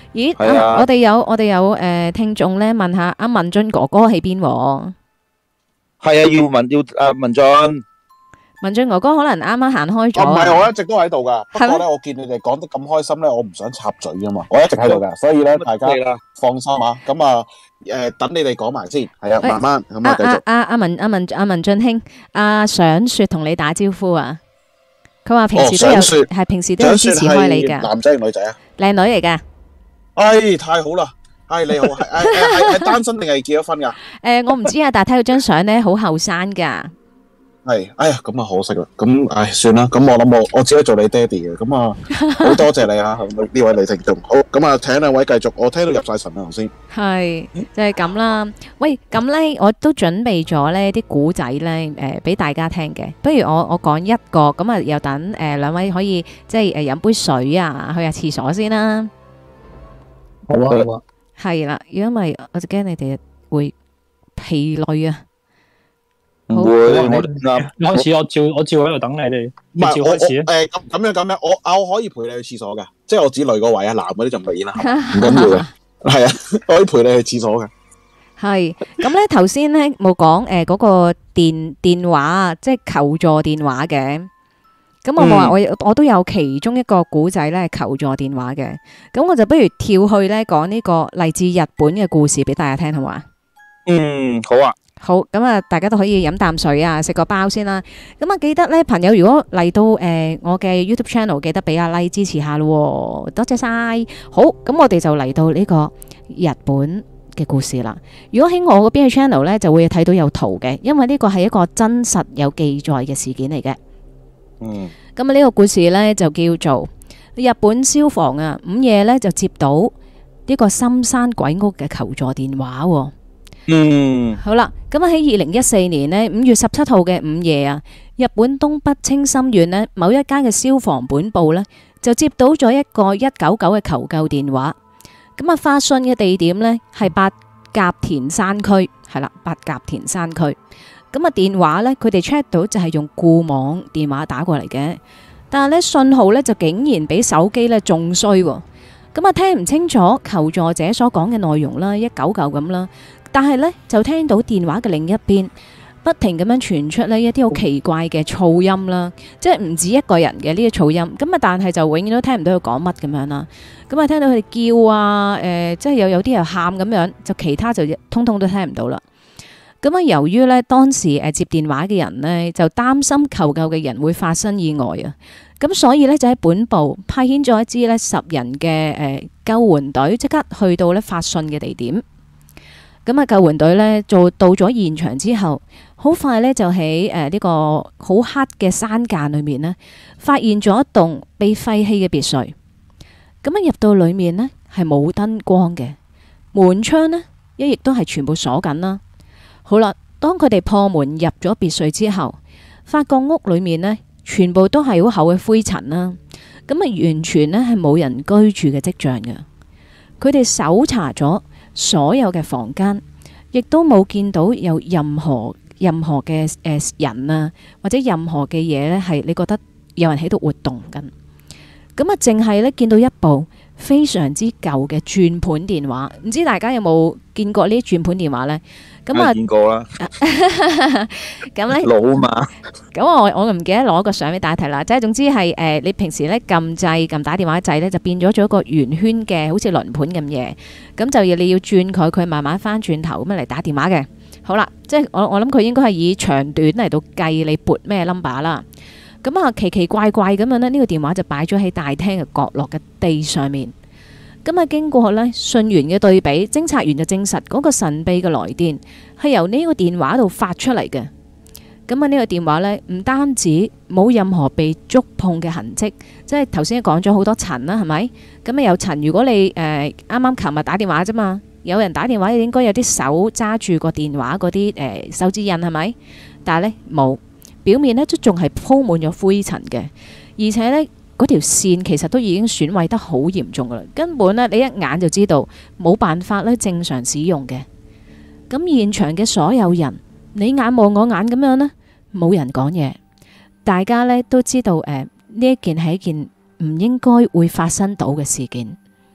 咦，
係啊
啊我哋有我哋有誒聽眾咧問下阿文俊哥哥喺邊喎？
係啊，要問要誒文進，
文俊哥哥可能啱啱行開咗
哦，唔係，
啊。
我一直都喺度噶。不
係咩
過咧，我見你哋講得咁開心咧，我唔想插嘴啊嘛。我一直喺度噶，所以咧大家
係啦，
放心啊。咁啊，誒，等你哋講埋先，係啊，
喂
慢慢咁
阿
啊，繼續。
阿阿阿文阿文阿文俊兄，阿想雪同你打招呼啊！佢話平時都有
哦想雪
係平時都有支持開你㗎，
男仔定女仔啊？
靚女嚟㗎。
哎，太好啦！哎，你好，係係係係單身定係結咗婚噶？
誒，我唔知啊，但係睇到張相咧，好後生㗎。
係，哎呀，咁啊可惜啦。咁，唉，算啦。咁我諗我我只可以做你爹哋嘅。咁啊，好多謝你啊，呢位女聽眾。好，咁啊，請兩位繼續。我聽到入晒神啦，頭先。
係就係咁啦。喂，咁咧我都準備咗咧啲古仔咧，誒俾大家聽嘅。不如我我講一個，咁啊又等誒兩位可以即係誒飲杯水啊，去下廁所先啦。
好啊好啊，
係啦，如果唔係我就驚你哋會疲累啊。好
唔會，
好啊
我哋啱。
你開始我照我照喺度等你哋，你
唔係我我
照開始啊。
誒咁咁樣咁樣，我啊我可以陪你去廁所嘅，即係我指女嗰位啊，男嗰啲就唔理啦，唔緊要嘅。係啊，我可以陪你去廁所嘅。
係咁咧，頭先咧冇講誒嗰個電電話啊，即係求助電話嘅。咁我冇話我我都有其中一個古仔咧係求助電話嘅。咁我就不如跳去咧講呢個嚟自日本嘅故事俾大家聽，好嘛？
嗯，好啊。
好，咁啊，大家都可以飲啖水啊，食個包先啦。咁啊，記得咧，朋友如果嚟到誒、呃、我嘅 YouTube channel，記得俾阿 like 支持下咯，多謝晒。好，咁我哋就嚟到呢個日本嘅故事啦。如果喺我嗰邊嘅 channel 咧，就會睇到有圖嘅，因為呢個係一個真實有記載嘅事件嚟嘅。
嗯，
咁啊，呢個故事咧就叫做日本消防啊，午夜咧就接到呢個深山鬼屋嘅求助電話喎。
嗯，
好啦，咁啊喺二零一四年呢，五月十七號嘅午夜啊，日本東北青森縣呢某一間嘅消防本部呢，就接到咗一個一九九嘅求救電話。咁啊，發信嘅地點呢係八甲田山區，係啦，八甲田山區。咁啊，電話呢，佢哋 check 到就係用固網電話打過嚟嘅，但係呢信號呢，就竟然比手機呢仲衰喎。咁啊，聽唔清楚求助者所講嘅內容啦，一九九咁啦。但係咧，就聽到電話嘅另一邊不停咁樣傳出呢一啲好奇怪嘅噪音啦，即係唔止一個人嘅呢啲噪音。咁啊，但係就永遠都聽唔到佢講乜咁樣啦。咁啊，聽到佢哋叫啊，誒、呃，即係有有啲人喊咁樣，就其他就通通都聽唔到啦。咁啊，由於呢當時誒接電話嘅人呢，就擔心求救嘅人會發生意外啊，咁所以呢，就喺本部派遣咗一支呢十人嘅誒救援隊，即刻去到呢發信嘅地點。咁啊，救援隊呢做到咗現場之後，好快呢就喺誒呢個好黑嘅山澗裏面呢，發現咗一棟被廢棄嘅別墅。咁啊，入到裏面呢係冇燈光嘅，門窗呢一亦都係全部鎖緊啦。好啦，當佢哋破門入咗別墅之後，發覺屋裏面呢全部都係好厚嘅灰塵啦。咁啊，完全呢係冇人居住嘅跡象嘅。佢哋搜查咗所有嘅房間，亦都冇見到有任何任何嘅誒人啊，或者任何嘅嘢呢係你覺得有人喺度活動緊。咁啊，淨係呢見到一部非常之舊嘅轉盤電話，唔知大家有冇見過呢啲轉盤電話呢？咁啊，
見過啦，
咁呢，
老嘛，
咁我我唔記得攞個相俾大家睇啦。即係總之係誒、呃，你平時呢撳掣撳打電話掣呢，就變咗做一個圓圈嘅，好似輪盤咁嘢。咁就要你要轉佢，佢慢慢翻轉頭咁樣嚟打電話嘅。好啦，即係我我諗佢應該係以長短嚟到計你撥咩 number 啦。咁啊，奇奇怪怪咁樣呢，呢、呢個電話就擺咗喺大廳嘅角落嘅地上面。咁啊，經過呢信源嘅對比，偵察員就證實嗰個神秘嘅來電係由呢個電話度發出嚟嘅。咁啊，呢個電話呢，唔單止冇任何被觸碰嘅痕跡，即係頭先講咗好多塵啦，係咪？咁啊有塵，如果你誒啱啱琴日打電話啫嘛，有人打電話應該有啲手揸住個電話嗰啲誒手指印係咪？但係呢，冇，表面呢都仲係鋪滿咗灰塵嘅，而且呢，嗰條線其實都已經損毀得好嚴重噶啦，根本呢，你一眼就知道冇辦法咧正常使用嘅。咁現場嘅所有人，你眼望我眼咁樣呢，冇人講嘢，大家呢都知道誒呢一件係一件唔應該會發生到嘅事件。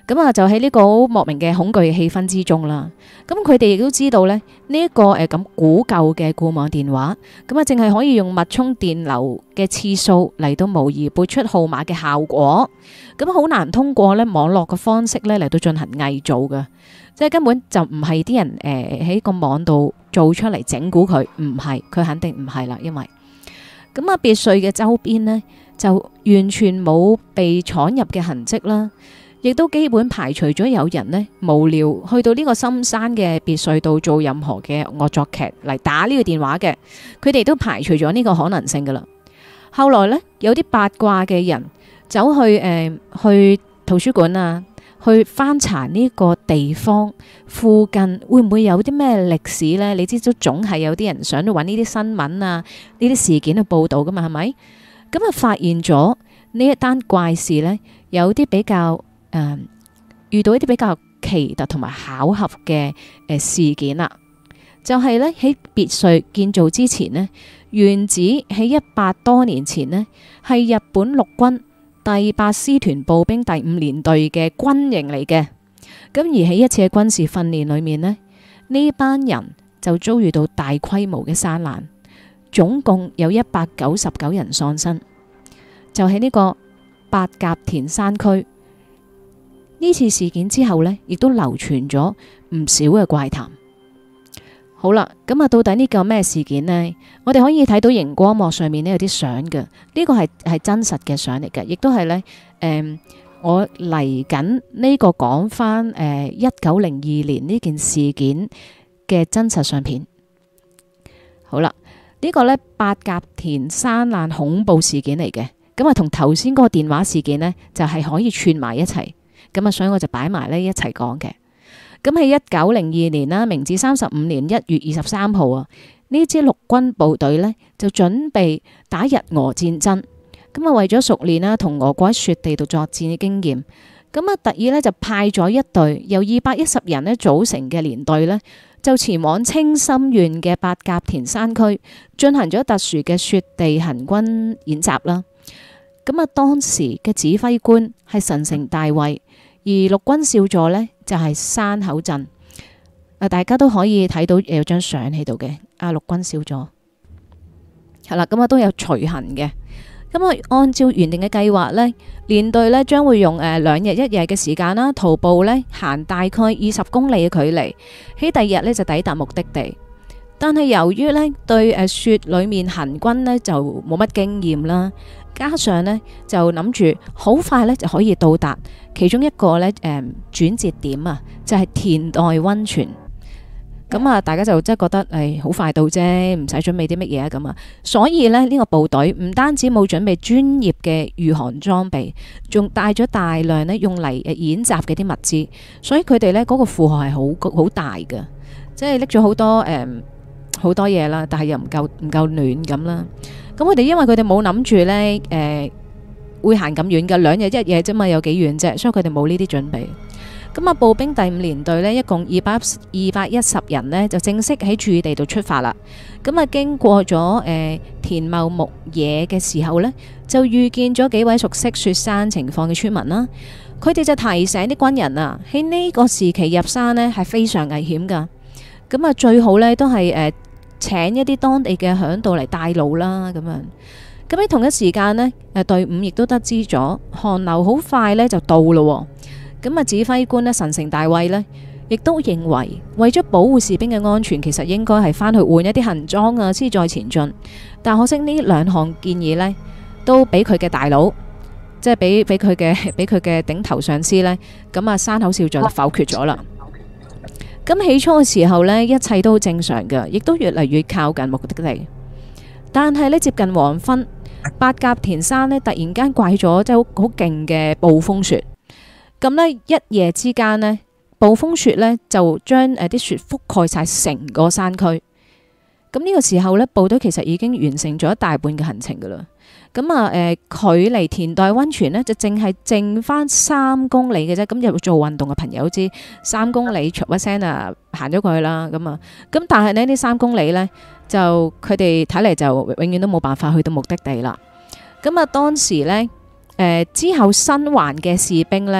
咁啊就喺呢個好莫名嘅恐懼嘅氣氛之中啦。咁佢哋亦都知道咧呢一個誒咁古舊嘅固網電話，咁啊淨係可以用脈衝電流嘅次數嚟到模擬撥出號碼嘅效果，咁好難通過咧網絡嘅方式咧嚟到進行偽造嘅，即係根本就唔係啲人誒喺個網度做出嚟整蠱佢，唔係，佢肯定唔係啦，因為咁啊別墅嘅周邊呢，就完全冇被闖入嘅痕跡啦。亦都基本排除咗有人呢無聊去到呢個深山嘅別墅度做任何嘅惡作劇嚟打呢個電話嘅，佢哋都排除咗呢個可能性噶啦。後來呢，有啲八卦嘅人走去誒、呃、去圖書館啊，去翻查呢個地方附近會唔會有啲咩歷史呢？你知都總係有啲人想去揾呢啲新聞啊，呢啲事件去報導噶嘛，係咪？咁啊發現咗呢一單怪事呢，有啲比較誒、嗯、遇到一啲比較奇特同埋巧合嘅誒、呃、事件啦，就係咧喺別墅建造之前呢，原址喺一百多年前呢，係日本陸軍第八師團步兵第五連隊嘅軍營嚟嘅。咁而喺一次嘅軍事訓練裏面呢，呢班人就遭遇到大規模嘅山難，總共有一百九十九人喪生，就喺呢個八甲田山區。呢次事件之後呢，亦都流傳咗唔少嘅怪談。好啦，咁啊，到底呢個咩事件呢？我哋可以睇到熒光幕上面呢有啲相嘅，呢個係係真實嘅相嚟嘅，亦都係呢。誒、呃，我嚟緊呢個講翻誒一九零二年呢件事件嘅真實相片。好啦，呢、呢個呢，八甲田山難恐怖事件嚟嘅，咁啊同頭先嗰個電話事件呢，就係、是、可以串埋一齊。咁啊，所以我就擺埋呢一齊講嘅。咁喺一九零二年啦，明治三十五年一月二十三號啊，呢支陸軍部隊呢就準備打日俄戰爭。咁啊，為咗熟練啦，同俄國喺雪地度作戰嘅經驗，咁啊特意呢就派咗一隊由二百一十人呢組成嘅連隊呢，就前往青森縣嘅八甲田山區進行咗特殊嘅雪地行軍演習啦。咁啊，當時嘅指揮官係神城大尉。而陸軍少佐呢，就係、是、山口鎮，啊大家都可以睇到有張相喺度嘅，啊陸軍少佐係啦，咁啊都有隨行嘅，咁啊按照原定嘅計劃呢，連隊呢將會用誒兩日一夜嘅時間啦，徒步呢行大概二十公里嘅距離，喺第二日呢就抵達目的地。但係由於呢對誒雪裏面行軍呢就冇乜經驗啦。加上呢，就諗住好快呢就可以到達其中一個呢誒、嗯、轉折點啊，就係、是、田代溫泉。咁啊，大家就真係覺得誒好快到啫，唔使準備啲乜嘢啊咁啊。所以呢，呢、呢個部隊唔單止冇準備專業嘅御寒裝備，仲帶咗大量呢用嚟誒演習嘅啲物資，所以佢哋呢嗰、嗰個負荷係好好大嘅，即係拎咗好多誒好、嗯、多嘢啦，但係又唔夠唔夠暖咁啦。咁佢哋因為佢哋冇諗住呢誒、呃、會行咁遠嘅，兩日一夜啫嘛，有幾遠啫，所以佢哋冇呢啲準備。咁啊，步兵第五連隊呢，一共二百二百一十人呢，就正式喺駐地度出發啦。咁啊，經過咗誒、呃、田茂牧野嘅時候呢，就遇見咗幾位熟悉雪山情況嘅村民啦。佢哋就提醒啲軍人啊，喺呢個時期入山呢係非常危險噶。咁啊，最好呢都係誒。呃請一啲當地嘅嚮導嚟帶路啦，咁樣。咁喺同一時間呢，誒隊伍亦都得知咗寒流好快呢就到咯。咁啊，指揮官呢，神城大尉呢，亦都認為為咗保護士兵嘅安全，其實應該係翻去換一啲行裝啊，先再前進。但可惜呢兩項建議呢，都俾佢嘅大佬，即係俾俾佢嘅俾佢嘅頂頭上司呢，咁啊山口少佐就否決咗啦。咁起初嘅時候呢，一切都正常嘅，亦都越嚟越靠近目的地。但係呢，接近黃昏，八甲田山呢突然間颳咗即係好好勁嘅暴風雪。咁呢，一夜之間呢，暴風雪呢就將誒啲雪覆蓋晒成個山區。咁呢個時候呢，部隊其實已經完成咗一大半嘅行程噶啦。咁啊，誒、呃，距離田代溫泉呢，就淨係剩翻三公里嘅啫。咁有做運動嘅朋友知三公里，唰一聲啊，行咗過去啦。咁啊，咁但係呢，呢三公里呢，就佢哋睇嚟就永遠都冇辦法去到目的地啦。咁啊，當時呢，誒、呃、之後新還嘅士兵呢，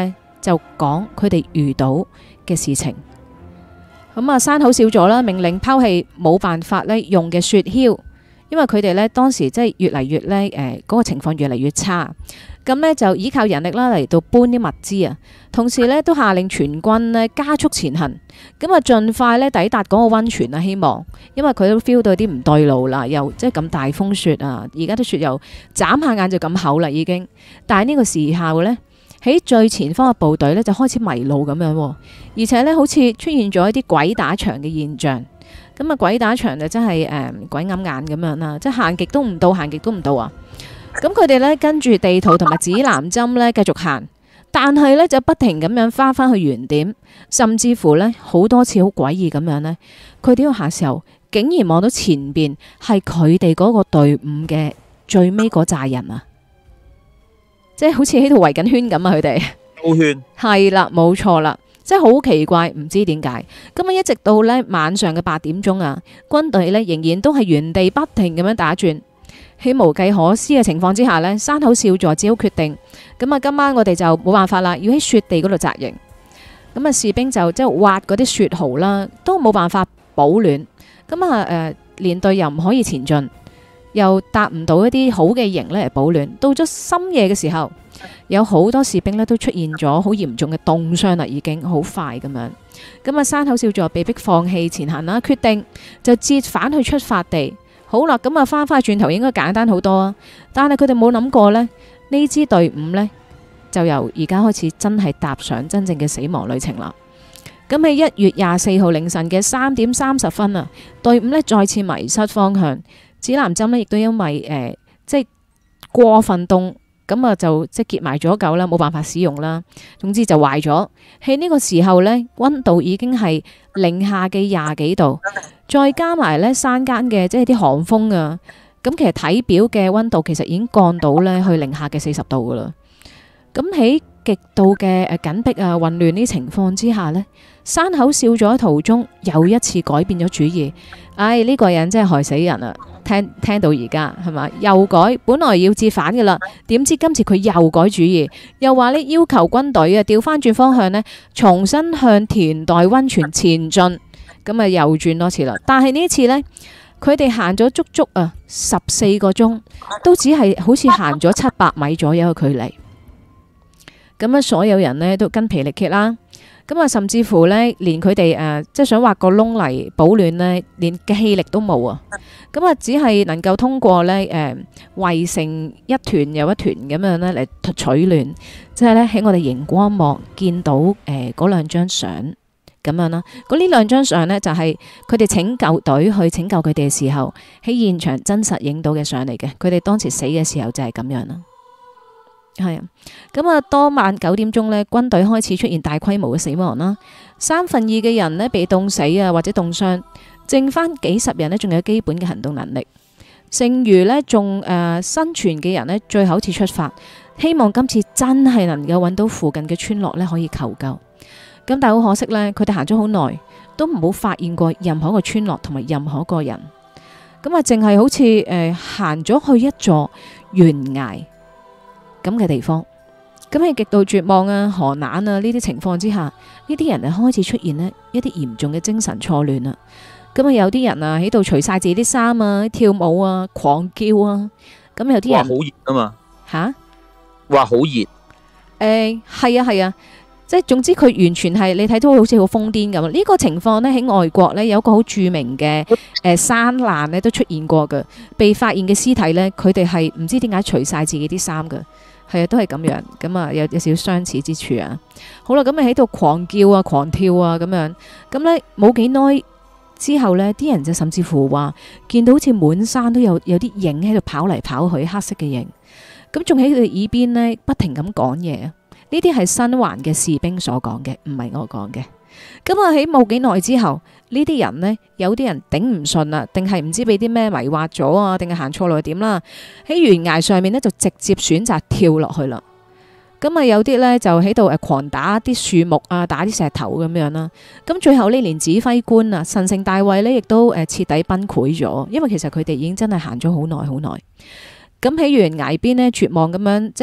就講佢哋遇到嘅事情。咁啊，山口少佐啦，命令拋棄冇辦法咧用嘅雪橇，因為佢哋咧當時即係越嚟越咧誒嗰個情況越嚟越差。咁呢就依靠人力啦嚟到搬啲物資啊，同時呢都下令全軍呢加速前行，咁啊盡快呢抵達嗰個溫泉啊，希望，因為佢都 feel 到啲唔對路啦，又即係咁大風雪啊，而家啲雪又眨下眼就咁厚啦已經，但係呢個時候呢，喺最前方嘅部隊呢就開始迷路咁樣，而且呢好似出現咗一啲鬼打牆嘅現象，咁啊鬼打牆就真係誒、呃、鬼揞眼咁樣啦，即係行極都唔到，行極都唔到啊！咁佢哋咧跟住地圖同埋指南針咧繼續行，但係咧就不停咁樣翻返去原點，甚至乎咧好多次好詭異咁樣咧，佢哋要行時候竟然望到前邊係佢哋嗰個隊伍嘅最尾嗰扎人啊，即係好似喺度圍緊圈咁啊！佢哋
兜圈
係啦，冇錯啦，即係好奇怪，唔知點解。咁啊，一直到咧晚上嘅八點鐘啊，軍隊咧仍然都係原地不停咁樣打轉。喺無計可施嘅情況之下呢，山口少佐只好決定，咁啊今晚我哋就冇辦法啦，要喺雪地嗰度紮營。咁啊士兵就即係挖嗰啲雪壕啦，都冇辦法保暖。咁啊誒連隊又唔可以前進，又搭唔到一啲好嘅營咧嚟保暖。到咗深夜嘅時候，有好多士兵咧都出現咗好嚴重嘅凍傷啦，已經好快咁樣。咁啊山口少佐被迫放棄前行啦，決定就折返去出發地。好啦，咁啊翻返去轉頭應該簡單好多啊，但係佢哋冇諗過呢，呢支隊伍呢，就由而家開始真係踏上真正嘅死亡旅程啦。咁喺一月廿四號凌晨嘅三點三十分啊，隊伍呢再次迷失方向，指南針呢亦都因為誒、呃、即係過分凍，咁啊就即係結埋咗舊啦，冇辦法使用啦。總之就壞咗。喺呢個時候呢，溫度已經係零下嘅廿幾度。再加埋咧山間嘅即係啲寒風啊，咁其實體表嘅溫度其實已經降到咧去零下嘅四十度噶啦。咁喺極度嘅誒緊迫啊混亂呢情況之下呢，山口少佐喺途中又一次改變咗主意。唉、哎，呢、這個人真係害死人啊！聽聽到而家係嘛，又改，本來要折返噶啦，點知今次佢又改主意，又話呢要求軍隊啊調翻轉方向呢，重新向田代溫泉前進。咁啊，又轉多次啦。但係呢一次呢，佢哋行咗足足啊十四個鐘，都只係好似行咗七百米左右嘅距離。咁啊，所有人呢都筋疲力竭啦。咁啊，甚至乎呢，連佢哋誒即係想挖個窿嚟保暖呢，連嘅氣力都冇啊。咁啊，只係能夠通過呢誒圍成一團又一團咁樣呢嚟取暖。即係呢，喺我哋熒光幕見到誒嗰兩張相。咁樣啦，嗰呢兩張相呢，就係佢哋拯救隊去拯救佢哋嘅時候喺現場真實影到嘅相嚟嘅。佢哋當時死嘅時候就係咁樣啦。係啊，咁啊，當晚九點鐘呢，軍隊開始出現大規模嘅死亡啦，三分二嘅人呢被凍死啊或者凍傷，剩翻幾十人呢仲有基本嘅行動能力，剩餘呢仲誒生存嘅人呢，最後一次出發，希望今次真係能夠揾到附近嘅村落呢可以求救。咁但係好可惜呢，佢哋行咗好耐，都冇發現過任何一個村落同埋任何一個人。咁啊，淨係好似誒行咗去一座懸崖咁嘅地方。咁喺極度絕望啊、寒冷啊呢啲情況之下，呢啲人啊開始出現呢一啲嚴重嘅精神錯亂啊。咁啊，有啲人啊喺度除晒自己啲衫啊、跳舞啊、狂叫啊。咁有啲人
話好熱啊嘛
吓，
話好熱。
誒係啊係啊。即係總之佢完全係你睇到好似好瘋癲咁。呢個情況呢，喺外國呢，有一個好著名嘅誒山難呢都出現過嘅，被發現嘅屍體呢，佢哋係唔知點解除晒自己啲衫嘅，係啊都係咁樣，咁啊有有少少相似之處啊。好啦，咁咪喺度狂叫啊、狂跳啊咁樣，咁呢冇幾耐之後呢，啲人就甚至乎話見到好似滿山都有有啲影喺度跑嚟跑去，黑色嘅影，咁仲喺佢哋耳邊呢，不停咁講嘢。呢啲係新環嘅士兵所講嘅，唔係我講嘅。咁啊喺冇幾耐之後，呢啲人呢，有啲人頂唔順啦，定係唔知俾啲咩迷惑咗啊，定係行錯路點啦？喺懸崖上面呢，就直接選擇跳落去啦。咁啊有啲呢，就喺度誒狂打啲樹木啊，打啲石頭咁樣啦。咁最後呢，連指揮官啊神聖大衛呢，亦都誒徹底崩潰咗，因為其實佢哋已經真係行咗好耐好耐。咁喺懸崖邊呢，絕望咁樣即係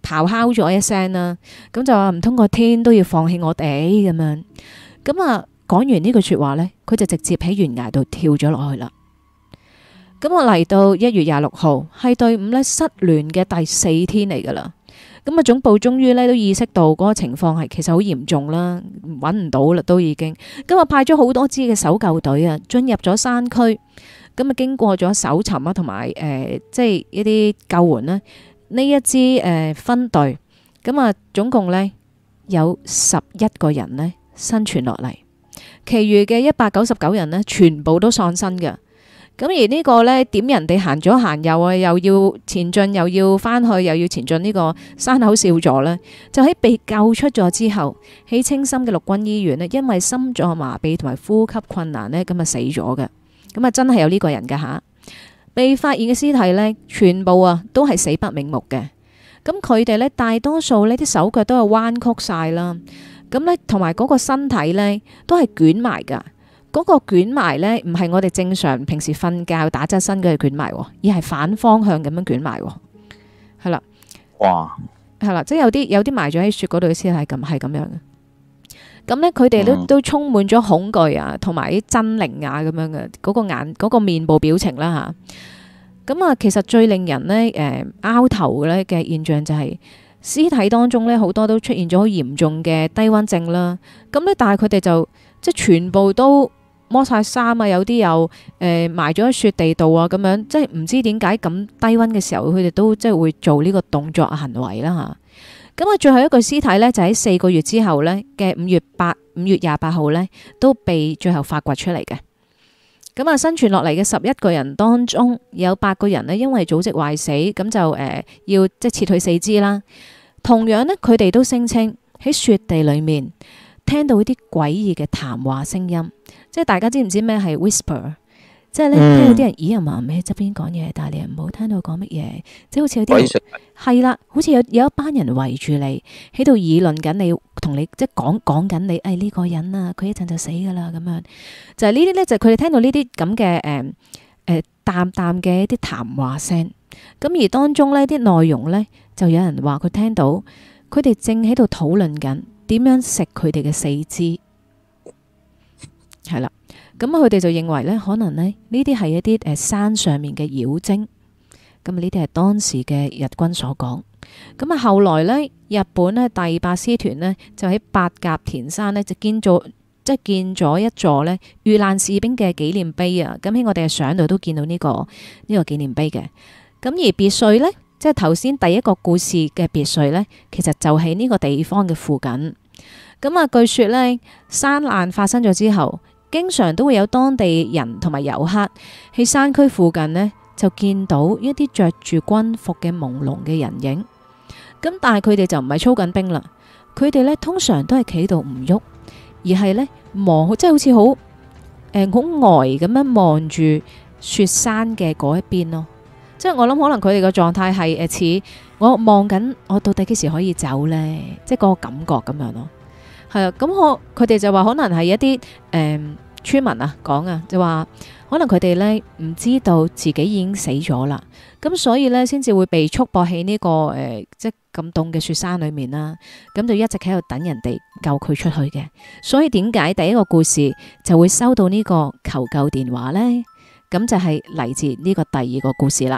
咆哮咗一聲啦，咁就話唔通個天都要放棄我哋咁樣。咁啊講完呢句說話呢，佢就直接喺懸崖度跳咗落去啦。咁我嚟到一月廿六號，係隊伍呢失聯嘅第四天嚟噶啦。咁啊總部終於呢都意識到嗰個情況係其實好嚴重啦，揾唔到啦都已經。咁啊派咗好多支嘅搜救隊啊進入咗山區。咁啊經過咗搜尋啊同埋誒即係一啲救援呢，呢一支誒、呃、分隊，咁啊總共呢有十一個人呢生存落嚟，其餘嘅一百九十九人呢全部都喪生嘅。咁而呢個呢點人哋行咗行右啊，又要前進又要翻去又要前進呢個山口少佐呢，就喺被救出咗之後，喺青森嘅陸軍醫院呢，因為心臟麻痹同埋呼吸困難呢，咁啊死咗嘅。咁啊真係有呢個人㗎吓，被發現嘅屍體呢，全部啊都係死不瞑目嘅。咁佢哋呢，大多數呢啲手腳都係彎曲晒啦，咁呢，同埋嗰個身體呢，都係捲埋㗎。嗰個捲埋呢，唔係我哋正常平時瞓覺打側身嘅捲埋，而係反方向咁樣捲埋。係啦，
哇，
係啦，即係有啲有啲埋咗喺雪嗰度嘅屍體咁係咁樣嘅。咁呢，佢哋都、嗯、都充滿咗恐懼啊，同埋啲猙獰啊咁樣嘅嗰個眼嗰、嗰個面部表情啦吓。咁啊，其實最令人呢誒拗頭咧嘅現象就係、是、屍體當中呢，好多都出現咗好嚴重嘅低溫症啦。咁呢，但係佢哋就即係全部都剝晒衫啊，有啲又誒、呃、埋咗喺雪地度啊，咁樣即係唔知點解咁低溫嘅時候，佢哋都即係會做呢個動作行為啦吓。咁啊，最後一具屍體呢，就喺四個月之後呢嘅五月八五月廿八號呢，都被最後發掘出嚟嘅。咁啊，生存落嚟嘅十一個人當中，有八個人呢，因為組織壞死，咁就誒、呃、要即係切去四肢啦。同樣呢，佢哋都聲稱喺雪地裏面聽到啲詭異嘅談話聲音，即係大家知唔知咩係 whisper？ 即係咧聽到啲人咦啊嘛喺側邊講嘢，但係你又唔好聽到講乜嘢，即係好似有啲係啦，好似有有一班人圍住你喺度議論緊你，同你即係講講緊你，誒、哎、呢、這個人啊，佢一陣就死噶啦咁樣，就係呢啲咧，就係佢哋聽到呢啲咁嘅誒誒淡淡嘅一啲談話聲，咁而當中呢啲內容呢，就有人話佢聽到佢哋正喺度討論緊點樣食佢哋嘅四肢，係啦。咁佢哋就認為呢，可能呢呢啲係一啲誒山上面嘅妖精。咁呢啲係當時嘅日軍所講。咁啊，後來呢，日本呢第八師團呢，就喺八甲田山呢，就建咗即係建咗一座呢遇難士兵嘅紀念碑啊。咁喺我哋嘅相度都見到呢、呢個呢、呢個紀念碑嘅。咁而別墅呢，即係頭先第一個故事嘅別墅呢，其實就喺呢個地方嘅附近。咁啊，據說呢，山難發生咗之後，經常都會有當地人同埋遊客喺山區附近呢，就見到一啲着住軍服嘅朦朧嘅人影。咁但係佢哋就唔係操緊兵啦，佢哋呢通常都係企度唔喐，而係呢望，即係好似好誒好呆咁樣望住雪山嘅嗰一邊咯。即係我諗可能佢哋嘅狀態係誒似我望緊我到底幾時可以走呢？即係嗰個感覺咁樣咯。係啊，咁我佢哋就話可能係一啲誒、呃、村民啊講啊，就話可能佢哋呢唔知道自己已經死咗啦，咁所以呢，先至會被束縛喺呢個誒、呃、即係咁凍嘅雪山裏面啦，咁就一直喺度等人哋救佢出去嘅。所以點解第一個故事就會收到呢個求救電話呢？咁就係嚟自呢個第二個故事啦。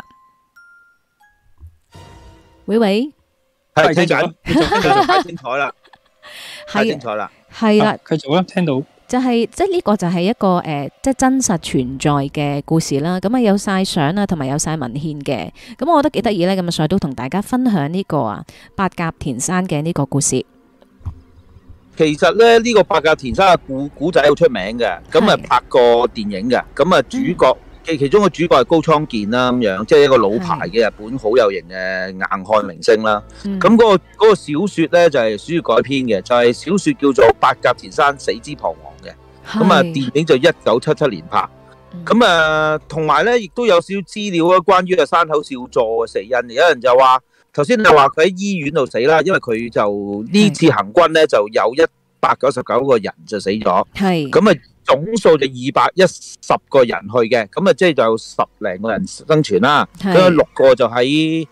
喂喂，
係聽緊，太精彩啦！太精彩啦！
係啦，
繼續啦，聽到
就係即係呢個就係一個誒、呃，即係真實存在嘅故事啦。咁啊有晒相啊，同埋有晒文獻嘅。咁我覺得幾得意咧，咁啊所以都同大家分享呢個啊八甲田山嘅呢個故事。
其實咧呢、這個八甲田山嘅古古仔好出名嘅，咁啊拍過電影嘅，咁啊主角其、嗯、其中個主角係高倉健啦，咁樣即係一個老牌嘅日本好有型嘅硬漢明星啦。咁、嗯、嗰、那個嗰、那個小說咧就係、是、小說改編嘅，就係、是、小說叫做《八甲田山死之彷徨》嘅。咁啊電影就一九七七年拍。咁啊同埋咧亦都有少少資料啊，關於啊山口少佐嘅死因。有人就話頭先你話佢喺醫院度死啦，因為佢就呢次行軍咧就有一百九十九個人就死咗。係咁啊。總數就二百一十個人去嘅，咁啊即係就十零個人生存啦。咁六個就喺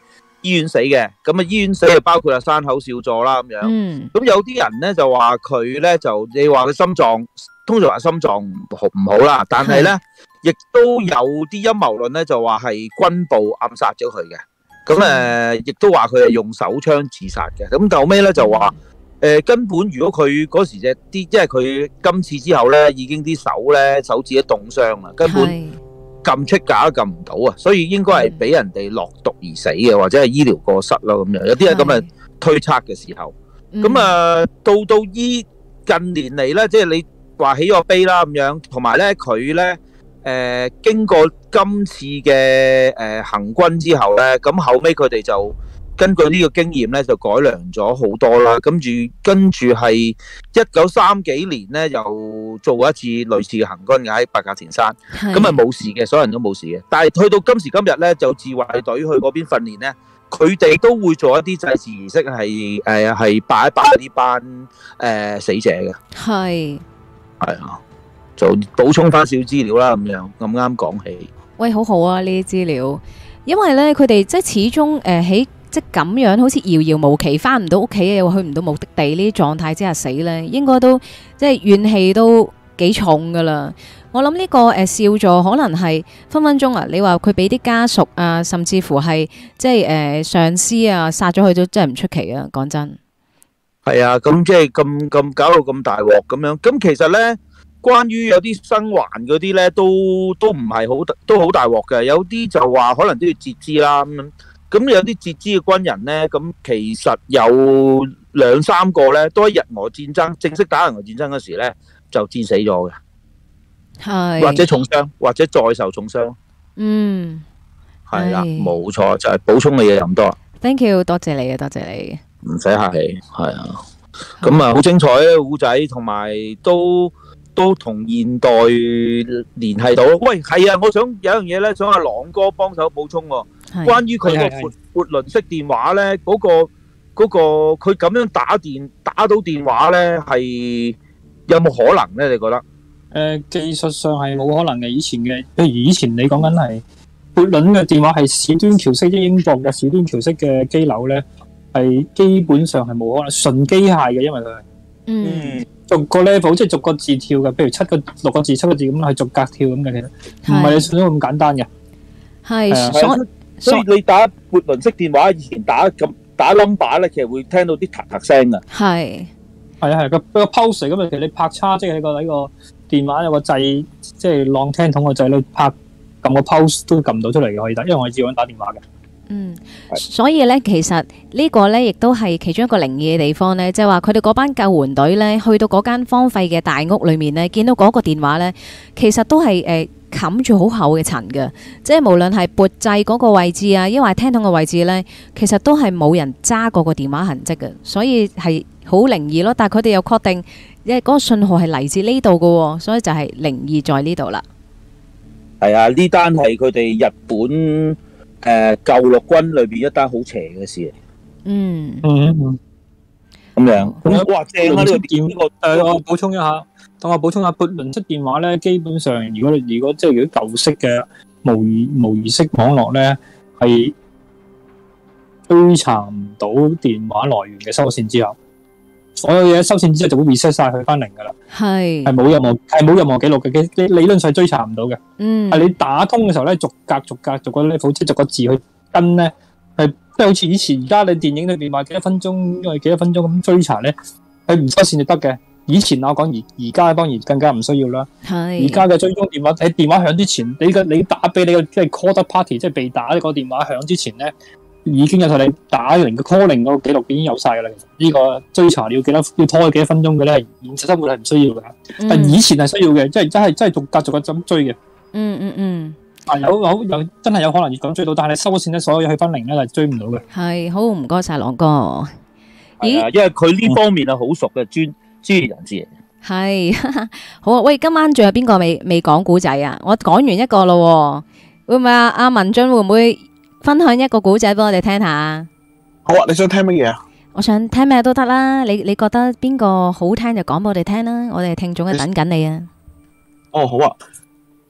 醫院死嘅，咁啊醫院死就包括啊山口少佐啦咁樣。
嗯，
咁有啲人咧就話佢咧就你話佢心臟，通常話心臟唔好唔好啦，但係咧亦都有啲陰謀論咧就話係軍部暗殺咗佢嘅。咁誒亦都話佢係用手槍自殺嘅。咁後尾咧就話。誒、呃、根本如果佢嗰時隻啲，即係佢今次之後咧，已經啲手咧手指都凍傷啦，根本撳出架都撳唔到啊！所以應該係俾人哋落毒而死嘅，或者係醫療過失咯咁樣。有啲係咁嘅推測嘅時候，咁啊、呃、到到依近年嚟咧，即係你話起咗碑啦咁樣，同埋咧佢咧誒經過今次嘅誒、呃、行軍之後咧，咁後尾佢哋就。根據呢個經驗咧，就改良咗好多啦。跟住跟住係一九三幾年咧，又做過一次類似嘅行軍嘅喺八甲田山，咁啊冇事嘅，所有人都冇事嘅。但係去到今時今日咧，就自衛隊去嗰邊訓練咧，佢哋都會做一啲祭祀儀式，係誒係拜一拜呢班誒、呃、死者嘅。係係啊，就補充翻少資料啦，咁樣咁啱講起。喂，好好啊呢啲資料，因為咧佢哋即係始終誒喺。呃即咁樣好似遙遙無期，翻唔到屋企又去唔到目的地呢啲狀態之下死咧，應該都即係怨氣都幾重噶啦。我諗呢、這個誒、呃、少佐可能係分分鐘啊！你話佢俾啲家屬啊，甚至乎係即係誒、呃、上司啊殺咗佢都真係唔出奇啊！講真，係啊，咁即係咁咁搞到咁大鑊咁樣。咁其實咧，關於有啲生還嗰啲咧，都都唔係好都好大鑊嘅。有啲就話可能都要截肢啦咁。咁有啲截肢嘅軍人咧，咁其實有兩三個咧，都喺日俄戰爭正式打日俄戰爭嗰時咧，就戰死咗嘅，係或者重傷，或者再受重傷。嗯，係啦，冇錯，就係補充嘅嘢咁多。Thank you，多謝你啊，多謝你。唔使客氣，係啊。咁啊，好精彩嘅古仔，同埋都都同現代聯繫到。喂，係啊，我想有樣嘢咧，想阿朗哥幫手補充喎。關於佢個撥撥輪式電話咧，嗰個嗰個佢咁樣打電打到電話咧，係有冇可能咧？你覺得？誒，技術上係冇可能嘅。以前嘅，譬如以前你講緊係撥輪嘅電話係史端橋式，即英國嘅史端橋式嘅機樓咧，係基本上係冇可能純機械嘅，因為佢係嗯逐個 level 即係逐個字跳嘅，譬如七個六個字七個字咁係逐格跳咁嘅，其實唔係你想咁簡單嘅。係所。所以你打撥輪式電話，以前打咁打 number 咧，其實會聽到啲嗒嗒聲噶。係係啊係個個 pulse 咁啊，其實你拍叉即係喺個喺個電話有個掣，即係浪聽筒個掣，你拍撳個 pulse 都撳到出嚟嘅可以打，因為我係照樣打電話嘅。嗯，所以咧，其實呢個咧亦都係其中一個靈異嘅地方咧，即係話佢哋嗰班救援隊咧，去到嗰間荒廢嘅大屋裏面咧，見到嗰個電話咧，其實都係誒。冚住好厚嘅塵嘅，即係無論係撥掣嗰個位置啊，抑或係聽筒嘅位置呢，其實都係冇人揸過個電話痕跡嘅，所以係好靈異咯。但係佢哋又確定，因為嗰個信號係嚟自呢度嘅，所以就係靈異在呢度啦。係啊，呢單係佢哋日本誒、呃、救陸軍裏邊一單好邪嘅事嚟。嗯嗯，咁樣咁哇正啊！呢個電呢個誒，我補充一下。等我補充下撥輪式電話咧，基本上如果你如果即係如果舊式嘅模擬模擬式網絡咧，係追查唔到電話來源嘅收線之後，所有嘢收線之後就會 reset 晒去翻零噶啦。係係冇任何係冇任何記錄嘅，理理論上追查唔到嘅。嗯，係你打通嘅時候咧，逐格逐格逐個 level 即係逐個字去跟咧，係即係好似以前而家你電影裏邊話幾多分鐘，因為幾多分鐘咁追查咧，係唔收線就得嘅。以前我講而而家當然更加唔需要啦。係而家嘅追蹤電話喺電話響之前，你個你打俾你個即係 call the party，即係被打個電話響之前咧，已經有晒你打嚟嘅 calling 嗰個記錄已經有晒噶啦。其實呢個追查你要幾多要拖幾多分鐘嘅咧，現實生活係唔需要嘅。嗯、但以前係需要嘅，即係真係真係逐格逐格咁追嘅。嗯嗯嗯。啊有有有真係有可能要咁追到，但係你收咗線咧，所有嘢去翻零咧係追唔到嘅。係好唔該晒朗哥。咦？因為佢呢方面係好熟嘅專。專業人士嚟嘅係好啊！喂，今晚仲有邊個未未講古仔啊？我講完一個咯，會唔會啊？阿文進會唔會分享一個古仔俾我哋聽下？好啊！你想聽乜嘢啊？我想聽咩都得啦。你你覺得邊個好聽就講俾我哋聽啦。我哋聽眾係等緊你啊！哦，好啊！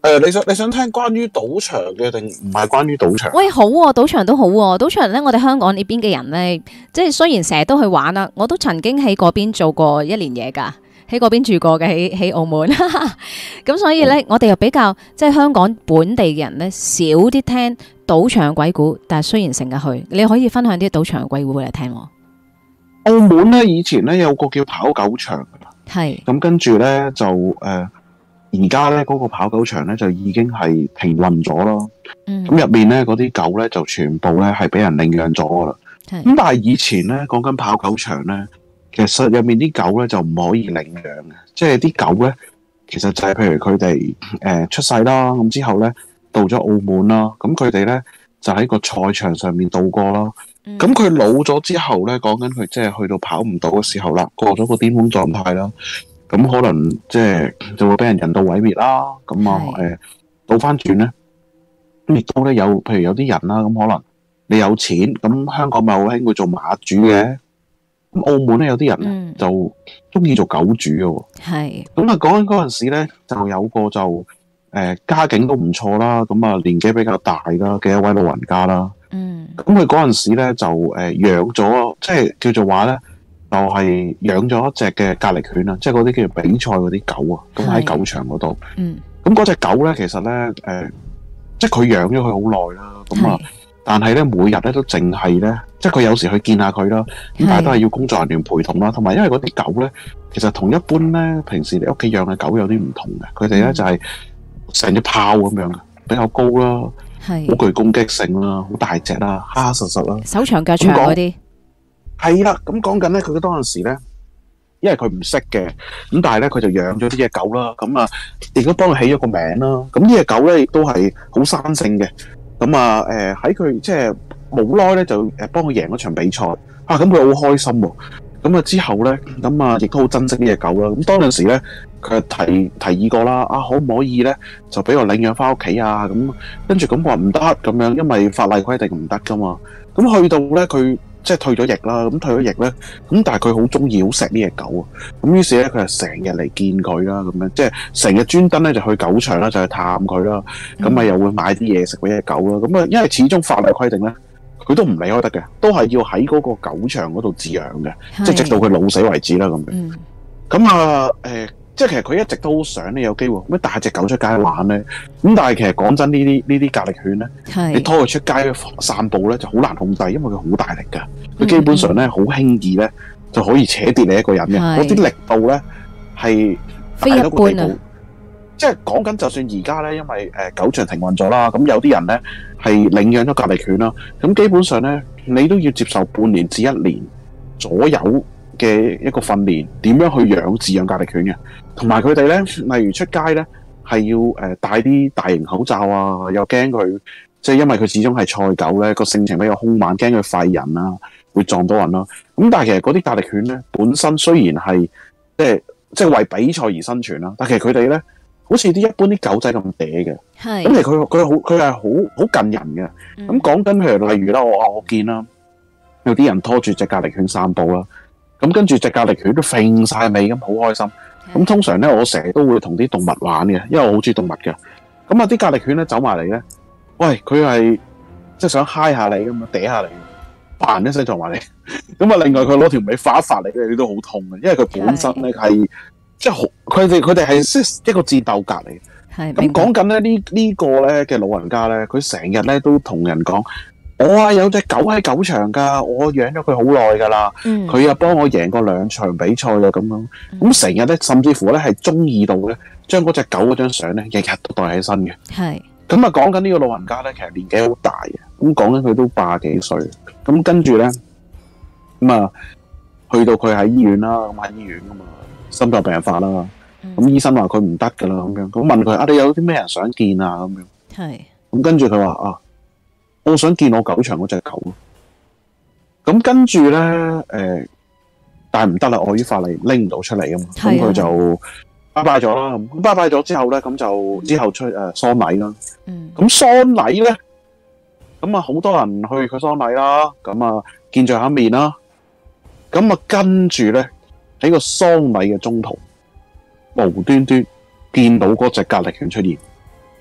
誒，你想你想聽關於賭場嘅定唔係關於賭場？
喂，好喎，賭場都好喎，賭場咧，我哋香港呢邊嘅人咧，即係雖然成日都去玩啦，我都曾經喺嗰邊做過一年嘢㗎，喺嗰邊住過嘅，喺喺澳門。咁所以咧，我哋又比較即係香港本地嘅人咧，少啲聽賭場鬼故，但係雖然成日去，你可以分享啲賭場鬼故俾你聽喎。
澳門咧以前咧有個叫跑狗場，
係
咁跟住咧就誒。呃而家咧嗰個跑狗場咧就已經係停運咗咯。咁入、嗯、面咧嗰啲狗咧就全部咧係俾人領養咗噶啦。咁是但係以前咧講緊跑狗場咧，其實入面啲狗咧就唔可以領養嘅，即係啲狗咧其實就係譬如佢哋誒出世啦，咁之後咧到咗澳門啦，咁佢哋咧就喺個賽場上面度過啦。咁佢、嗯、老咗之後咧，講緊佢即係去到跑唔到嘅時候啦，過咗個巔峰狀態啦。咁可能即係就會俾人人道毀滅啦。咁啊誒倒翻轉咧，亦都咧有譬如有啲人啦，咁可能你有錢，咁香港咪好興會做馬主嘅。咁澳門咧有啲人咧就中意做狗主嘅喎。係。咁啊講緊嗰陣時咧，就有個就誒、呃、家境都唔錯啦，咁啊年紀比較大啦嘅一位老人家啦。嗯。咁佢嗰陣時咧就誒、呃、養咗，即係叫做話咧。就係養咗一隻嘅格力犬啊，即係嗰啲叫做比賽嗰啲狗啊，咁喺狗場嗰度。嗯。咁嗰隻狗咧，其實咧，誒、呃，即係佢養咗佢好耐啦。咁啊，但係咧，每日咧都淨係咧，即係佢有時去見下佢啦。咁但係都係要工作人員陪同啦。同埋因為嗰啲狗咧，其實同一般咧，平時你屋企養嘅狗有啲唔同嘅。佢哋咧就係成隻豹咁樣嘅，比較高啦，係好具攻擊性啦，好大隻啦，黑黑實實啦，
手長腳長嗰啲。
係啦，咁講緊咧，佢當陣時咧，因為佢唔識嘅，咁但係咧佢就養咗呢隻狗啦，咁啊亦都幫佢起咗個名啦。咁呢隻狗咧亦都係好生性嘅，咁啊誒喺佢即係冇耐咧就誒幫佢贏咗場比賽，啊咁佢好開心喎。咁啊之後咧，咁啊亦都好珍惜呢隻狗啦。咁當陣時咧，佢提提議過啦，啊可唔可以咧就俾我領養翻屋企啊？咁跟住咁話唔得咁樣，因為法例規定唔得噶嘛。咁去到咧佢。即係退咗役啦，咁退咗役咧，咁但係佢好中意好錫呢隻狗啊，咁於是咧佢就成日嚟見佢啦，咁樣即係成日專登咧就去狗場啦，就去探佢啦，咁啊、嗯、又會買啲嘢食俾隻狗啦，咁啊因為始終法例規定咧，佢都唔離開得嘅，都係要喺嗰個狗場嗰度飼養嘅，是即係直到佢老死為止啦咁樣。咁、嗯、啊誒。呃即係其實佢一直都好想咧有機會咩帶隻狗出街玩咧，咁但係其實講真呢啲呢啲格力犬咧，是你拖佢出街散步咧就好難控制，因為佢好大力㗎，佢、嗯、基本上咧好輕易咧就可以扯跌你一個人嘅，嗰啲是力度咧係非一般啊！即係講緊就算而家咧，因為誒、呃、狗場停運咗啦，咁有啲人咧係領養咗格力犬啦，咁基本上咧你都要接受半年至一年左右嘅一個訓練，點樣去養飼養格力犬嘅，同埋佢哋咧，例如出街咧，係要誒戴啲大型口罩啊，又驚佢，即係因為佢始終係賽狗咧，個性情比較兇猛，驚佢吠人啊，會撞到人啦。咁但係其實嗰啲格力犬咧，本身雖然係即係即係為比賽而生存啦，但係其實佢哋咧，好似啲一般啲狗仔咁嗲嘅，係咁其實佢佢好佢係好好近人嘅。咁講緊譬如例如啦，我我見啦，有啲人拖住隻格力犬散步啦。咁跟住隻格力犬都揈晒尾咁，好開心。咁的通常咧，我成日都會同啲動物玩嘅，因為我好中意動物嘅。咁啊，啲格力犬咧走埋嚟咧，喂，佢係即係想嗨下你咁啊，嗲下你，嘭一聲撞埋你。咁啊，另外佢攞條尾發一發你咧，你都好痛嘅，因為佢本身咧係的即係好，佢哋佢哋係即一個戰鬥格嚟。係咁講緊咧呢呢個咧嘅老人家咧，佢成日咧都同人講。我啊有隻狗喺狗場噶，我養咗佢好耐噶啦，佢又幫我贏過兩場比賽啦咁樣，咁成日咧甚至乎咧係中意到咧，將嗰隻狗嗰張相咧日日都帶喺身嘅。係咁啊，講緊呢個老人家咧，其實年紀好大嘅，咁講緊佢都八幾歲，咁跟住咧咁啊，去到佢喺醫院啦，咁喺醫院噶嘛，心臟病發啦，咁、嗯、醫生話佢唔得噶啦，咁樣，咁問佢啊，你有啲咩人想見啊？咁樣，係咁跟住佢話啊。我想見我狗場嗰隻狗，咁跟住咧，誒、呃，但係唔得啦，礙於法例拎唔到出嚟啊嘛，咁佢就拜拜咗啦。咁拜拜咗之後咧，咁就之後出誒喪禮啦。嗯，咁喪禮咧，咁啊好多人去佢喪禮啦，咁啊見最後一面啦，咁啊跟住咧喺個喪禮嘅中途，無端端見到嗰隻格力犬出現。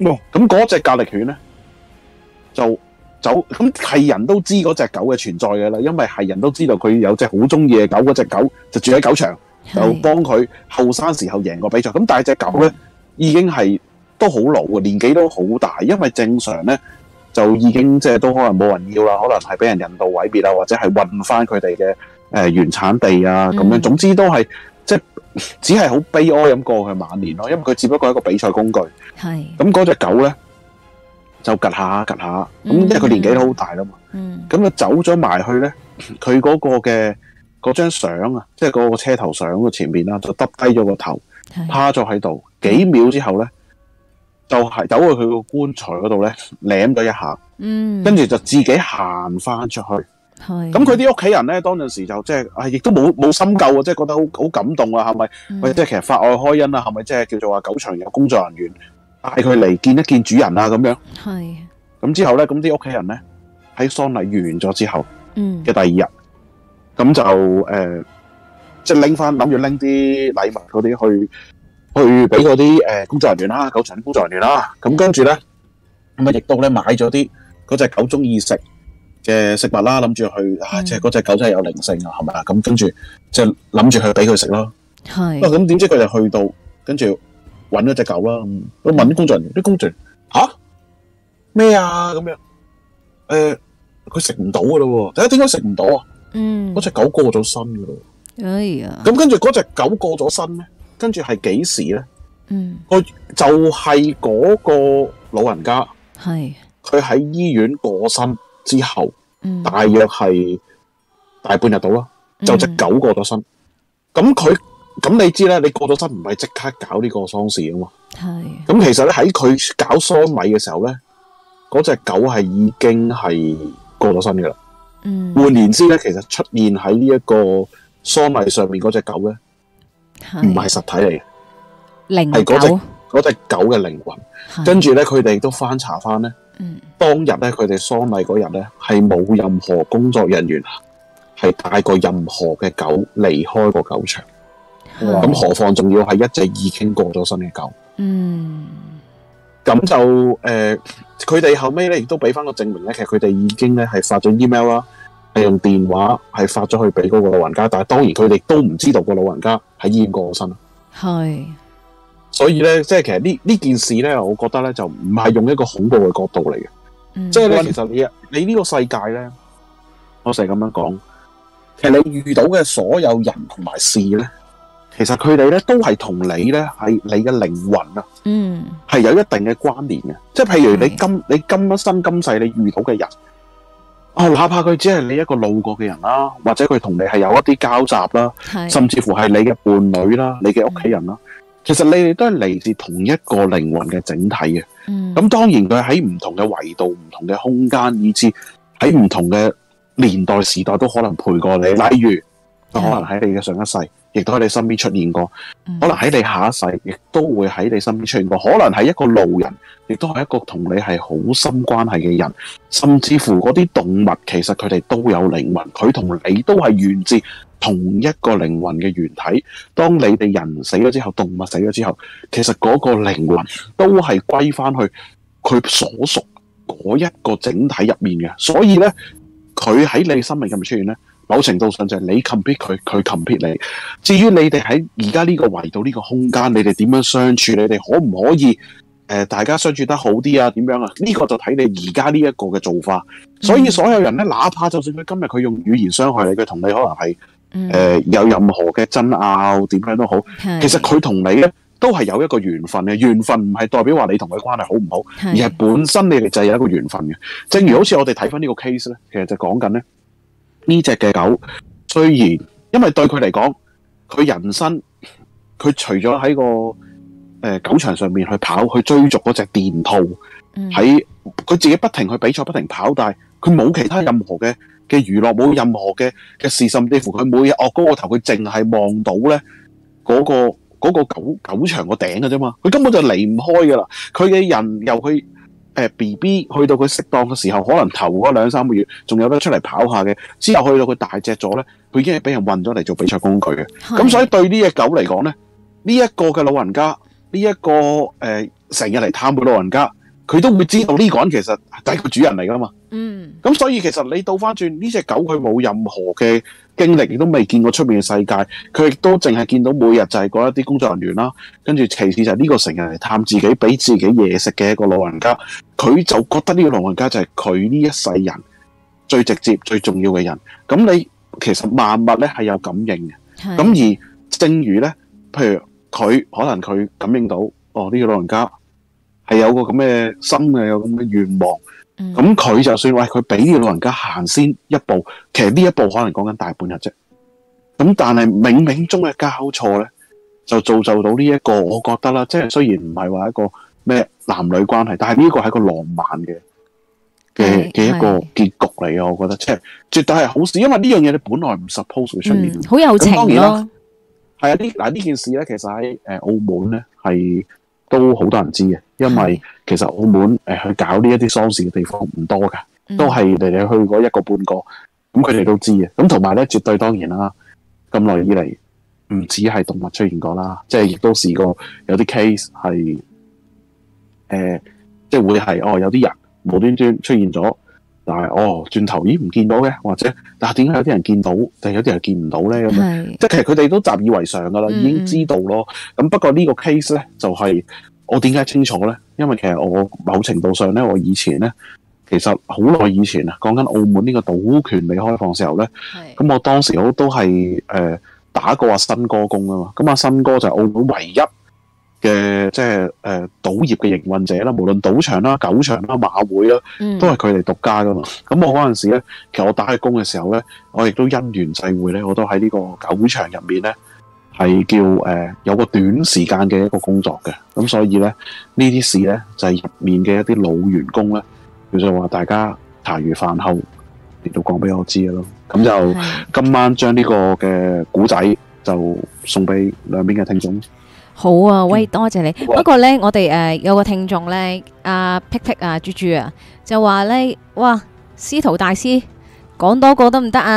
哦，咁嗰隻格力犬咧就走，咁係人都知嗰隻狗嘅存在嘅啦，因為係人都知道佢有隻好中意嘅狗，嗰隻狗就住喺狗場，就幫佢後生時候贏過比賽。咁但係隻狗咧已經係都好老嘅，年紀都好大，因為正常咧就已經即係都可能冇人要啦，可能係俾人人道毀滅啊，或者係運翻佢哋嘅誒原產地啊咁樣。總之都係即係只係好悲哀咁過佢晚年咯，因為佢只不過係一個比賽工具。
係
咁嗰隻狗咧就趌下趌下，咁因為佢年紀都好大啦嘛。
嗯，
咁啊走咗埋去咧，佢嗰個嘅嗰張相啊，即係嗰個車頭相嘅前面啦，就耷低咗個頭，趴咗喺度。幾秒之後咧，就係走去佢個棺材嗰度咧，舐咗一下，
嗯，
跟住就自己行翻出去。
係
咁佢啲屋企人咧，當陣時就即係啊，亦都冇冇深究啊，即係覺得好好感動啊，係咪？喂、嗯，即係其實法外開恩啊，係咪即係叫做話狗場有工作人員帶佢嚟見一見主人啊咁樣？
係。
咁之後咧，咁啲屋企人咧喺喪禮完咗之後
嗯
嘅第二日，咁就誒，即係拎翻諗住拎啲禮物嗰啲去去俾嗰啲誒工作人員啦，狗場啲工作人員啦。咁跟住咧，咁啊亦都咧買咗啲嗰隻狗中意食嘅食物啦，諗住去啊，即係嗰隻狗真係有靈性啊，係咪啊？咁跟住即係諗住去俾佢食咯。
係。
咁點知佢就去到，跟住揾咗隻狗啦，都問啲工作人員，啲工作人員吓咩啊咁樣？誒，佢食唔到噶咯喎，第一點解食唔到啊？
嗯，
嗰隻狗過咗身噶咯。
哎呀，
咁跟住嗰隻狗過咗身咧，跟住係幾時咧？
嗯，
佢就係嗰個老人家，
係
佢喺醫院過身之後，
嗯，
大約係大半日到啦，就隻狗過咗身。咁佢咁你知咧，你過咗身唔係即刻搞呢個喪事啊嘛。
係。
咁其實咧喺佢搞喪禮嘅時候咧，嗰隻狗係已經係過咗身噶啦。
嗯。
換言之咧，其實出現喺呢一個喪禮上面嗰隻狗咧，唔係實體嚟嘅，
靈
係嗰隻
狗
嗰隻狗嘅靈魂。跟住咧，佢哋都翻查翻咧，
嗯，
當日咧佢哋喪禮嗰日咧係冇任何工作人員係帶過任何嘅狗離開個狗場。咁何況仲要係一隻已經過咗身嘅狗。
嗯，
咁就誒，佢哋後尾咧亦都俾翻個證明咧，其實佢哋已經咧係發咗 email 啦，係用電話係發咗去俾嗰個老人家，但係當然佢哋都唔知道個老人家喺醫院過咗身。
係，
所以咧，即係其實呢呢件事咧，我覺得咧就唔係用一個恐怖嘅角度嚟嘅。
嗯，
即係咧，其實你你呢個世界咧，我成日咁樣講，其實你遇到嘅所有人同埋事咧，其實佢哋咧都係同你咧係你嘅靈魂啊，
嗯，
係有一定嘅關聯嘅。即係譬如你今你今生今世你遇到嘅人，啊、哦，哪怕佢只係你一個路過嘅人啦，或者佢同你係有一啲交集啦，甚至乎係你嘅伴侶啦、你嘅屋企人啦，嗯、其實你哋都係嚟自同一個靈魂嘅整體嘅。嗯，咁當然佢喺唔同嘅維度、唔同嘅空間，以至喺唔同嘅年代時代都可能陪過你。例如，可能喺你嘅上一世，亦都喺你身邊出現過；嗯、可能喺你下一世，亦都會喺你身邊出現過。可能係一個路人，亦都係一個同你係好深關係嘅人。甚至乎嗰啲動物，其實佢哋都有靈魂，佢同你都係源自同一個靈魂嘅原體。當你哋人死咗之後，動物死咗之後，其實嗰個靈魂都係歸翻去佢所屬嗰一個整體入面嘅。所以咧，佢喺你生命入面出現咧，某程度上就係你 compete 佢，佢 compete 你。至於你哋喺而家呢個維度呢個空間，你哋點樣相處，你哋可唔可以誒、呃、大家相處得好啲啊？點樣啊？呢、這個就睇你而家呢一個嘅做法。所以所有人咧，哪怕就算佢今日佢用語言傷害你，佢同你可能係誒、呃、有任何嘅爭拗，點樣都好，其實佢同你咧都係有一個緣分嘅。緣分唔係代表話你同佢關係好唔好，而係本身你哋就係有一個緣分嘅。正如好似我哋睇翻呢個 case 咧，其實就講緊咧呢隻嘅狗，雖然因為對佢嚟講，佢人生佢除咗喺個誒、呃、狗場上面去跑去追逐嗰隻電兔，喺佢、嗯、自己不停去比賽不停跑，但係佢冇其他任何嘅嘅娛樂，冇任何嘅嘅事，甚至乎佢每日惡高個頭，佢淨係望到咧嗰、嗰個嗰、嗰個狗狗場個頂嘅啫嘛，佢根本就離唔開噶啦。佢嘅人由佢誒 B B 去到佢適當嘅時候，可能頭嗰兩三個月仲有得出嚟跑下嘅，之後去到佢大隻咗咧，佢已經係俾人運咗嚟做比賽工具嘅。咁所以對呢隻狗嚟講咧，呢、這、一個嘅老人家呢一個誒成日嚟探佢老人家，佢都會知道呢個人其實係個主人嚟噶嘛。
嗯，
咁所以其實你倒翻轉呢隻狗，佢冇任何嘅經歷，亦都未見過出面嘅世界，佢亦都淨係見到每日就係嗰一啲工作人員啦，跟住其次就係呢個成日嚟探自己，俾自己嘢食嘅一個老人家，佢就覺得呢個老人家就係佢呢一世人最直接、最重要嘅人。咁你其實萬物咧係有感應嘅，咁而正如咧，譬如佢可能佢感應到，哦呢個老人家係有個咁嘅心嘅，有咁嘅願望。咁、嗯、佢就算喂佢俾呢個老人家行先一步，其實呢一步可能講緊大半日啫。咁但係冥冥中嘅交錯咧，就造就到呢、這、一個，我覺得啦，即係雖然唔係話一個咩男女關係，但係呢個係一個浪漫嘅嘅嘅一個結局嚟嘅。我覺得即係絕對係好事，因為呢樣嘢你本來唔 suppose 會出現，
好、嗯、有情咯。
係啊，呢嗱呢件事咧，其實喺誒澳門咧係都好多人知嘅，因為其實澳門誒、呃、去搞呢一啲喪事嘅地方唔多㗎，都係嚟嚟去過一個半個，咁佢哋都知嘅。咁同埋咧，絕對當然啦，咁耐以嚟唔止係動物出現過啦，即係亦都試過有啲 case 係誒、呃，即係會係哦有啲人無端端出現咗，但係哦轉頭咦唔見到嘅，或者但係點解有啲人見到，但係有啲人見唔到咧？咁樣即係其實佢哋都習以為常㗎啦，已經知道咯。咁、嗯、不過呢個 case 咧就係、是、我點解清楚咧？因為其實我某程度上咧，我以前咧其實好耐以前啊，講緊澳門呢個賭權未開放時候咧，咁我當時我都係誒、呃、打過阿新哥工啊嘛。咁阿新哥就係澳門唯一嘅即係誒賭業嘅營運者啦，無論賭場啦、狗場啦、馬會啦，都係佢哋獨家噶嘛。咁、嗯、我嗰陣時咧，其實我打嘅工嘅時候咧，我亦都因緣際會咧，我都喺呢個狗場入面咧，係叫誒、呃、有個短時間嘅一個工作嘅。咁所以咧，呢啲事咧就係、是、入面嘅一啲老員工咧，叫做話大家茶餘飯後嚟到講俾我知嘅咯。咁就今晚將呢個嘅古仔就送俾兩邊嘅聽眾。
好啊，喂，多謝你。不過咧，我哋誒、呃、有個聽眾咧，阿 Pick Pick 啊，豬豬啊，就話咧，哇，司徒大師講多個得唔得啊？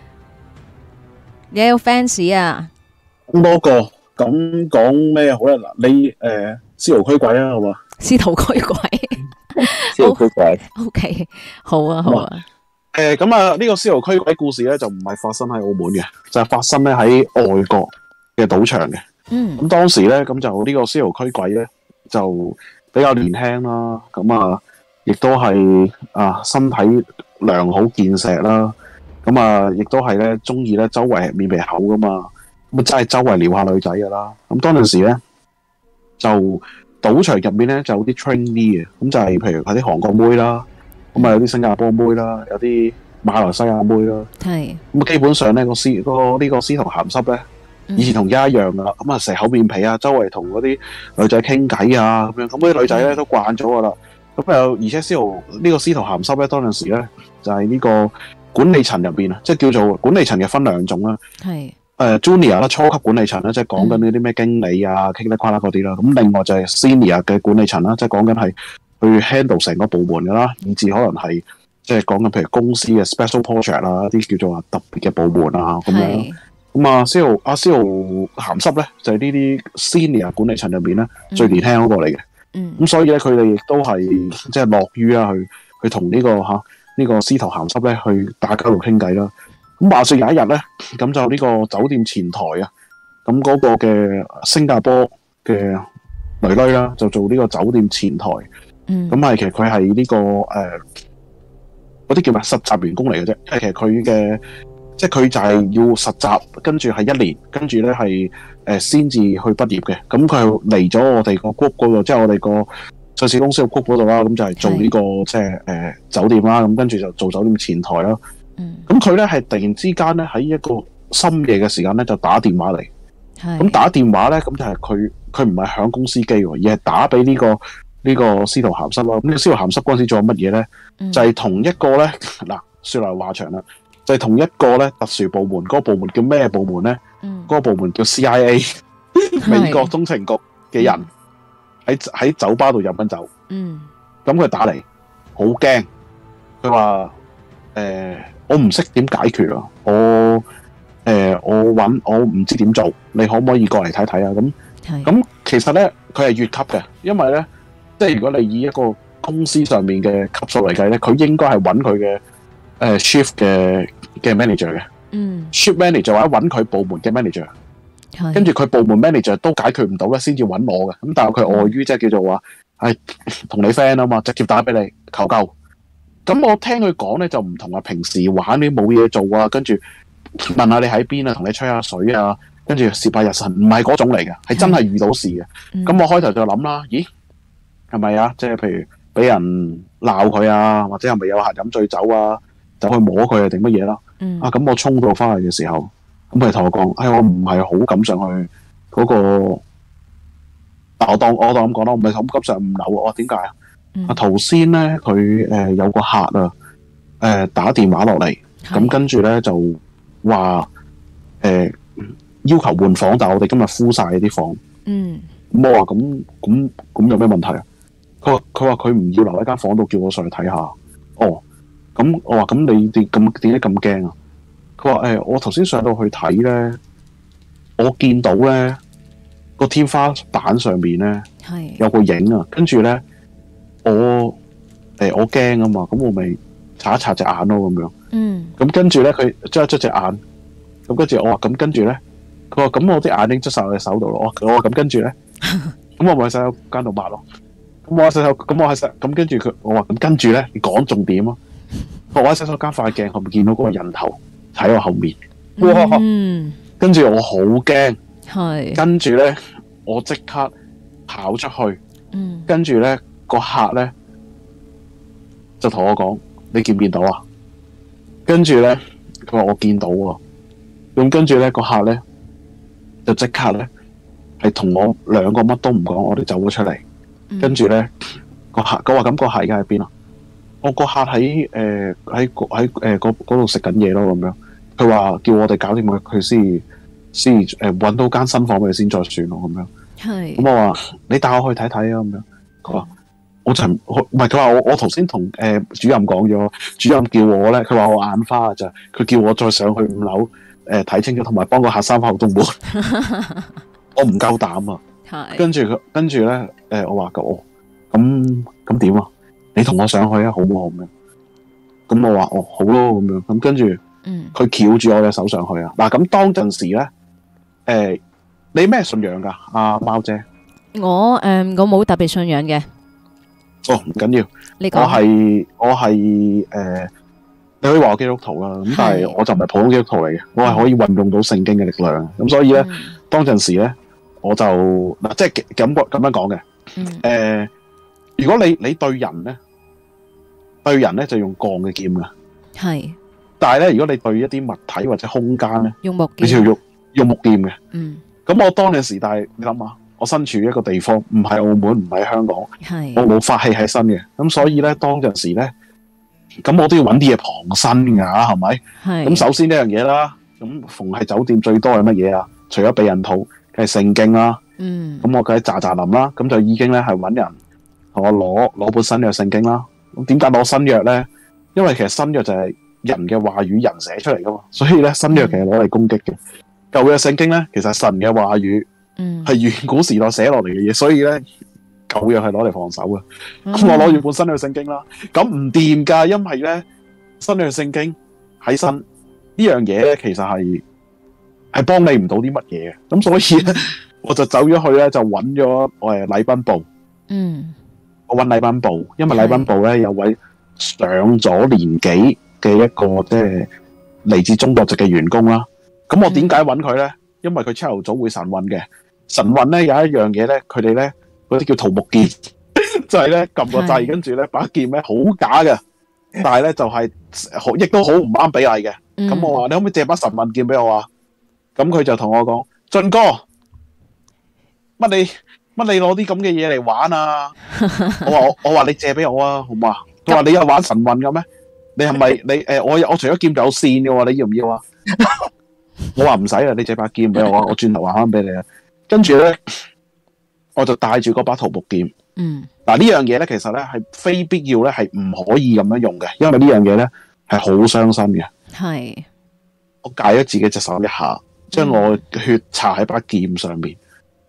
你有 fans 啊？
多個咁講咩好咧？嗱，你誒司徒驅鬼啊，好嘛？
司徒驅鬼，
司徒驅鬼。
O K， 好啊，好啊。
誒，咁啊，呢個司徒驅鬼故事咧，就唔係發生喺澳門嘅，就係、是、發生咧喺外國嘅賭場嘅。嗯，咁當時咧，咁就呢個司徒驅鬼咧，就比較年輕啦，咁啊，亦都係啊身體良好健碩啦，咁啊，亦都係咧中意咧周圍面皮厚噶嘛，咁啊真係周圍撩下女仔噶啦。咁當陣時咧，就賭場入面咧就有啲 trainee 嘅，咁就係譬如係啲韓國妹啦，咁啊有啲新加坡妹啦，有啲馬來西亞妹啦，係咁基本上咧個司個呢個司徒鹹濕咧。以前同而家一樣噶啦，咁啊成口面皮啊，周圍同嗰啲女仔傾偈啊，咁樣咁啲女仔咧都慣咗噶啦。咁又而且司徒呢個司徒鹹濕咧，當陣時咧就係、是、呢個管理層入邊啊，即係叫做管理層嘅分兩種啦。係誒、呃、Junior 啦，初級管理層啦，即係講緊呢啲咩經理啊、傾得跨啦嗰啲啦。咁另外就係 Senior 嘅管理層啦，即係講緊係去 handle 成個部門噶啦，以至可能係即係講緊譬如公司嘅 special project 啊，一啲叫做話特別嘅部門啊咁樣。咁啊，司徒阿司徒鹹濕咧，就係呢啲 senior 管理層入邊咧最年輕嗰個嚟嘅。嗯。咁所以咧，佢哋亦都係即係樂於啊，去去同呢個嚇呢個司徒鹹濕咧去打交道傾偈啦。咁話說有一日咧，咁就呢個酒店前台啊，咁嗰個嘅新加坡嘅女女啦，就做呢個酒店前台。嗯。咁係其實佢係呢個誒嗰啲叫咩實習員工嚟嘅啫，因為其實佢嘅。即係佢就係要實習，跟住係一年，跟住咧係誒先至去畢業嘅。咁佢係嚟咗我哋個 group 嗰度，即係我哋個上市公司個 group 嗰度啦。咁就係做呢、這個即係誒、呃、酒店啦。咁跟住就做酒店前台啦。嗯。咁佢咧係突然之間咧喺一個深夜嘅時間咧就打電話嚟。係。咁打電話咧，咁就係佢佢唔係響公司機喎，而係打俾呢、這個呢、這個司徒鹹濕咯。咁呢個司徒鹹濕嗰陣時做乜嘢咧？就係、是、同一個咧嗱，說來話長啦。就係、是、同一個咧特殊部門，嗰、那個部門叫咩部門咧？嗰、嗯那個部門叫 C I A， 美國中情局嘅人喺喺酒吧度飲緊酒。嗯，咁佢打嚟，好驚。佢話：誒，我唔識點解決啊！我誒、呃，我揾我唔知點做，你可唔可以過嚟睇睇啊？咁咁其實咧佢係越級嘅，因為咧即係如果你以一個公司上面嘅級數嚟計咧，佢應該係揾佢嘅誒 shift 嘅嘅 manager 嘅，
嗯
shift manager 或者揾佢部門嘅 manager，
係
跟住佢部門 manager 都解決唔到咧，先至揾我嘅。咁但係佢礙於即係叫做話係同你 friend 啊嘛，直接打俾你求救。咁我聽佢講咧就唔同啊，平時玩啲冇嘢做啊，跟住問下你喺邊啊，同你吹下水啊，跟住攝下日神，唔係嗰種嚟嘅，係真係遇到事嘅。咁、
嗯、
我開頭就諗啦，咦係咪啊？即係譬如俾人鬧佢啊，或者係咪有客飲醉酒啊，走去摸佢啊定乜嘢啦？
嗯、
啊咁我衝到翻去嘅時候，咁佢同我講，哎我唔係好敢上去嗰、嗰個，但我當我當咁講啦，我唔係好敢上五樓。我話點解啊？啊頭先咧佢誒有個客啊，誒、呃、打電話落嚟，咁跟住咧就話誒、呃、要求換房，但係我哋今日敷晒啲房。
嗯，
咁我話咁咁咁有咩問題啊？佢話佢話佢唔要留喺間房度，叫我上去睇下。哦，咁我話咁你哋咁點解咁驚啊？佢話誒我頭先上到去睇咧，我見到咧個天花板上面咧
係
有個影啊，跟住咧。我誒、欸、我驚啊嘛，咁我咪擦一擦隻眼咯咁樣。
嗯。咁
跟住咧，佢捽一捽隻眼，咁跟住我話咁跟住咧，佢話咁我啲眼睛捽晒我隻手度咯。我我話咁跟住咧，咁我咪喺洗手間度抹咯。咁我喺洗手，咁我喺洗，咁跟住佢，我話咁跟住咧，你講重點啊！我喺洗手間塊鏡後面見到嗰個人頭喺我後面，哇！
嗯。
跟住我好驚，
係。
跟住咧，我即刻跑出去，
嗯。
跟住咧。個客咧就同我講：你見唔見到啊？跟住咧，佢話我見到喎。咁跟住咧，個客咧就即刻咧係同我兩個乜都唔講，我哋走咗出嚟。跟住咧，個客佢話：咁個客而家喺邊啊？我個客喺誒喺喺誒嗰度食緊嘢咯咁樣。佢話叫我哋搞掂佢，佢先先誒揾到間新房俾佢先再算咯咁樣。
係。
咁我話：你帶我去睇睇啊咁樣。佢話。我就唔係佢話我我頭先同誒主任講咗，主任叫我咧，佢話我眼花咋，佢叫我再上去五樓誒睇清楚，同埋幫個客閂翻後洞門。我唔夠膽啊！
係。跟
住佢跟住咧誒，我話我咁咁點啊？你同我上去啊，好唔好咁樣？咁我話哦好咯咁樣，咁跟住佢翹住我隻手上去啊！嗱咁當陣時咧誒、呃，你咩信仰㗎？阿、啊、貓姐，
我誒、嗯、我冇特別信仰嘅。
哦，唔緊要，我係我係誒、呃，你可以話我基督徒啦，咁但係我就唔係普通基督徒嚟嘅，我係可以運用到聖經嘅力量，咁所以咧、嗯，當陣時咧，我就嗱，即係咁咁樣講嘅，誒、嗯呃，如果你你對人咧，對人咧就用鋼嘅劍㗎，係，但係咧，如果你對一啲物體或者空間咧，用木劍，你就要用用木劍嘅，嗯，咁我當陣時，但係你諗下。我身處一個地方，唔係澳門，唔係香港，我冇法器喺身嘅，咁所以咧，當陣時咧，咁我都要揾啲嘢傍身㗎，係咪？咁首先呢樣嘢啦，咁逢係酒店最多係乜嘢啊？除咗避孕套，梗係聖經啦。嗯。咁我梗係喳喳林啦，咁就已經咧係揾人同我攞攞本新約聖經啦。咁點解攞新約咧？因為其實新約就係人嘅話語，人寫出嚟噶嘛，所以咧新約其實攞嚟攻擊嘅。舊約聖經咧，其實係神嘅話語。嗯，係遠古時代寫落嚟嘅嘢，所以咧舊約係攞嚟防守嘅。咁、嗯、我攞住本新約聖經啦，咁唔掂噶，因為咧新約聖經喺身呢樣嘢咧，其實係係幫你唔到啲乜嘢嘅。咁所以咧，我就走咗去咧，就揾咗誒禮賓部。嗯，我揾禮賓部，因為禮賓部咧有位上咗年紀嘅一個即係嚟自中國籍嘅員工啦。咁我點解揾佢咧？嗯，因為佢朝頭早會晨運嘅。神運咧有一樣嘢咧，佢哋咧嗰啲叫桃木劍，就係咧撳個掣，跟住咧把劍咧好假嘅，但係咧就係、是、好，亦都好唔啱比例嘅。咁、嗯、我話你可唔可以借把神運劍俾我啊？咁佢就同我講：俊哥，乜你乜你攞啲咁嘅嘢嚟玩啊？我話我我話你借俾我啊，好嘛？佢話你有玩神運嘅咩？你係咪你誒、呃？我我除咗劍就有線嘅喎，你要唔要啊？我話唔使啊，你借把劍俾我啊，我轉頭還翻俾你啊。跟住咧，我就帶住嗰把桃木劍。嗯，嗱呢樣嘢咧，其實咧係非必要咧，係唔可以咁樣用嘅，因為呢樣嘢咧係好傷身嘅。係，我戒咗自己隻手一下，將我血搽喺把劍上面，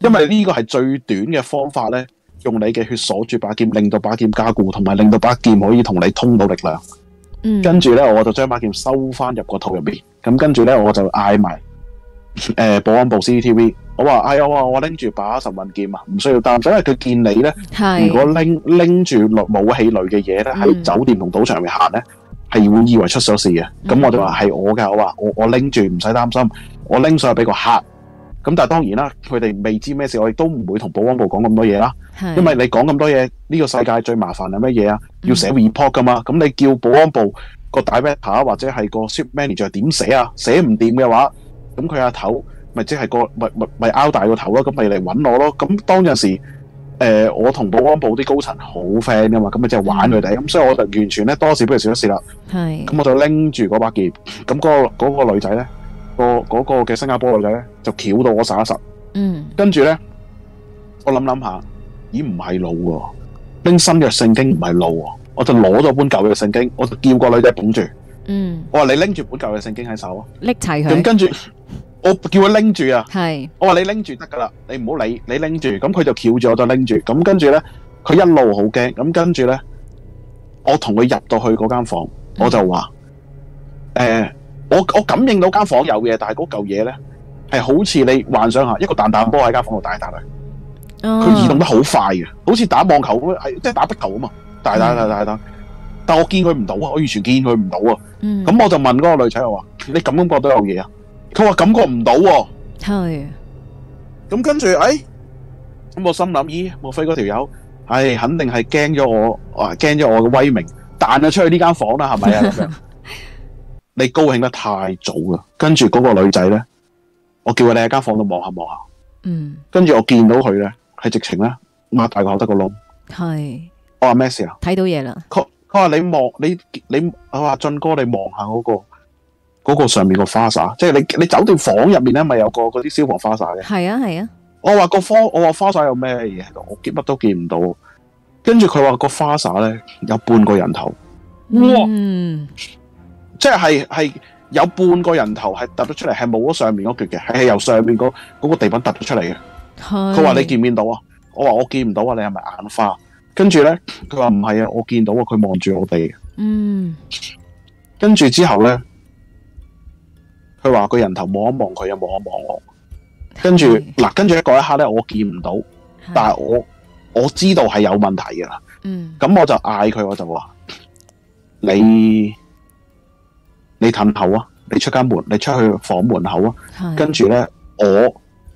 因為呢個係最短嘅方法咧，用你嘅血鎖住把劍，令到把劍加固，同埋令到把劍可以同你通到力量。
嗯，
跟住咧，我就將把劍收翻入個肚入面。咁跟住咧，我就嗌埋誒保安部 C C T V， 我話哎呀，我話我拎住把神運劍啊，唔需要擔心，因為佢見你咧，如果拎拎住武器類嘅嘢咧，喺酒店同賭場入面行咧，係會以為出咗事嘅。咁、嗯、我就話係我嘅，我話我我拎住唔使擔心，我拎上去俾個客。咁但係當然啦，佢哋未知咩事，我亦都唔會同保安部講咁多嘢啦。因為你講咁多嘢，呢、這個世界最麻煩係乜嘢啊？要寫 report 噶嘛。咁、嗯、你叫保安部個 director 或者係個 ship manager 點寫啊？寫唔掂嘅話，咁佢阿頭咪即係個咪咪咪拗大個頭咯。咁咪嚟揾我咯。咁當陣時，誒、呃、我同保安部啲高層好 friend 噶嘛，咁咪即係玩佢哋。咁、嗯、所以我就完全咧多事不如少一事啦。係。咁我就拎住嗰把劍，咁嗰、那個嗰、那個女仔咧。個嗰個嘅新加坡女仔咧就翹到我實一實，嗯，跟住咧我諗諗下，咦唔係路喎，拎新約聖經唔係路喎，我就攞咗本舊約聖經，我就叫個女仔捧住，嗯，我話你拎住本舊約聖經喺手，
拎齊佢，
咁跟住我叫佢拎住啊，
係，
我話你拎住得噶啦，你唔好理，你拎住，咁佢就翹住我就拎住，咁跟住咧佢一路好驚，咁跟住咧我同佢入到去嗰間房，我就話誒。嗯呃我我感應到間房有嘢，但係嗰嚿嘢咧係好似你幻想下一個彈彈波喺間房度打嚟打去，佢、oh. 移動得好快嘅，好似打網球咁，係即係打壁球啊嘛，打打打打打，但我見佢唔到啊，我完全見佢唔到啊，咁、mm. 我就問嗰個女仔我話：你感唔感覺到有嘢啊？佢話感覺唔到喎，係，咁跟住誒，咁、哎、我心諗咦，莫非嗰條友，唉，肯定係驚咗我，啊驚咗我嘅威名，彈咗出去呢間房啦，係咪啊？咁樣。你高興得太早啦，跟住嗰個女仔咧，我叫佢你喺間房度望下望下，嗯，跟住我見到佢咧係直情咧擘大個口得個窿，係，我話咩事啊？睇到嘢啦，佢佢話你望你你，我話俊哥你望下嗰個嗰、嗰個上面個花灑，即係你你酒店房入面咧咪有個嗰啲消防花灑嘅，係啊係啊，我話個花我話花灑有咩嘢喺度，我見乜都見唔到，跟住佢話個花灑咧有半個人頭，哇！嗯即係係有半個人頭係突咗出嚟，係冇咗上面嗰橛嘅，係由上面嗰嗰個地板突咗出嚟嘅。佢話你見唔見到啊？我話我見唔到啊，你係咪眼花？跟住咧，佢話唔係啊，我見到啊，佢望住我哋。嗯。跟住之後咧，佢話個人頭望一望佢，又望一望我。跟住嗱，跟住嗰一刻咧，我見唔到，但係我我知道係有問題㗎啦。嗯。咁我就嗌佢，我就話你。你褪後啊！你出間門，你出去房門口啊！跟住咧，我誒、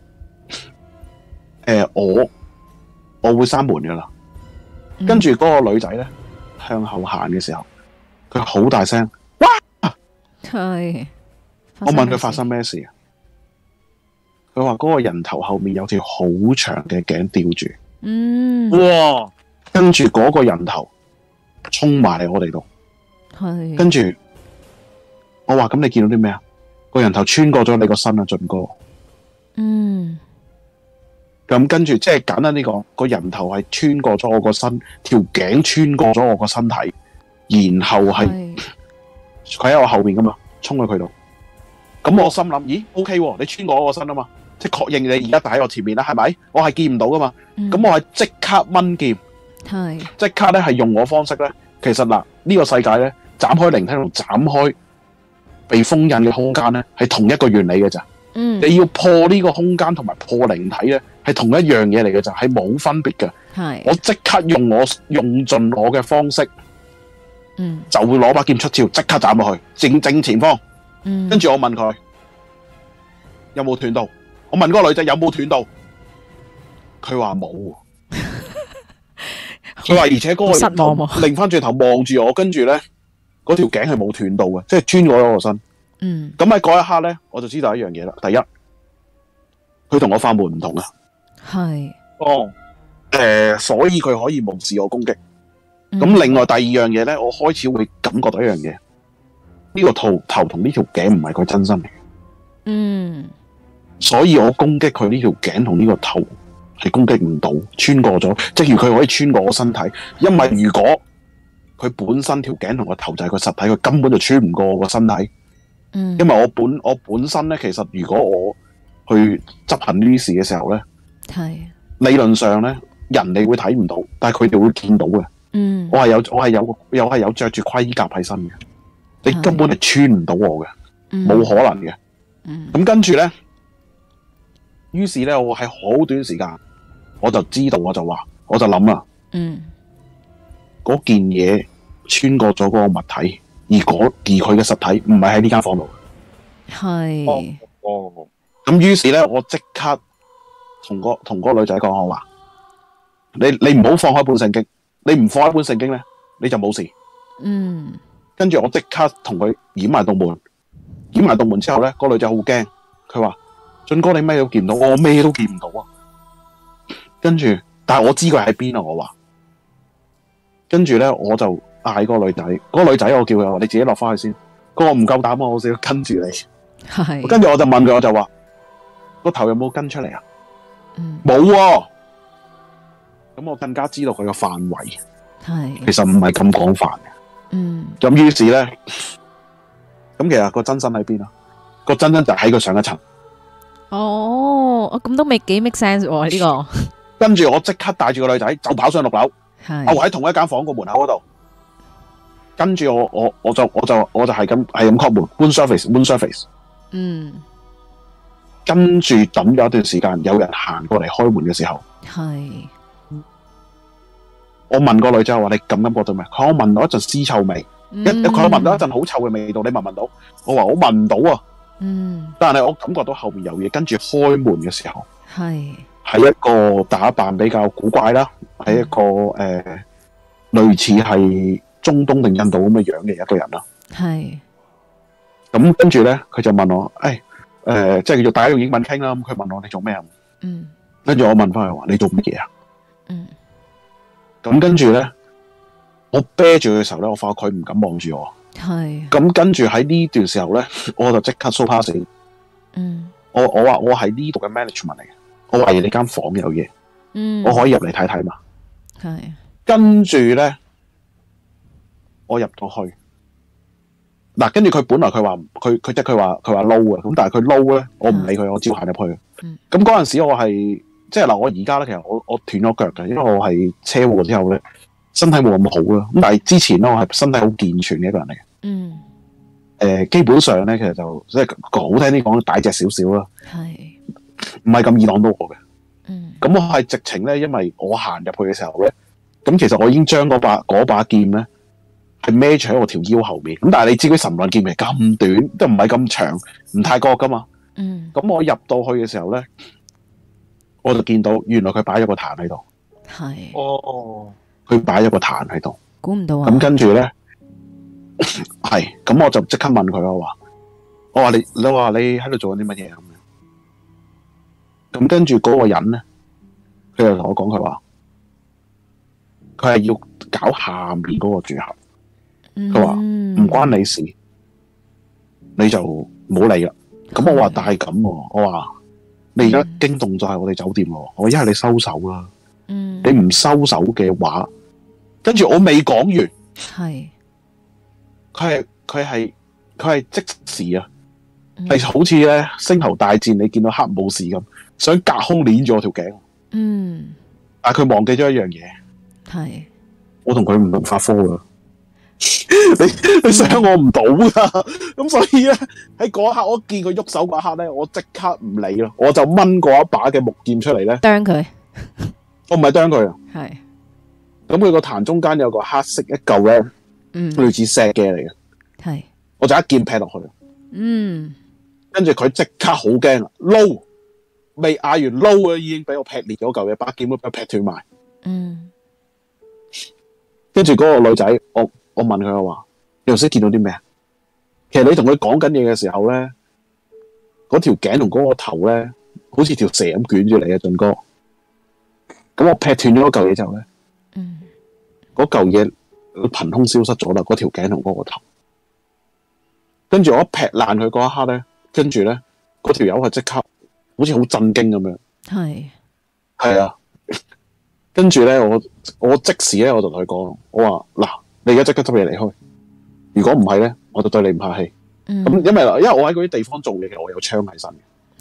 呃、我我會閂門噶啦。跟住嗰個女仔咧向後行嘅時候，佢好大聲，哇！係。我問佢發生咩事啊？佢話嗰個人頭後面有條好長嘅頸吊住。嗯。哇！跟住嗰個人頭衝埋嚟我哋度。係。跟住。我話咁你見到啲咩啊？個人頭穿過咗你個身啊，俊哥。嗯。咁跟住即係簡單呢個，個人頭係穿過咗我個身，條頸穿過咗我個身體，然後係佢喺我後邊噶嘛，衝去佢度。咁我心諗，咦 ，OK， 你穿過我個身啊嘛，即係確認你而家打喺我前面啦，係咪？我係見唔到噶嘛。咁、嗯、我係即刻掹劍，係即刻咧係用我方式咧。其實嗱，呢、呢個世界咧斬開靈體同斬開被封印嘅空間咧，係同一個原理嘅咋。嗯，你要破呢個空間同埋破靈體咧，係同一樣嘢嚟嘅咋，係冇分別嘅。係，我即刻用我用盡我嘅方式，嗯，就會攞把劍出鞘，即刻斬落去正正前方。嗯，跟住我問佢有冇斷到，我問嗰個女仔有冇斷到，佢話冇。佢話而且嗰個失望喎，擰翻轉頭望住我，跟住咧嗰條頸係冇斷到嘅，即係穿過咗我身。嗯，咁喺嗰一刻咧，我就知道一樣嘢啦。第一，佢同我法門唔同啊。係。哦。誒、呃，所以佢可以無視我攻擊。咁、嗯、另外第二樣嘢咧，我開始會感覺到一樣嘢，呢、呢個頭頭同呢條頸唔係佢真身嚟嘅。嗯。所以我攻擊佢呢條頸同呢個頭係攻擊唔到，穿過咗，即如佢可以穿過我身體。因為如果佢本身條頸同個頭就係個實體，佢根本就穿唔過我個身體。嗯，因為我本我本身咧，其實如果我去執行呢啲事嘅時候咧，
係
理論上咧，人哋會睇唔到，但係佢哋會見到嘅。
嗯，
我係有我係有又係有着住盔甲喺身嘅，你根本係穿唔到我嘅，冇、
嗯、
可能嘅。咁、
嗯、
跟住咧，於是咧，我喺好短時間我就知道，我就話，我就諗啦，
嗯，
嗰件嘢穿過咗嗰個物體，而嗰而佢嘅實體唔係喺呢間房度。
係
哦，咁於是咧，我即刻同個同嗰個女仔講，我話你你唔好放開本聖經，你唔放開本聖經咧，你就冇事。
嗯，
跟住我即刻同佢掩埋道門，掩埋道門之後咧，個女仔好驚，佢話：俊哥你咩都見唔到，我咩都見唔到啊！跟住，但係我知佢喺邊啊！我話，跟住咧我就嗌嗰個女仔，嗰、嗰個女仔我叫佢話：你自己落翻去先。嗰個唔夠膽啊！我先跟住你。
係。
跟住我就問佢，我就話：個頭有冇跟出嚟啊？
嗯，
冇喎。咁我更加知道佢個範圍，
係
其實唔係咁廣泛嘅。
嗯，
咁於是咧，咁其實個真身喺邊啊？個真身就喺佢上一層。
哦，我咁都未幾 make sense 喎呢個。
跟住我即刻帶住個女仔就跑上六樓，
係
我喺同一間房個門口嗰度。跟住我我我就我就我就係咁係咁 call 門 ，room service，room service。
嗯，
跟住等咗一段時間，有人行過嚟開門嘅時候，
係
我問個女仔話：你感唔感覺到咩？佢我聞到一陣屍臭味，一佢聞到一陣好臭嘅味道，你聞唔聞到？我話我聞唔到啊。
嗯，
但係我感覺到後面有嘢，跟住開門嘅時候，
係
係一個打扮比較古怪啦，係一個誒、呃、類似係中東定印度咁嘅樣嘅一個人啦。
係
咁跟住咧，佢就問我：誒、哎、誒、呃，即係要大家用英文傾啦。咁佢問我你做咩啊？
嗯，
跟住我問翻佢話：你做乜嘢啊？
嗯，
咁跟住咧，我啤住佢嘅時候咧，我發覺佢唔敢望住我。
係
咁跟住喺呢段時候咧，我就即刻 show pass。
嗯，
我我話我係呢度嘅 management 嚟嘅，我懷疑你間房有嘢，
嗯，
我可以入嚟睇睇嘛。
係
跟住咧，我入到去，嗱，跟住佢本來佢話佢佢即係佢話佢話撈啊，咁但係佢撈咧，我唔理佢，我照行入去。
嗯，
咁嗰陣時我係即係嗱，我而家咧其實我我斷咗腳嘅，因為我係車禍之後咧身體冇咁好啦。咁但係之前咧我係身體好健全嘅一個人嚟嘅。
嗯，
誒、呃，基本上咧其實就即係好聽啲講，大隻少少啦，
係
唔係咁易擋到我嘅。
嗯，
咁我係直情咧，因為我行入去嘅時候咧，咁其實我已經將嗰把嗰把劍咧係孭住喺我條腰後面。咁但係你知佢神棍劍係咁短，都唔係咁長，唔太過噶嘛。
嗯，
咁我入到去嘅時候咧，我就見到原來佢擺咗個壇喺度。
係
哦，
佢擺咗個壇喺度。
估唔到啊！
咁跟住咧，係咁我就即刻問佢，我話我話你你話你喺度做緊啲乜嘢咁樣？咁跟住嗰個人咧，佢就同我講佢話，佢係要搞下面嗰個住客。佢話唔關你事，你就唔好理啦。咁我話但係咁喎，我話你而家驚動咗係我哋酒店喎，我一係你收手啦。
嗯，
你唔收手嘅話，跟住我未講完，
係
佢係佢係佢係即時啊，係、
嗯、
好似咧星球大戰你見到黑武士咁，想隔空鏈住我條頸。
嗯，
但係佢忘記咗一樣嘢，
係
我同佢唔同法科噶，你你傷我唔到噶，咁所以咧喺嗰一刻我見佢喐手嗰一刻咧，我即刻唔理咯，我就掹過一把嘅木劍出嚟咧，
啄佢，
我唔係啄佢啊，
係
咁佢個壇中間有個黑色一嚿咧，
嗯，
類似石嘅嚟嘅，
係
我就一劍劈落去，
嗯，
跟住佢即刻好驚啊，撈未嗌完撈啊，已經俾我劈裂咗嚿嘢，把劍都俾我劈斷埋，
嗯，
跟住嗰個女仔，我我問佢我話，你頭先見到啲咩啊？其實你同佢講緊嘢嘅時候咧，嗰條頸同嗰個頭咧，好似條蛇咁捲住你啊，俊哥。咁我劈斷咗嗰嚿嘢之後咧，
嗯，
嗰嚿嘢憑空消失咗啦，嗰條頸同嗰個頭。跟住我一劈爛佢嗰一刻咧，跟住咧嗰條友係即刻好似好震驚咁樣。
係
係啊，跟住咧我我即時咧我就同佢講，我話嗱，你而家即刻執嘢離開，如果唔係咧，我就對你唔客氣。咁、
嗯，
因為因為我喺嗰啲地方做嘢嘅，我有槍喺身嘅。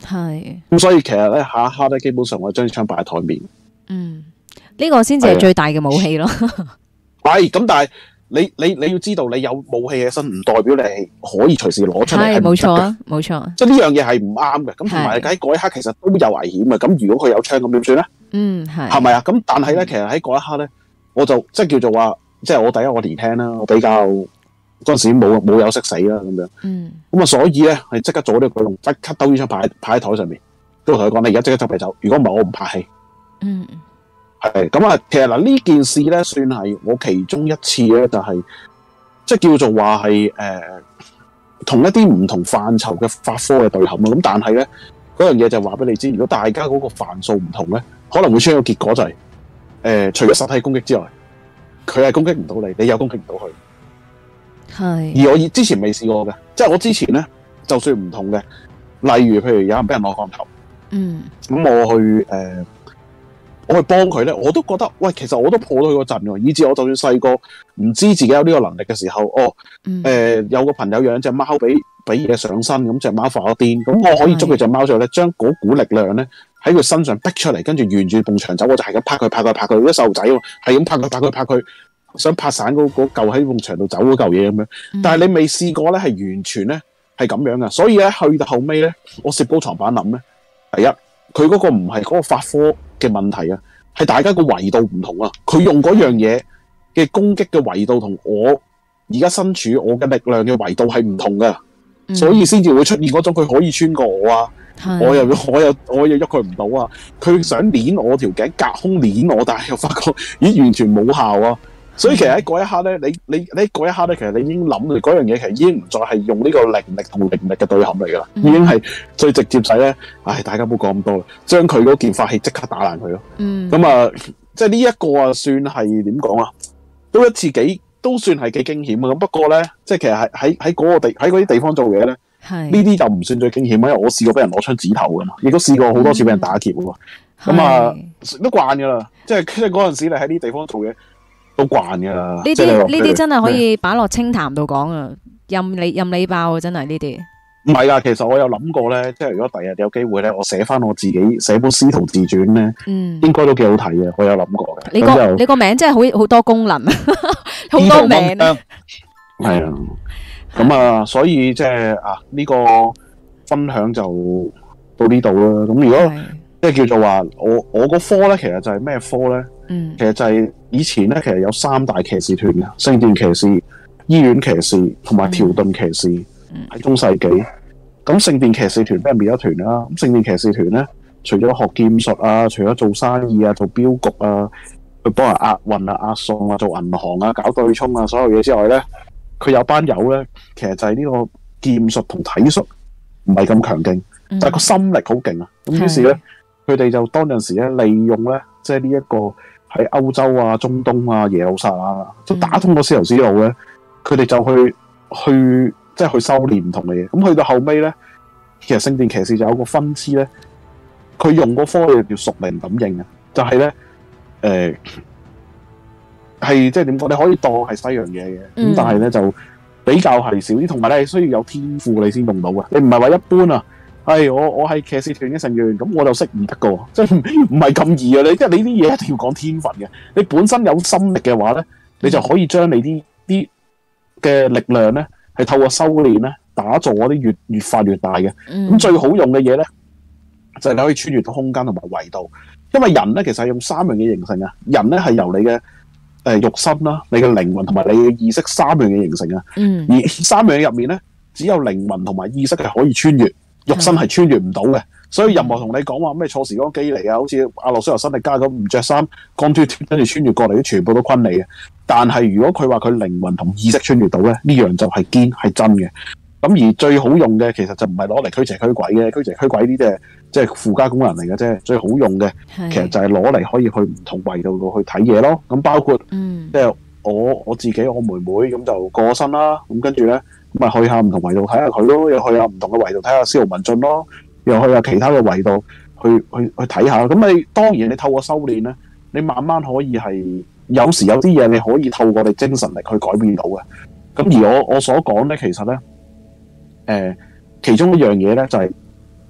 係。
咁所以其實咧下一刻咧，基本上我將槍擺喺台面。
嗯，呢、這個先至係最大嘅武器咯。
係咁，但係你你你要知道，你有武器喺身，唔代表你係可以隨時攞出嚟。
係冇錯啊，冇錯。
即係呢樣嘢係唔啱嘅。咁同埋喺嗰一刻其實都有危險嘅。咁如果佢有槍，咁點算咧？
嗯，係。係
咪啊？咁但係咧，其實喺嗰一刻咧，我就即係叫做話，即係我第一我年輕啦，我比較嗰陣時冇冇有識死啦咁樣。
嗯。咁
啊，所以咧係即刻做呢個舉動，即刻兜支槍擺擺喺台上面，都同佢講：你而家即刻執嚟走。如果唔係，我唔拍戲。
嗯。
係咁啊，其實嗱呢件事咧，算係我其中一次咧，就係、是、即係叫做話係誒，同一啲唔同範疇嘅法科嘅對撼啊。咁但係咧，嗰樣嘢就話俾你知，如果大家嗰個範數唔同咧，可能會出現一個結果就係、是、誒、呃，除咗實體攻擊之外，佢係攻擊唔到你，你又攻擊唔到佢。係。而我之前未試過嘅，即係我之前咧，就算唔同嘅，例如譬如有人俾人攞降頭，嗯，咁我去誒。呃我去幫佢咧，我都覺得喂，其實我都破到佢個陣喎，以至我就算細個唔知自己有呢個能力嘅時候，哦，誒、嗯呃、有個朋友養隻貓俾俾嘢上身，咁隻貓發咗癲，咁我可以捉佢隻貓之後咧，將嗰股力量咧喺佢身上逼出嚟，跟住沿住埲牆走，我就係咁拍佢拍佢拍佢，啲細路仔喎，係咁拍佢拍佢拍佢，想拍散嗰嗰嚿喺埲牆度走嗰嚿嘢咁樣，但係你未試過咧，係完全咧係咁樣噶，所以咧去到後尾咧，我攝高床板諗咧，第一佢嗰個唔係嗰個法科嘅問題啊，係大家個維度唔同啊！佢用嗰樣嘢嘅攻擊嘅維度同我而家身處我嘅力量嘅維度係唔同噶、嗯，所以先至會出現嗰種佢可以穿過我啊，我又我又我又喐佢唔到啊！佢想捏我條頸，隔空捏我，但係又發覺咦完全冇效啊！所以其實喺嗰一刻咧，你你你嗰一刻咧，其實你已經諗住嗰樣嘢，其實已經唔再係用呢個靈力同靈力嘅對撼嚟噶啦，已經係最直接使咧。唉，大家唔好講咁多啦，將佢嗰件法器即刻打爛佢咯。嗯，咁啊，即係呢一個啊，算係點講啊？都一次幾都算係幾驚險啊！咁不過咧，即係其實係喺喺嗰個地喺嗰啲地方做嘢咧，係呢啲就唔算最驚險，因為我試過俾人攞槍指頭噶嘛，亦都試過好多次俾人打劫噶嘛。咁、嗯、啊，都慣噶啦，即係即係嗰陣時你喺呢啲地方做嘢。都慣噶啦，
呢啲呢啲真係可以擺落清談度講啊，任你任你爆啊，真係呢啲。
唔係噶，其實我有諗過咧，即係如果第日有機會咧，我寫翻我自己寫本師徒自傳咧，嗯，應該都幾好睇嘅，我有諗過嘅。
你個你個名真係好好多功能，好多名啊。
係啊，咁啊，所以即係啊呢個分享就到呢度啦。咁如果即係叫做話，我我個科咧，其實就係咩科咧？嗯，其實就係以前咧，其實有三大騎士團嘅，聖殿騎士、醫院騎士同埋條頓騎士，喺、嗯、中世紀。咁聖殿騎士團俾人滅咗團啦。咁聖殿騎士團咧，除咗學劍術啊，除咗做生意啊，做鏢局啊，去幫人押運啊、押送啊，做銀行啊，搞對沖啊，所有嘢之外咧，佢有班友咧，其實就係呢個劍術同體術唔係咁強勁，但係個心力好勁啊。咁於是咧，佢哋就當陣時咧，利用咧，即係呢一個。喺歐洲啊、中東啊、耶路撒冷啊，都打通咗絲綢之路咧，佢哋就去去即係去修煉唔同嘅嘢。咁去到後尾咧，其實聖殿騎士就有個分支咧，佢用個科技叫屬靈感應啊，就係咧誒係即係點講？你可以當係西洋嘢嘅，咁、嗯、但係咧就比較係少啲，同埋咧係需要有天賦你先用到嘅，你唔係話一般啊。係我我係騎士團嘅成員，咁我就識唔得噶，即係唔係咁易啊！你即係你啲嘢一定要講天分嘅，你本身有心力嘅話咧，你就可以將你啲啲嘅力量咧，係透過修煉咧，打造嗰啲越越發越大嘅。咁、嗯、最好用嘅嘢咧，就係、是、你可以穿越到空間同埋維度，因為人咧其實係用三樣嘢形成啊。人咧係由你嘅誒、呃、肉身啦、你嘅靈魂同埋你嘅意識三樣嘢形成啊、嗯。而三樣嘢入面咧，只有靈魂同埋意識係可以穿越。肉身係穿越唔到嘅，所以任何同你講話咩錯時光機嚟啊，好似阿諾舒華辛力加咁唔着衫，光脫脫跟住穿越過嚟，全部都昆你嘅。但係如果佢話佢靈魂同意識穿越到咧，呢樣就係堅係真嘅。咁而最好用嘅其實就唔係攞嚟驅邪驅鬼嘅，驅邪驅鬼呢啲係即係附加功能嚟嘅啫。最好用嘅其實就係攞嚟可以去唔同維度度去睇嘢咯。咁包括即係、嗯就是、我我自己我妹妹咁就過咗身啦。咁跟住咧。咁咪去下唔同維度睇下佢咯，又去下唔同嘅維度睇下司徒文進咯，又去下其他嘅維度去去去睇下。咁你當然你透過修煉咧，你慢慢可以係有時有啲嘢你可以透過你精神力去改變到嘅。咁而我我所講咧，其實咧，誒、呃，其中一樣嘢咧就係、是、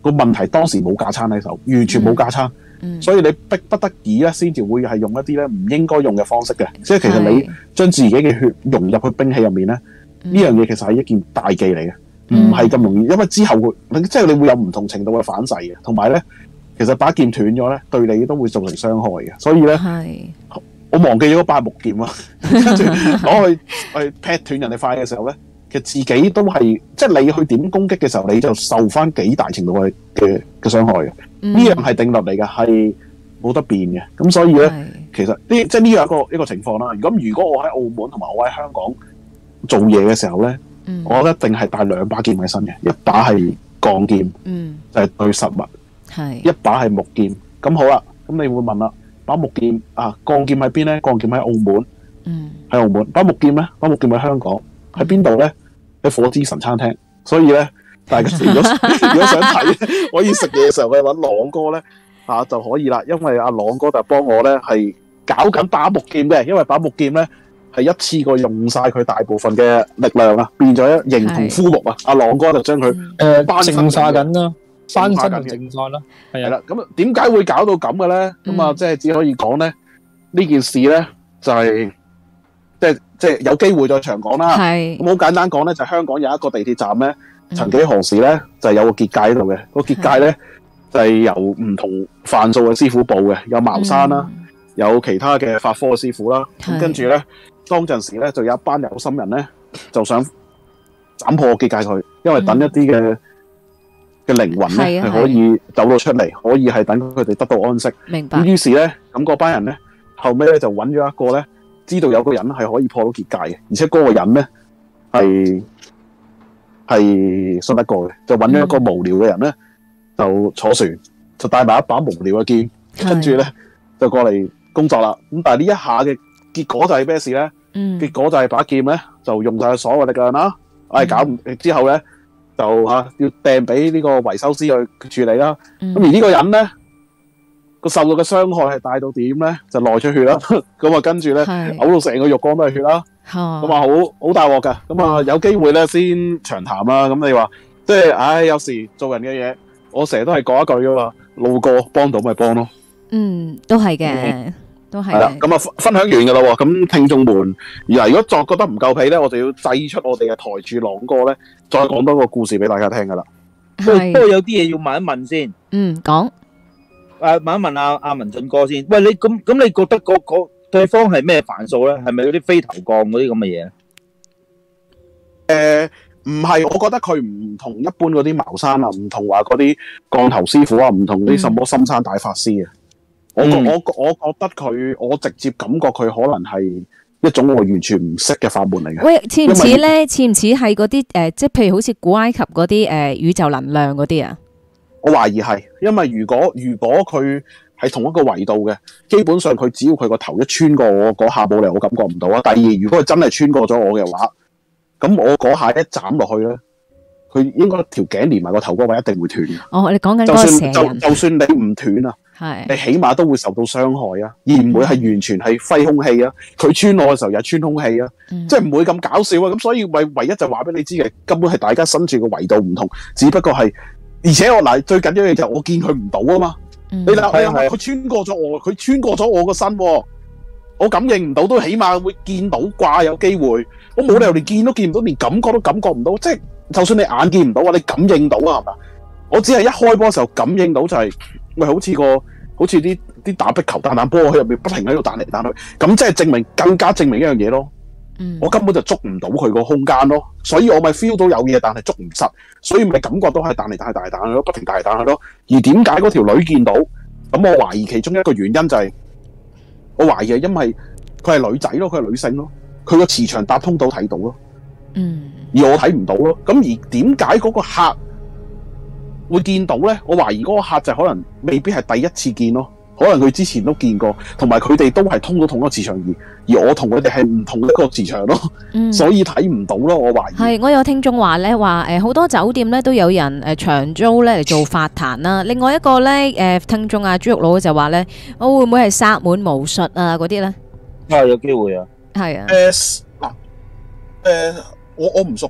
個問題當時冇架撐喺手，完全冇架撐，
嗯、
所以你逼不得已咧，先至會係用一啲咧唔應該用嘅方式嘅。即係其實你將自己嘅血融入去兵器入面咧，呢、嗯、樣嘢其實係一件大忌嚟嘅，唔係咁容易，因為之後會即係你會有唔同程度嘅反噬嘅，同埋咧，其實把劍斷咗咧，對你都會造成傷害嘅。所以咧，我忘記咗把木劍啊，跟住攞去去劈斷人哋塊嘅時候咧。其實自己都係，即係你去點攻擊嘅時候，你就受翻幾大程度嘅嘅嘅傷害嘅。呢、嗯、樣係定律嚟嘅，係冇得變嘅。咁所以咧，其實呢即係呢樣一個一個情況啦。咁如果我喺澳門同埋我喺香港做嘢嘅時候咧、嗯，我一定係帶兩把劍喺身嘅，一把係鋼劍，嗯、就係、是、對實物；一把係木劍。咁好啦，咁你會問啦，把木劍啊，鋼劍喺邊咧？鋼劍喺澳門，喺、嗯、澳門。把木劍咧？把木劍喺香港，喺邊度咧？喺火之神餐廳，所以咧，大家如果如果想睇，可以食嘢嘅時候，去揾朗哥咧啊就可以啦。因為阿朗哥就幫我咧係搞緊把木劍嘅，因為把木劍咧係一次過用晒佢大部分嘅力量啊，變咗一形同枯木啊。阿朗哥就將佢誒淨化緊啦，翻身就淨化啦，係啦。咁點解會搞到咁嘅咧？咁、嗯、啊，即係只可以講咧呢件事咧就係、是。即係即係有機會再長講啦。係咁好簡單講咧，就香港有一個地鐵站咧，曾幾何時咧就係有個結界喺度嘅。個結界咧就係由唔同範疇嘅師傅佈嘅，有茅山啦，有其他嘅法科嘅師傅啦。咁跟住咧，當陣時咧就有一班有心人咧，就想斬破結界佢，因為等一啲嘅嘅靈魂咧係可以走到出嚟，可以係等佢哋得到安息。明白。咁於是咧，咁嗰班人咧後尾咧就揾咗一個咧。知道有個人係可以破到結界嘅，而且嗰個人咧係係信得過嘅，就揾咗一個無聊嘅人咧，就坐船，就帶埋一把無聊嘅劍，跟住咧就過嚟工作啦。咁但係呢一下嘅結果就係咩事咧？嗯，結果就係把劍咧就用晒所有力量啦，唉、嗯，搞唔之後咧就嚇、啊、要掟俾呢個維修師去處理啦。咁、嗯、而呢個人咧。個受到嘅傷害係大到點咧？就內出血啦，咁啊跟住咧嘔到成個浴缸都係血啦，咁啊好好大鑊噶，咁啊有機會咧先長談啦。咁你話即係，唉，有時做人嘅嘢，我成日都係講一句噶嘛，路過幫到咪幫咯。嗯，都係嘅、嗯，都係。係啦，咁啊分享完噶啦，咁聽眾們，而如果再覺得唔夠皮咧，我就要製出我哋嘅台柱朗哥咧，再講多個故事俾大家聽噶啦。不過有啲嘢要問一問先。嗯，講。誒，問一問阿阿文進哥先。喂，你咁咁，你覺得嗰嗰對方係咩範數咧？係咪嗰啲飛頭降嗰啲咁嘅嘢？誒，唔係，我覺得佢唔同一般嗰啲茅山啊，唔同話嗰啲降頭師傅啊，唔同啲什麼深山大法師啊。我我我我覺得佢，我直接感覺佢可能係一種我完全唔識嘅法門嚟嘅。喂，似唔似咧？似唔似係嗰啲誒？即係譬如好似古埃及嗰啲誒宇宙能量嗰啲啊？我懷疑係，因為如果如果佢係同一個維度嘅，基本上佢只要佢個頭一穿過我嗰下冇嚟，我感覺唔到啊。第二，如果佢真係穿過咗我嘅話，咁我嗰下一斬落去咧，佢應該條頸連埋個頭嗰位一定會斷嘅。哦，你講緊嗰個蛇人。就算就就算你唔斷啊，係你起碼都會受到傷害啊，而唔會係完全係揮空氣啊。佢穿我嘅時候又穿空氣啊，嗯、即係唔會咁搞笑啊。咁所以唯唯一就話俾你知嘅，根本係大家身處嘅維度唔同，只不過係。而且我嗱最緊要嘅就係我見佢唔到啊嘛，嗯、你睇下佢穿過咗我，佢穿過咗我個身，我感應唔到都起碼會見到啩，有機會。我冇理由連見都見唔到，連感覺都感覺唔到，即係就算你眼見唔到啊，你感應到啊係嘛？我只係一開波嘅時候感應到就係、是，喂好似個好似啲啲打壁球彈彈波喺入面不停喺度彈嚟彈去，咁即係證明更加證明一樣嘢咯。嗯、我根本就捉唔到佢個空間咯，所以我咪 feel 到有嘢，但係捉唔實，所以咪感覺到係彈嚟彈去彈嚟彈去咯，不停彈嚟彈去咯。而點解嗰條女見到？咁我懷疑其中一個原因就係、是，我懷疑係因為佢係女仔咯，佢係女性咯，佢個磁場搭通到睇到咯。嗯，而我睇唔到咯。咁而點解嗰個客會見到咧？我懷疑嗰個客就可能未必係第一次見咯。可能佢之前都見過，同埋佢哋都係通到同一個磁場，而而我同佢哋係唔同一個磁場咯，嗯、所以睇唔到咯。我懷疑係我有聽眾話咧，話誒好多酒店咧都有人誒長租咧嚟做法壇啦。另外一個咧誒聽眾啊，豬肉佬就話咧，我會唔會係薩滿巫術啊嗰啲咧？啊，有機會啊。係啊。誒嗱誒，我我唔熟嘅。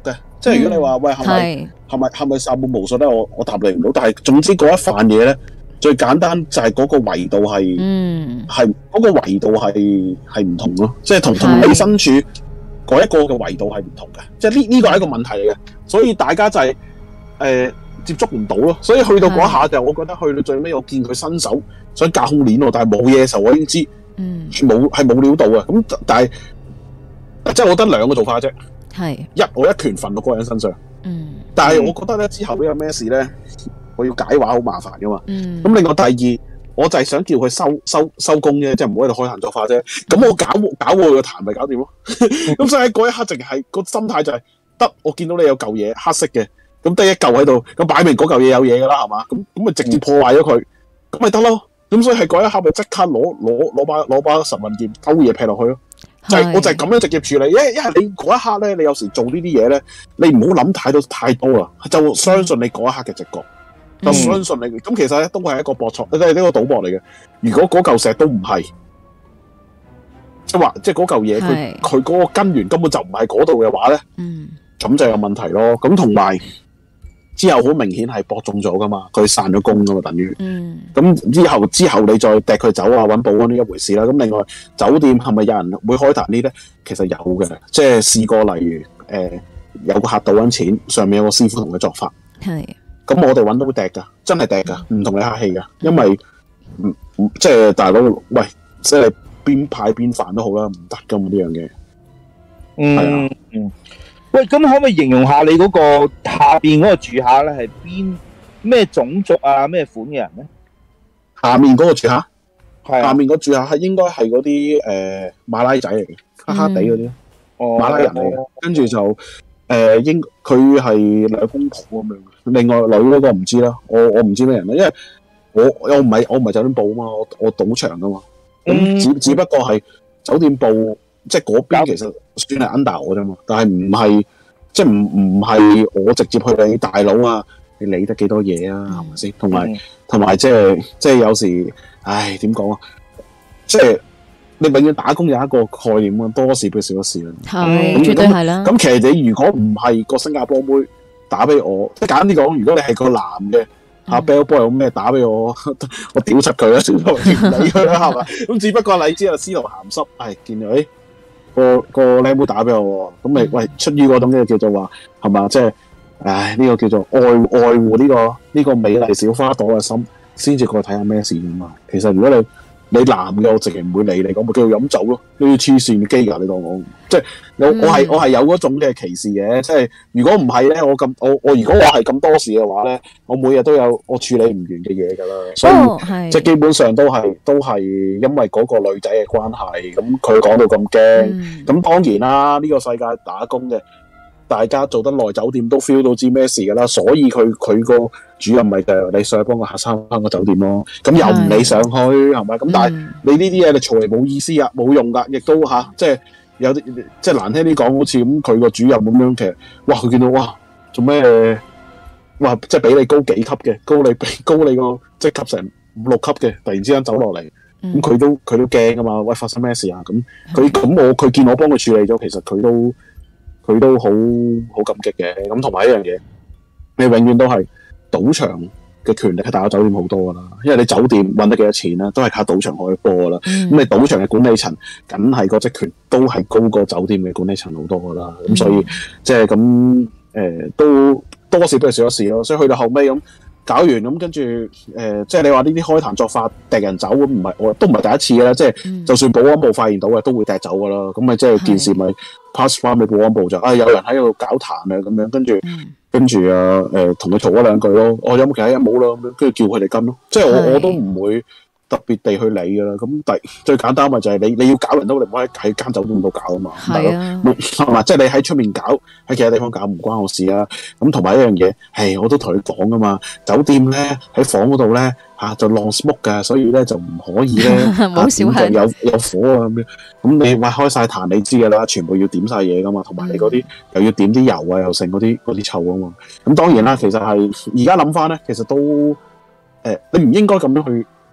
即係如果你話喂係咪係咪係咪薩滿巫術咧？我我答你唔到。但係總之嗰一飯嘢咧，最簡單就係嗰個維度係，嗯，係嗰個維度係係唔同咯。即係同同你身處嗰一個嘅維度係唔同嘅。即係呢呢個係一個問題嚟嘅。所以大家就係、是、誒、呃、接觸唔到咯。所以去到嗰下就我覺得去到最尾，我見佢伸手想隔空鏈喎，但係冇嘢嘅時候，我已經知嗯冇係冇料到嘅。咁但係即係我得兩個做法啫。係一我一拳瞓到嗰個人身上，嗯，但係我覺得咧之後呢有咩事咧，我要解話好麻煩噶嘛，嗯，咁另外第二，我就係想叫佢收收收工啫，即係唔好喺度開壇作法啫，咁我搞搞我個壇咪搞掂咯，咁所以喺嗰一刻淨係個心態就係、是、得，我見到你有嚿嘢黑色嘅，咁得一嚿喺度，咁擺明嗰嚿嘢有嘢噶啦，係嘛，咁咁咪直接破壞咗佢，咁咪得咯，咁所以係嗰一刻咪即刻攞攞攞把攞把神運劍勾嘢劈落去咯。就係、是、我就係咁樣直接處理，因為因為你嗰一刻咧，你有時做呢啲嘢咧，你唔好諗太多太多啦，就相信你嗰一刻嘅直覺，就相信你。咁、嗯、其實咧都係一個博錯，即係呢個賭博嚟嘅。如果嗰嚿石都唔係，即係話即係嗰嚿嘢，佢佢嗰個根源根本就唔係嗰度嘅話咧，嗯，咁就有問題咯。咁同埋之後好明顯係博中咗噶嘛，佢散咗功噶嘛，等於，嗯，咁之後之後你再掟佢走啊，揾保安呢一回事啦。咁另外酒店係咪有人會開壇呢咧？其實有嘅，即係試過，例如誒、呃、有個客賭緊錢，上面有個師傅同佢作法，係，咁我哋揾到掟噶，真係掟噶，唔同你客氣噶，因為唔即係大佬，喂，即係邊派邊飯都好啦，唔得噶嘛呢樣嘢，
嗯，係啊，嗯。喂，咁可唔可以形容下你嗰個下邊嗰個住客咧係邊咩種族啊咩款嘅人咧？
下面嗰個住客，係、啊、下面個住客係應該係嗰啲誒馬拉仔嚟嘅，黑黑地嗰啲，哦，馬拉人嚟嘅。跟住就誒、呃、應佢係兩公婆咁樣。另外女嗰個唔知啦，我我唔知咩人啦，因為我我唔係我唔係酒店部啊嘛，我我賭場噶嘛，咁、嗯、只只不過係酒店部。即係嗰邊其實算係 under 我啫嘛，但係唔係即係唔唔係我直接去理大佬啊，你理得幾多嘢啊，係咪先？同埋同埋即係即係有時，唉點講啊？即係你永遠打工有一個概念啊，多事不如少一事啦。係，絕對係啦。咁其實你如果唔係個新加坡妹打俾我，即係簡單啲講，如果你係個男嘅。阿 Bell Boy 有咩打俾我，我屌柒佢啦，算啦，唔理佢啦，係嘛？咁只不過你知啊，司徒鹹濕，係見到誒個個靚妹打俾我，咁咪喂出於嗰種嘅叫做話係嘛？即係唉呢個叫做愛愛護呢個呢個美麗小花朵嘅心，先至過去睇下咩事㗎嘛。其實如果你你男嘅，我直情唔會理你，我咪叫佢飲酒咯。呢啲黐線嘅機㗎，你當我即係我我係我係有嗰種嘅歧視嘅。即係如果唔係咧，我咁我我如果我係咁多事嘅話咧，我每日都有我處理唔完嘅嘢㗎啦。所以、哦、即係基本上都係都係因為嗰個女仔嘅關係，咁佢講到咁驚，咁、嗯、當然啦，呢、呢個世界打工嘅。大家做得耐酒店都 feel 到知咩事㗎啦，所以佢佢個主任咪就係你上去幫個客生翻個酒店咯，咁又唔理上去係咪？咁但係你呢啲嘢你嘈嚟冇意思啊，冇用㗎，亦都嚇、啊，即係有啲即係難聽啲講，好似咁佢個主任咁樣，其實哇佢見到哇做咩哇即係比你高幾級嘅，高你比高你個即係級成五六級嘅，突然之間走落嚟，咁、嗯、佢都佢都驚㗎嘛，喂發生咩事啊？咁佢咁我佢見我幫佢處理咗，其實佢都。佢都好好感激嘅，咁同埋一樣嘢，你永遠都係賭場嘅權力係大過酒店好多噶啦，因為你酒店揾得幾多錢啦，都係靠賭場開波噶啦。咁、嗯、你賭場嘅管理層，梗係個職權都係高過酒店嘅管理層好多噶啦。咁、嗯、所以即係咁誒，都多事不如少一事咯。所以去到後尾咁搞完咁，跟住誒，即係你話呢啲開壇作法掟人走咁，唔係我都唔係第一次嘅啦。即係、嗯、就算保安部發現到嘅，都會掟走噶啦。咁咪即係件事咪 pass 翻俾保安部就啊，有人喺度搞壇啊咁樣，跟住、嗯、跟住啊誒，同佢嘈咗兩句咯。我有冇其他嘢冇啦咁樣，跟住叫佢哋跟咯。即係我我都唔會特別地去理噶啦。咁第最簡單咪就係你你要搞人都，你唔可以喺間酒店度搞啊嘛。係啊，係嘛？即係你喺出面搞，喺其他地方搞唔關我事啊。咁同埋一樣嘢，係我都同佢講噶嘛。酒店咧喺房嗰度咧嚇就浪 smoke 㗎，所以咧就唔可以咧冇小係有有火啊咁樣。咁你話開晒壇，你知㗎啦，全部要點晒嘢噶嘛。同埋你嗰啲又要點啲油啊，又剩嗰啲嗰啲臭啊嘛。咁當然啦，其實係而家諗翻咧，其實都誒、呃、你唔應該咁樣去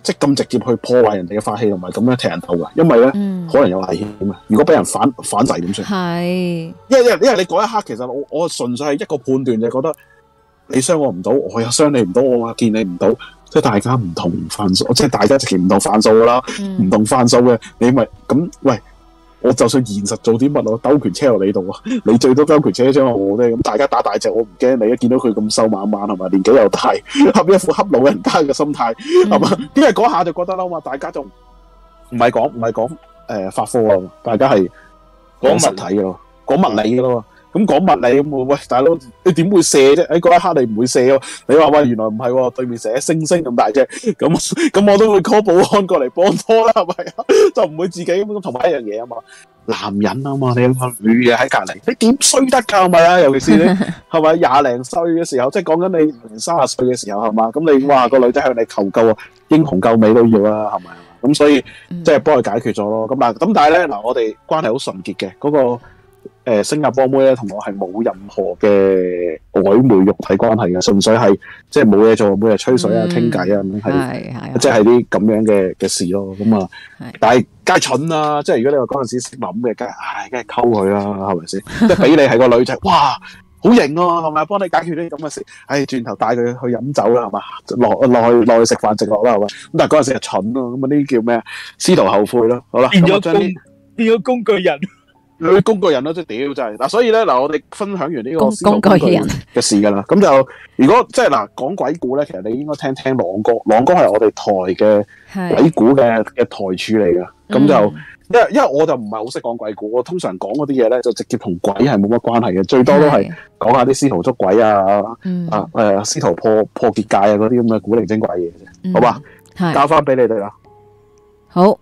即係咁直接去破壞人哋嘅法器，同埋咁樣踢人頭㗎，因為咧、
嗯、
可能有危險啊！如果俾人反反制點算？
係，
因為因為因為你嗰一刻其實我我純粹係一個判斷，就係覺得你傷我唔到，我又傷你唔到，我話見你唔到，即係大家唔同範數，即係大家直情唔同範數㗎啦，唔、嗯、同範數嘅，你咪咁喂。我就算現實做啲乜，我兜拳車落你度啊！你最多兜拳車將我啫，咁大家打大隻，我唔驚你。一見到佢咁瘦蜢蜢係嘛，年紀又大，恰一副恰老人家嘅心態係嘛？因為嗰下就覺得啦嘛，大家就唔係講唔係講誒法科啊，大家係講實體嘅咯，講物理嘅咯。咁講物理咁，喂大佬，你點會射啫？喺嗰一刻你唔會射喎。你話喂，原來唔係喎，對面射星星咁大隻，咁咁我都會 call 保安過嚟幫拖啦，係咪啊？就唔會自己咁同埋一樣嘢啊嘛。男人啊嘛，你個女嘅喺隔離，你點衰得㗎？係咪啊？尤其是你係咪廿零歲嘅時候，即係講緊你三十歲嘅時候係嘛？咁你哇個女仔向你求救啊，英雄救美都要啦，係咪啊？咁所以即係幫佢解決咗咯。咁嗱，咁但係咧嗱，我哋關係好純潔嘅嗰個。誒、呃，新加坡妹咧同我係冇任何嘅曖昧肉體關係嘅，純粹係即係冇嘢做，每日吹水啊、傾偈啊咁係，即係啲咁樣嘅嘅事咯。咁啊，但係梗係蠢啦！即係如果你話嗰陣時識諗嘅，梗係唉，梗係溝佢啦，係咪先？即係俾你係個女仔，哇，好型啊，係咪？幫你解決啲咁嘅事，唉，轉頭帶佢去飲酒啦，係嘛？落落去落去食飯直落啦，係咪？咁但係嗰陣時係蠢咯，咁啊呢啲叫咩？司徒後悔咯，好啦，
變咗工，變咗工具人。
佢工具人咯，即係屌真係嗱，所以咧嗱，我哋分享完呢個
工具人
嘅事噶啦，咁就如果即係嗱講鬼故咧，其實你應該聽聽朗哥，朗哥係我哋台嘅鬼故嘅嘅台柱嚟噶，咁、嗯、就因為因為我就唔係好識講鬼故，我通常講嗰啲嘢咧就直接同鬼係冇乜關係嘅，最多都係講下啲司徒捉鬼啊，嗯、啊誒司徒破破結界啊嗰啲咁嘅古靈精怪嘢啫、嗯，好吧？交翻俾你哋啦。
好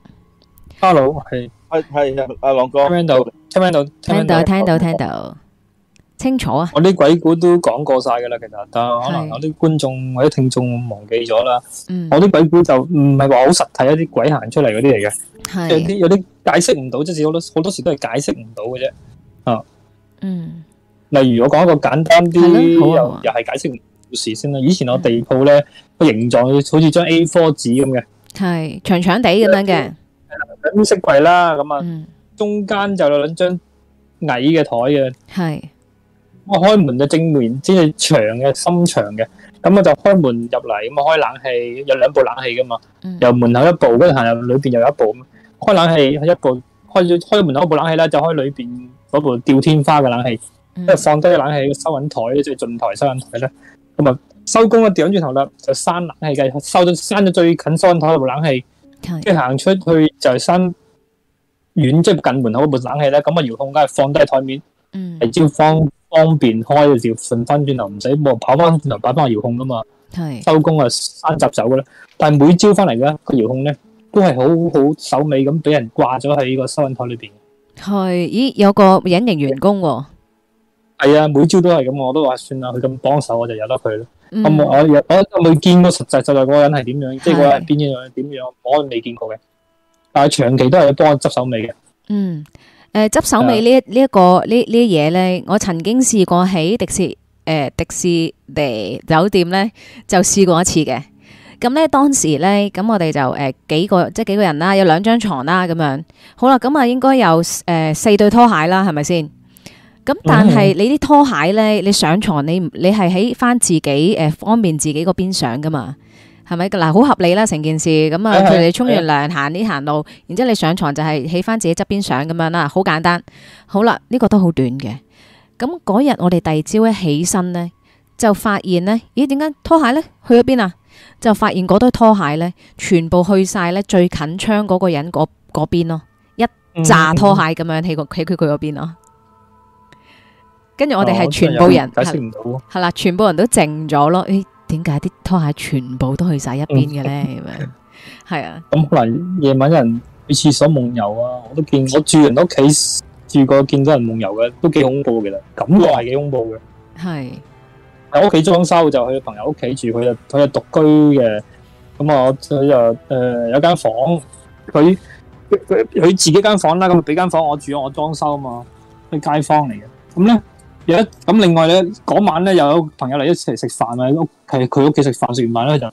，Hello 係。
係係阿朗哥，
聽到聽到
聽到聽到聽到清楚啊！
我啲鬼故都講過晒噶啦，其實但係可能有啲觀眾或者聽眾忘記咗啦。我啲鬼故就唔係話好實體，一啲鬼行出嚟嗰啲嚟嘅，有啲有啲解釋唔到，即係好多好多時都係解釋唔到嘅啫。啊，嗯，例如我講一個簡單啲，又又係解釋唔到故事先啦。以前我地鋪咧個形狀好似張 A 四 紙咁嘅，
係長長地咁樣嘅。
咁色櫃啦，咁啊，中間就有兩張矮嘅台嘅，係，我開門就正面，先係長嘅，深長嘅，咁我就開門入嚟，咁啊開冷氣，有兩部冷氣噶嘛，由門口一部，跟住行入裏邊又有一部，開冷氣一部，開咗開門口一部冷氣咧，就開裏邊嗰部吊天花嘅冷氣，即係放低個冷氣收銀台，即係進台收銀台咧，咁啊收工啊掉轉頭啦，就閂冷氣嘅，收咗閂咗最近收銀台嗰部冷氣。即係行出去就係閂遠，即係近門口嗰部冷氣咧，咁啊遙控梗係放低喺台面，係只要方方便開就要順翻轉頭，唔使冇跑翻轉頭擺翻個遙控噶嘛。係收工啊閂閘走噶啦，但係每朝翻嚟咧個遙控咧都係好好手尾咁俾人掛咗喺個收銀台裏邊。係，
咦有個隱形員工喎。
係啊，每朝都係咁，我都話算啦，佢咁幫手我就由得佢咯。咁、嗯、我我我未見過實際實在嗰個人係點樣，即係嗰個人邊樣點樣，我未見過嘅。但係長期都係幫我執手尾嘅。嗯，誒、呃，執手尾呢一呢一個呢呢啲嘢咧，
我曾經試過喺迪士誒、呃、迪士尼酒店咧就試過一次嘅。咁咧當時咧，咁我哋就誒、呃、幾個即係幾個人啦，有兩張床啦咁樣。好啦，咁啊應該有誒、呃、四對拖鞋啦，係咪先？咁但係你啲拖鞋咧，你上床你你係喺翻自己誒、呃、方便自己嗰邊上噶嘛，係咪？嗱，好合理啦成件事。咁啊，佢哋沖完涼行呢行路，然之後你上床就係喺翻自己側邊上咁樣啦，好簡單。好啦，呢、呢個都好短嘅。咁嗰日我哋第二朝一起身咧，就發現咧，咦？點解拖鞋咧去咗邊啊？就發現嗰堆拖鞋咧，全部去晒咧最近窗嗰個人嗰嗰邊咯，一紮拖鞋咁樣喺個喺佢佢嗰邊咯。跟住我哋係全部人
解釋唔到，
係啦，全部人都靜咗咯。誒，點解啲拖鞋全部都去晒一邊嘅咧？咁樣係啊。咁可能夜晚有人去廁所夢遊啊！我都見我住人屋企住過，見到人夢遊嘅，都幾恐怖嘅啦。感覺係幾恐怖嘅。係喺屋企裝修就去朋友屋企住，佢就佢係獨居嘅。咁啊，佢就誒有間房，佢佢佢自己間房啦。咁俾間房我住，我裝修啊嘛，啲街坊嚟嘅。咁咧。咁另外咧，嗰晚咧又有朋友嚟一齊食飯啊，屋企佢屋企食飯，食完飯咧就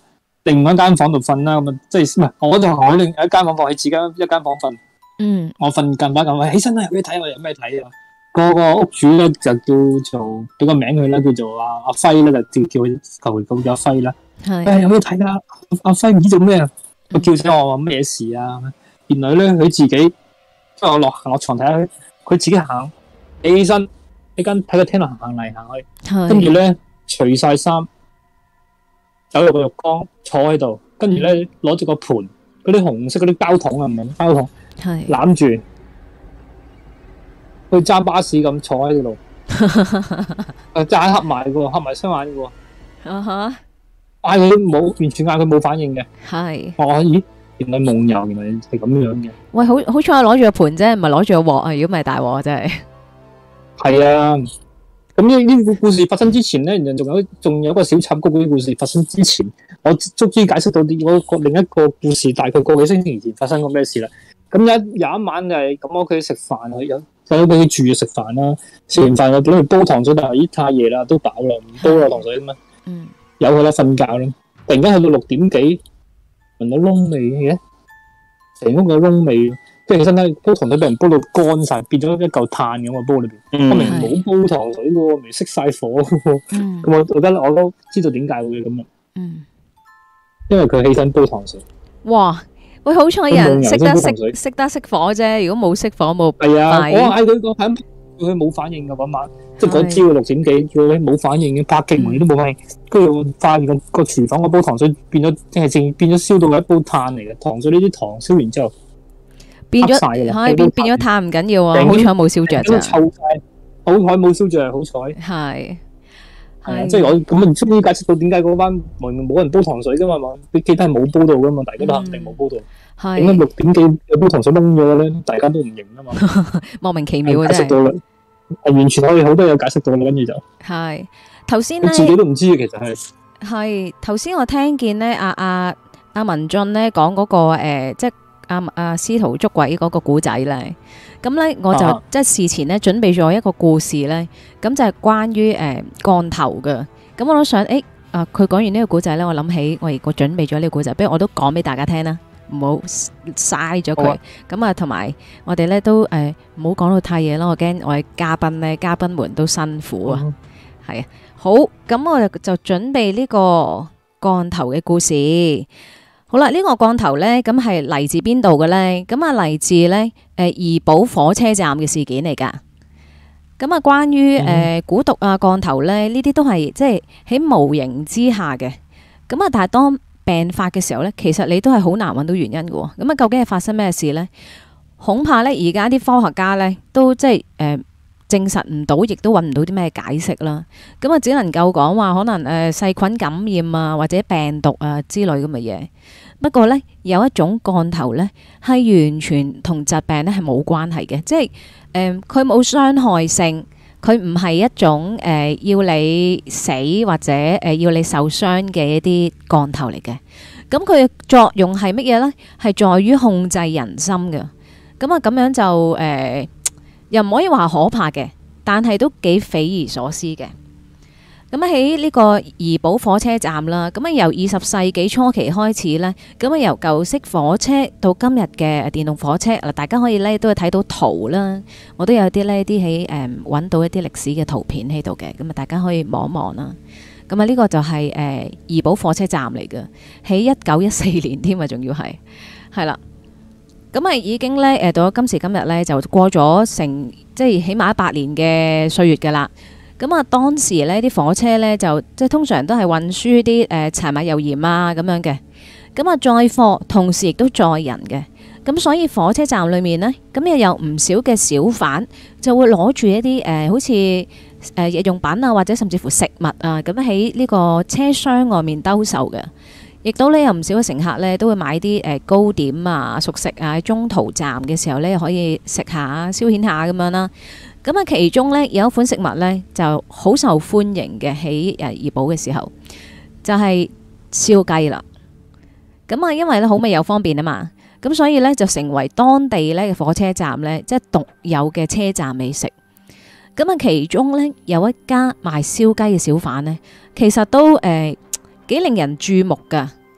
另外一間房度瞓啦，咁啊，即係唔係？我就喺另一間房放喺自己一間房瞓。
嗯，
我瞓近排咁，起身啦，有咩睇？我有咩睇啊？個個屋主咧就叫做俾個名佢啦，叫做阿阿輝啦，就叫叫佢求其叫阿輝啦。
係，
誒有咩睇啊？阿輝唔知做咩啊？佢叫醒我話咩事啊？原來咧佢自己，即係我落行落床睇下，佢自己行起身喺間喺個廳度行行嚟行去，跟住咧除晒衫，走入個浴缸坐喺度，跟住咧攞住個盤嗰啲紅色嗰啲膠桶啊，唔係膠桶，攬住。去揸巴士咁坐喺度，誒揸黑埋嘅，黑埋雙眼嘅，
啊哈，
嗌佢冇，完全嗌佢冇反應嘅，
係，
我話咦，原來夢遊，原來係咁樣嘅。
喂，好好彩我攞住個盤啫，唔係攞住個鑊啊！如果唔係大鑊真係。係
啊，咁呢呢個故事發生之前咧，仲有仲有一個小插曲。嗰啲故事發生之前，我終於解釋到啲我個另一個故事，大概個幾星期前發生過咩事啦。咁有有一晚就係咁，我屋企食飯啊，有有俾佢住食飯啦。食完飯我本嚟煲糖水，但係咦太夜啦，都飽啦，唔煲啦糖水咁啊。嗯。有佢啦，瞓覺啦。突然間去到六點幾，聞到燶味嘅，成屋嘅燶味。跟住起身咧，煲糖水俾人煲到乾晒，變咗一嚿炭咁啊！煲裏邊，嗯、我明冇煲糖水嘅，明熄晒火。咁、嗯、我我覺得我都知道點解會咁啊。嗯。因為佢起身煲糖水。哇！
喂，好彩有人識得熄熄得熄火啫，如果冇熄火冇。
係啊，我嗌佢個響，佢冇反應噶嗰晚，即係嗰朝六點幾，叫佢冇反應嘅，拍極門都冇反應。跟住我發現個個廚房個煲糖水變咗，即係正變咗燒到一煲炭嚟嘅。糖水呢啲糖燒完之後
變咗，係變變咗炭唔緊要啊，好彩冇燒着咋。
臭晒，好彩冇燒着，好彩。
係。
係即係我咁啊，終於解釋到點解嗰班明明冇人煲糖水噶嘛嘛，你記得係冇煲到噶嘛，大家都肯定冇煲到。係點解六點幾有煲糖水燶咗咧？大家都唔認啊嘛，
莫名其妙嘅
解釋到啦，係完全可以好多嘢解釋到啦，跟住就
係頭先咧，
自己都唔知嘅其實係
係頭先我聽見咧，阿阿阿文進咧講嗰個誒，即係阿阿司徒捉鬼嗰個古仔咧。咁咧，我就、啊、即係事前咧準備咗一個故事咧，咁就係關於誒降頭嘅。咁我都想，誒啊，佢講完呢個古仔咧，我諗起我我準備咗呢個古仔，不如我都講俾大家聽啦，唔好嘥咗佢。咁啊，同埋我哋咧都誒唔好講到太夜啦，我驚我嘅嘉賓咧，嘉賓們都辛苦啊。係、嗯、啊，好，咁我就就準備呢個降頭嘅故事。好啦，呢、這個降頭咧，咁係嚟自邊度嘅咧？咁啊嚟自咧，誒怡保火車站嘅事件嚟噶。咁啊，關於誒、呃、蠱毒啊降頭咧，呢啲都係即係喺無形之下嘅。咁啊，但係當病發嘅時候咧，其實你都係好難揾到原因嘅。咁啊，究竟係發生咩事咧？恐怕咧，而家啲科學家咧都即係誒、呃、證實唔到，亦都揾唔到啲咩解釋啦。咁啊，只能夠講話可能誒、呃、細菌感染啊，或者病毒啊之類咁嘅嘢。不過咧，有一種降頭咧係完全同疾病咧係冇關係嘅，即係誒佢冇傷害性，佢唔係一種誒、呃、要你死或者誒、呃、要你受傷嘅一啲降頭嚟嘅。咁佢嘅作用係乜嘢咧？係在於控制人心嘅。咁啊咁樣就誒、呃、又唔可以話可怕嘅，但係都幾匪夷所思嘅。咁喺呢個怡保火車站啦，咁啊由二十世紀初期開始咧，咁啊由舊式火車到今日嘅電動火車，嗱大家可以咧都會睇到圖啦，我都有啲呢啲喺誒揾到一啲歷史嘅圖片喺度嘅，咁啊大家可以望一望啦。咁啊呢個就係誒怡保火車站嚟嘅，喺一九一四年添啊，仲要係係啦。咁啊已經咧誒到咗今時今日咧就過咗成即係起碼一百年嘅歲月噶啦。咁啊，當時呢啲火車呢，就即係通常都係運輸啲誒柴米油鹽啊咁樣嘅。咁啊，載貨同時亦都載人嘅。咁所以火車站裏面呢，咁又有唔少嘅小販就會攞住一啲誒、呃，好似誒日用品啊，或者甚至乎食物啊，咁喺呢個車廂外面兜售嘅。亦都呢，有唔少嘅乘客呢，都會買啲誒糕點啊、熟食啊，喺中途站嘅時候呢，可以食下消遣下咁樣啦。咁啊，其中咧有一款食物咧就好受歡迎嘅，喺誒怡保嘅時候，就係燒雞啦。咁啊，因為咧好味又方便啊嘛，咁所以咧就成為當地咧嘅火車站咧即係獨有嘅車站美食。咁啊，其中咧有一家賣燒雞嘅小販咧，其實都誒幾令人注目噶。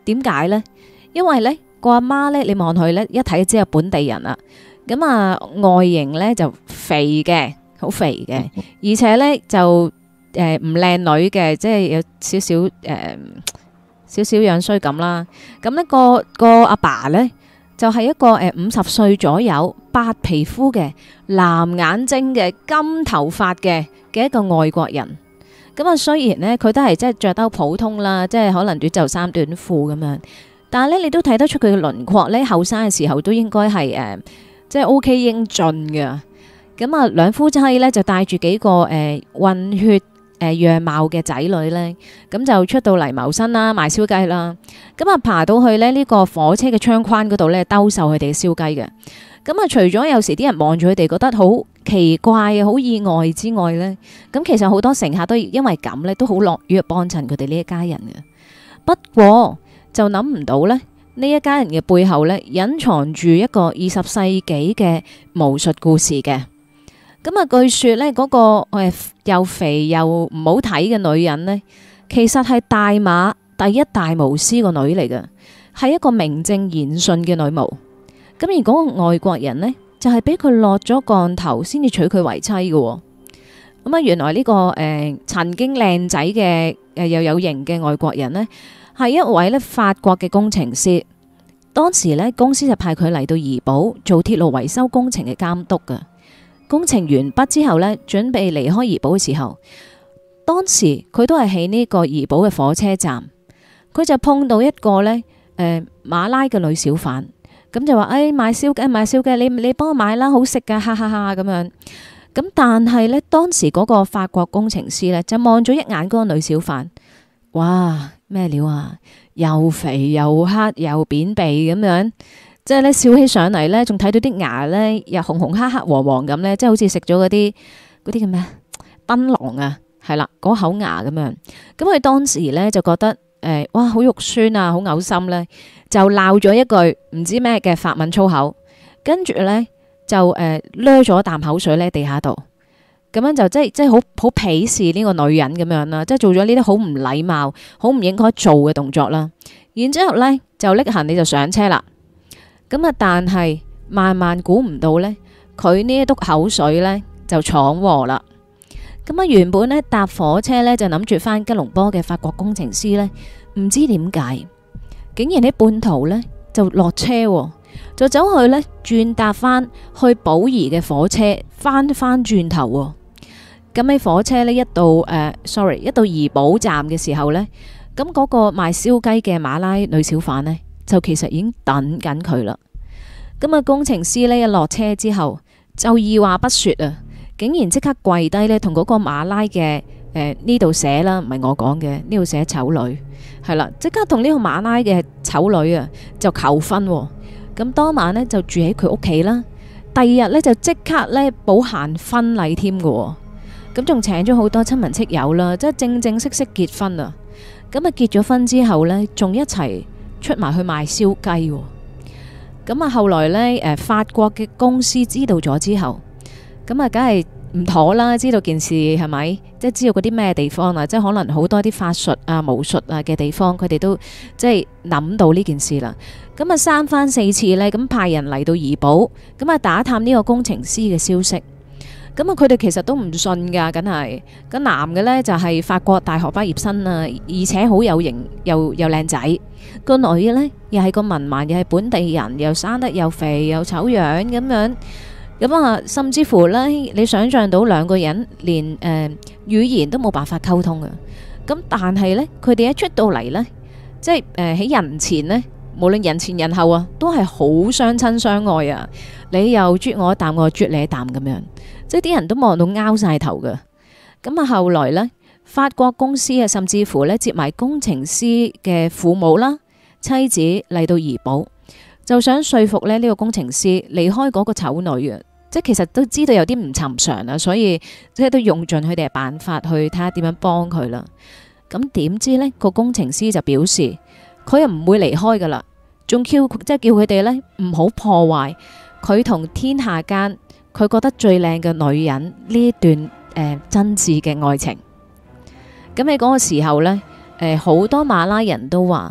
點解呢？因為呢個阿媽呢，你望佢呢，一睇就知係本地人啦。咁啊外形呢就肥嘅，好肥嘅，而且呢就誒唔靚女嘅，即係有少少誒少少樣衰咁啦。咁呢個個阿爸呢，就係一個誒五十歲左右，白皮膚嘅，藍眼睛嘅，金頭髮嘅嘅一個外國人。咁啊，雖然呢，佢都係即係着得普通啦，即係可能短袖衫、短褲咁樣，但係咧你都睇得出佢嘅輪廓呢，後生嘅時候都應該係誒即係 O K 英俊嘅。咁啊，兩夫妻呢，就帶住幾個誒混血誒樣貌嘅仔女呢，咁就出到嚟謀生啦，賣燒雞啦。咁啊，爬到去呢呢個火車嘅窗框嗰度呢，兜售佢哋嘅燒雞嘅。咁啊，除咗有時啲人望住佢哋覺得好奇怪啊、好意外之外呢，咁其實好多乘客都因為咁呢，都好樂於幫襯佢哋呢一家人嘅。不過就諗唔到呢，呢一家人嘅背後呢，隱藏住一個二十世紀嘅巫術故事嘅。咁啊，據說呢，嗰、嗰個誒又肥又唔好睇嘅女人呢，其實係大馬第一大巫師個女嚟嘅，係一個名正言順嘅女巫。咁而嗰個外國人呢，就係俾佢落咗降頭先至娶佢為妻嘅。咁啊，原來呢、呢個誒、呃、曾經靚仔嘅誒又有型嘅外國人呢，係一位咧法國嘅工程師。當時呢，公司就派佢嚟到怡保做鐵路維修工程嘅監督嘅。工程完畢之後呢，準備離開怡保嘅時候，當時佢都係喺呢個怡保嘅火車站，佢就碰到一個呢誒、呃、馬拉嘅女小販。咁就話誒、哎、買燒雞買燒雞，你你幫我買啦，好食噶，哈哈哈咁樣。咁但係呢，當時嗰個法國工程師呢，就望咗一眼嗰個女小販，哇咩料啊，又肥又黑又扁鼻咁樣，即係呢笑起上嚟呢，仲睇到啲牙呢，又紅紅黑黑黃黃咁呢，即係好似食咗嗰啲嗰啲叫咩檳榔啊，係啦嗰口牙咁樣。咁佢當時呢，就覺得誒、呃、哇好肉酸啊，好嘔心呢。就鬧咗一句唔知咩嘅法文粗口，跟住呢，就誒掠咗啖口水呢地下度，咁樣就即係即係好好鄙視呢個女人咁樣啦，即係做咗呢啲好唔禮貌、好唔應該做嘅動作啦。然之後呢就拎行李就上車啦。咁啊，但係萬萬估唔到呢，佢呢一督口水呢就闖禍啦。咁啊，原本呢搭火車呢，就諗住翻吉隆坡嘅法國工程師呢，唔知點解。竟然喺半途呢，就落車，就走去呢轉搭翻去寶儀嘅火車，翻翻轉頭。咁喺火車呢，一到誒、呃、，sorry， 一到怡保站嘅時候呢，咁嗰個賣燒雞嘅馬拉女小販呢，就其實已經等緊佢啦。咁啊，工程師呢，一落車之後，就二話不說啊，竟然即刻跪低呢，同嗰個馬拉嘅誒呢度寫啦，唔係我講嘅，呢度寫醜女。係啦，即刻同呢個馬拉嘅醜女啊就求婚。咁當晚呢，就住喺佢屋企啦。第二日呢，就即刻呢補辦婚禮添嘅。咁仲請咗好多親朋戚友啦，即係正正式式結婚啊。咁啊結咗婚之後呢，仲一齊出埋去賣燒雞。咁啊後來呢，誒法國嘅公司知道咗之後，咁啊梗係唔妥啦，知道件事係咪？即係知道嗰啲咩地方啊，即係可能好多啲法術啊、巫術啊嘅地方，佢哋都即係諗到呢件事啦。咁啊三番四次呢，咁派人嚟到怡保，咁啊打探呢個工程師嘅消息。咁啊佢哋其實都唔信噶，梗係。咁男嘅呢，就係法國大學畢業生啊，而且好有型又又靚仔。個女嘅呢，又係個文盲，又係本地人，又生得又肥又醜樣咁樣。咁啊，甚至乎呢，你想象到兩個人連誒、呃、語言都冇辦法溝通嘅。咁但係呢，佢哋一出到嚟呢，即係誒喺人前呢，無論人前人後啊，都係好相親相愛啊！你又啜我一啖，我又啜你一啖咁樣，即係啲人都望到拗晒頭嘅。咁啊，後來呢，法國公司啊，甚至乎呢，接埋工程師嘅父母啦、妻子嚟到怡保，就想說服咧呢個工程師離開嗰個醜女啊！即係其實都知道有啲唔尋常啊，所以即係都用盡佢哋嘅辦法去睇下點樣幫佢啦。咁點知呢個工程師就表示佢又唔會離開噶啦，仲叫即係叫佢哋呢唔好破壞佢同天下間佢覺得最靚嘅女人呢段誒、呃、真摯嘅愛情。咁喺嗰個時候呢，誒、呃、好多馬拉人都話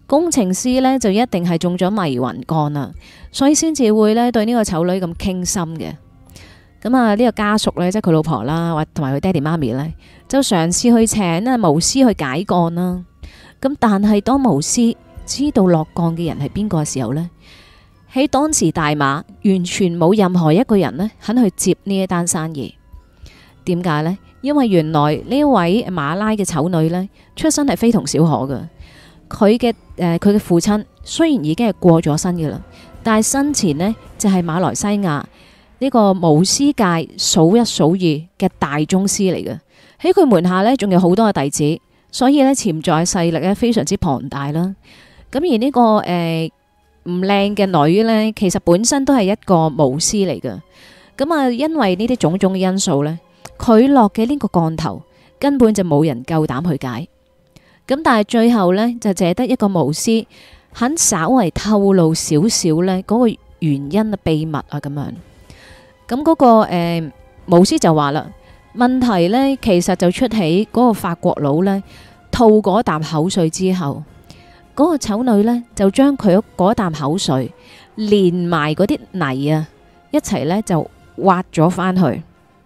工程師呢就一定係中咗迷魂桿啦，所以先至會呢對呢個醜女咁傾心嘅。咁啊，呢個家屬呢，即係佢老婆啦，或同埋佢爹哋媽咪呢，就嘗試去請啊巫師去解桿啦。咁但係當巫師知道落降嘅人係邊個嘅時候呢，喺當時大馬完全冇任何一個人呢肯去接呢一單生意。點解呢？因為原來呢位馬拉嘅醜女呢，出身係非同小可嘅。佢嘅誒佢嘅父親雖然已經係過咗身嘅啦，但係生前呢，就係馬來西亞呢個巫師界數一數二嘅大宗師嚟嘅。喺佢門下呢，仲有好多嘅弟子，所以呢，潛在勢力呢非常之龐大啦。咁而呢、這個誒唔靚嘅女呢，其實本身都係一個巫師嚟嘅。咁啊，因為呢啲種種嘅因素呢，佢落嘅呢個降頭根本就冇人夠膽去解。咁但係最後呢，就淨係得一個巫師肯稍為透露少少呢嗰個原因啊秘密啊咁樣。咁嗰、那個誒、呃、巫師就話啦，問題呢其實就出喺嗰個法國佬呢吐嗰啖口水之後，嗰、那個醜女呢就將佢嗰啖口水連埋嗰啲泥啊一齊呢就挖咗翻去。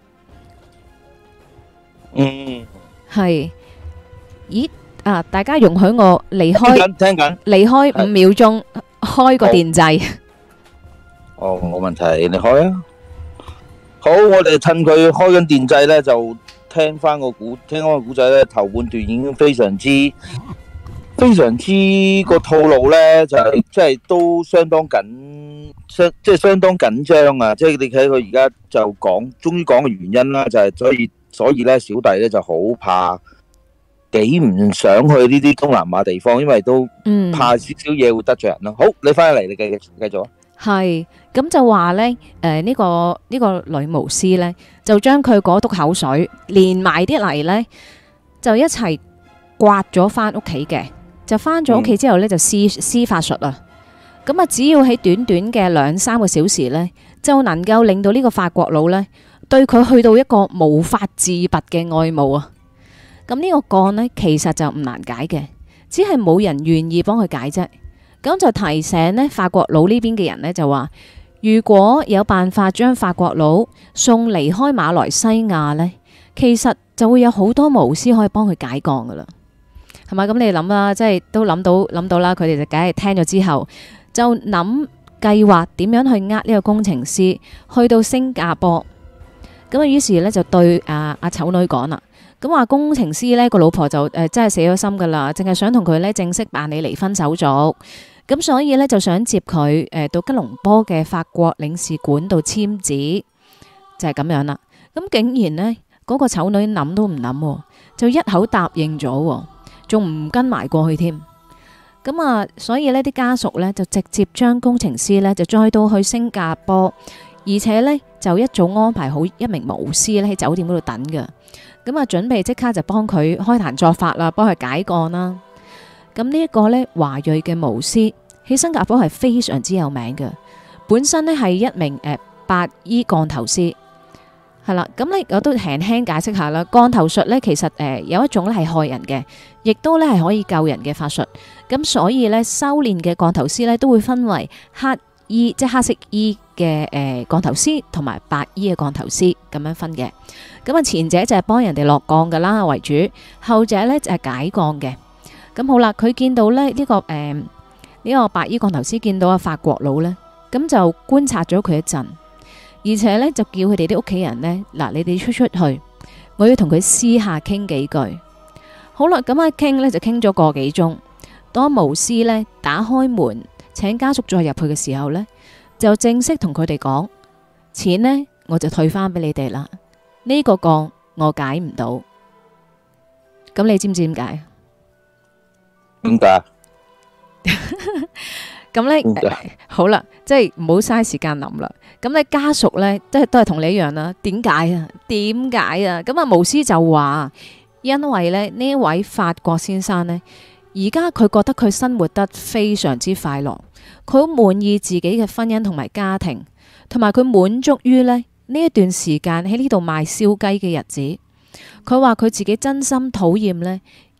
嗯，
係，咦？啊！大家容許我離開，
聽緊，
離開五秒鐘，開個電掣。
哦，冇問題，你開啊。好，我哋趁佢開緊電掣咧，就聽翻個古，聽翻個古仔咧。頭半段已經非常之、非常之個套路咧，就係即係都相當緊，相即係相當緊張啊！即係你睇佢而家就講，終於講個原因啦，就係所以，所以咧小弟咧就好怕。幾唔想去呢啲東南亞地方，因為都怕少少嘢會得罪人咯。好，你翻嚟，你繼續繼續啊。
係咁就話咧，誒呢個呢個女巫師咧，就將佢嗰督口水連埋啲泥咧，就一齊刮咗翻屋企嘅。就翻咗屋企之後咧，就施施法術啊。咁啊，只要喺短短嘅兩三個小時咧，就能夠令到呢個法國佬咧對佢去到一個無法自拔嘅愛慕啊。咁呢個降呢，其實就唔難解嘅，只係冇人願意幫佢解啫。咁就提醒呢法國佬呢邊嘅人呢，就話，如果有辦法將法國佬送離開馬來西亞呢，其實就會有好多巫師可以幫佢解降噶啦，係咪？咁你諗啦，即係都諗到諗到啦，佢哋就梗係聽咗之後就諗計劃點樣去呃呢個工程師去到新加坡。咁啊，於是呢，就對阿阿醜女講啦。咁話工程師呢個老婆就誒、呃、真係死咗心噶啦，淨係想同佢呢正式辦理離婚手續，咁所以呢，就想接佢誒、呃、到吉隆坡嘅法國領事館度簽字，就係、是、咁樣啦。咁竟然呢，嗰、那個醜女諗都唔諗，就一口答應咗，仲唔跟埋過去添。咁啊，所以呢啲家屬呢，就直接將工程師呢，就載到去新加坡，而且呢，就一早安排好一名巫師呢喺酒店嗰度等嘅。咁啊，準備即刻就幫佢開壇作法啦，幫佢解降啦。咁呢一個呢，華裔嘅巫師喺新加坡係非常之有名嘅，本身呢係一名誒、呃、白衣降頭師，係啦。咁呢我都輕輕解釋下啦。降頭術呢，其實誒、呃、有一種咧係害人嘅，亦都咧係可以救人嘅法術。咁所以呢，修煉嘅降頭師呢，都會分為黑衣即係黑色衣嘅誒降頭師同埋白衣嘅降頭師咁樣分嘅。咁啊，前者就係幫人哋落降噶啦為主，後者呢就係解降嘅。咁好啦，佢見到咧呢、這個誒呢、呃這個白衣降頭師見到阿法國佬呢，咁就觀察咗佢一陣，而且呢就叫佢哋啲屋企人呢：「嗱，你哋出出去，我要同佢私下傾幾句。好啦，咁啊傾呢就傾咗個幾鐘。當巫師呢打開門請家屬再入去嘅時候呢，就正式同佢哋講，錢呢我就退翻俾你哋啦。呢、這個降我解唔到，咁你知唔知點解？
點解？
咁咧，好啦，即係唔好嘥時間諗啦。咁咧家屬咧，即係都係同你一樣啦。點解啊？點解啊？咁啊，巫師就話，因為咧呢位法國先生呢，而家佢覺得佢生活得非常之快樂，佢好滿意自己嘅婚姻同埋家庭，同埋佢滿足於咧。呢一段時間喺呢度賣燒雞嘅日子，佢話佢自己真心討厭呢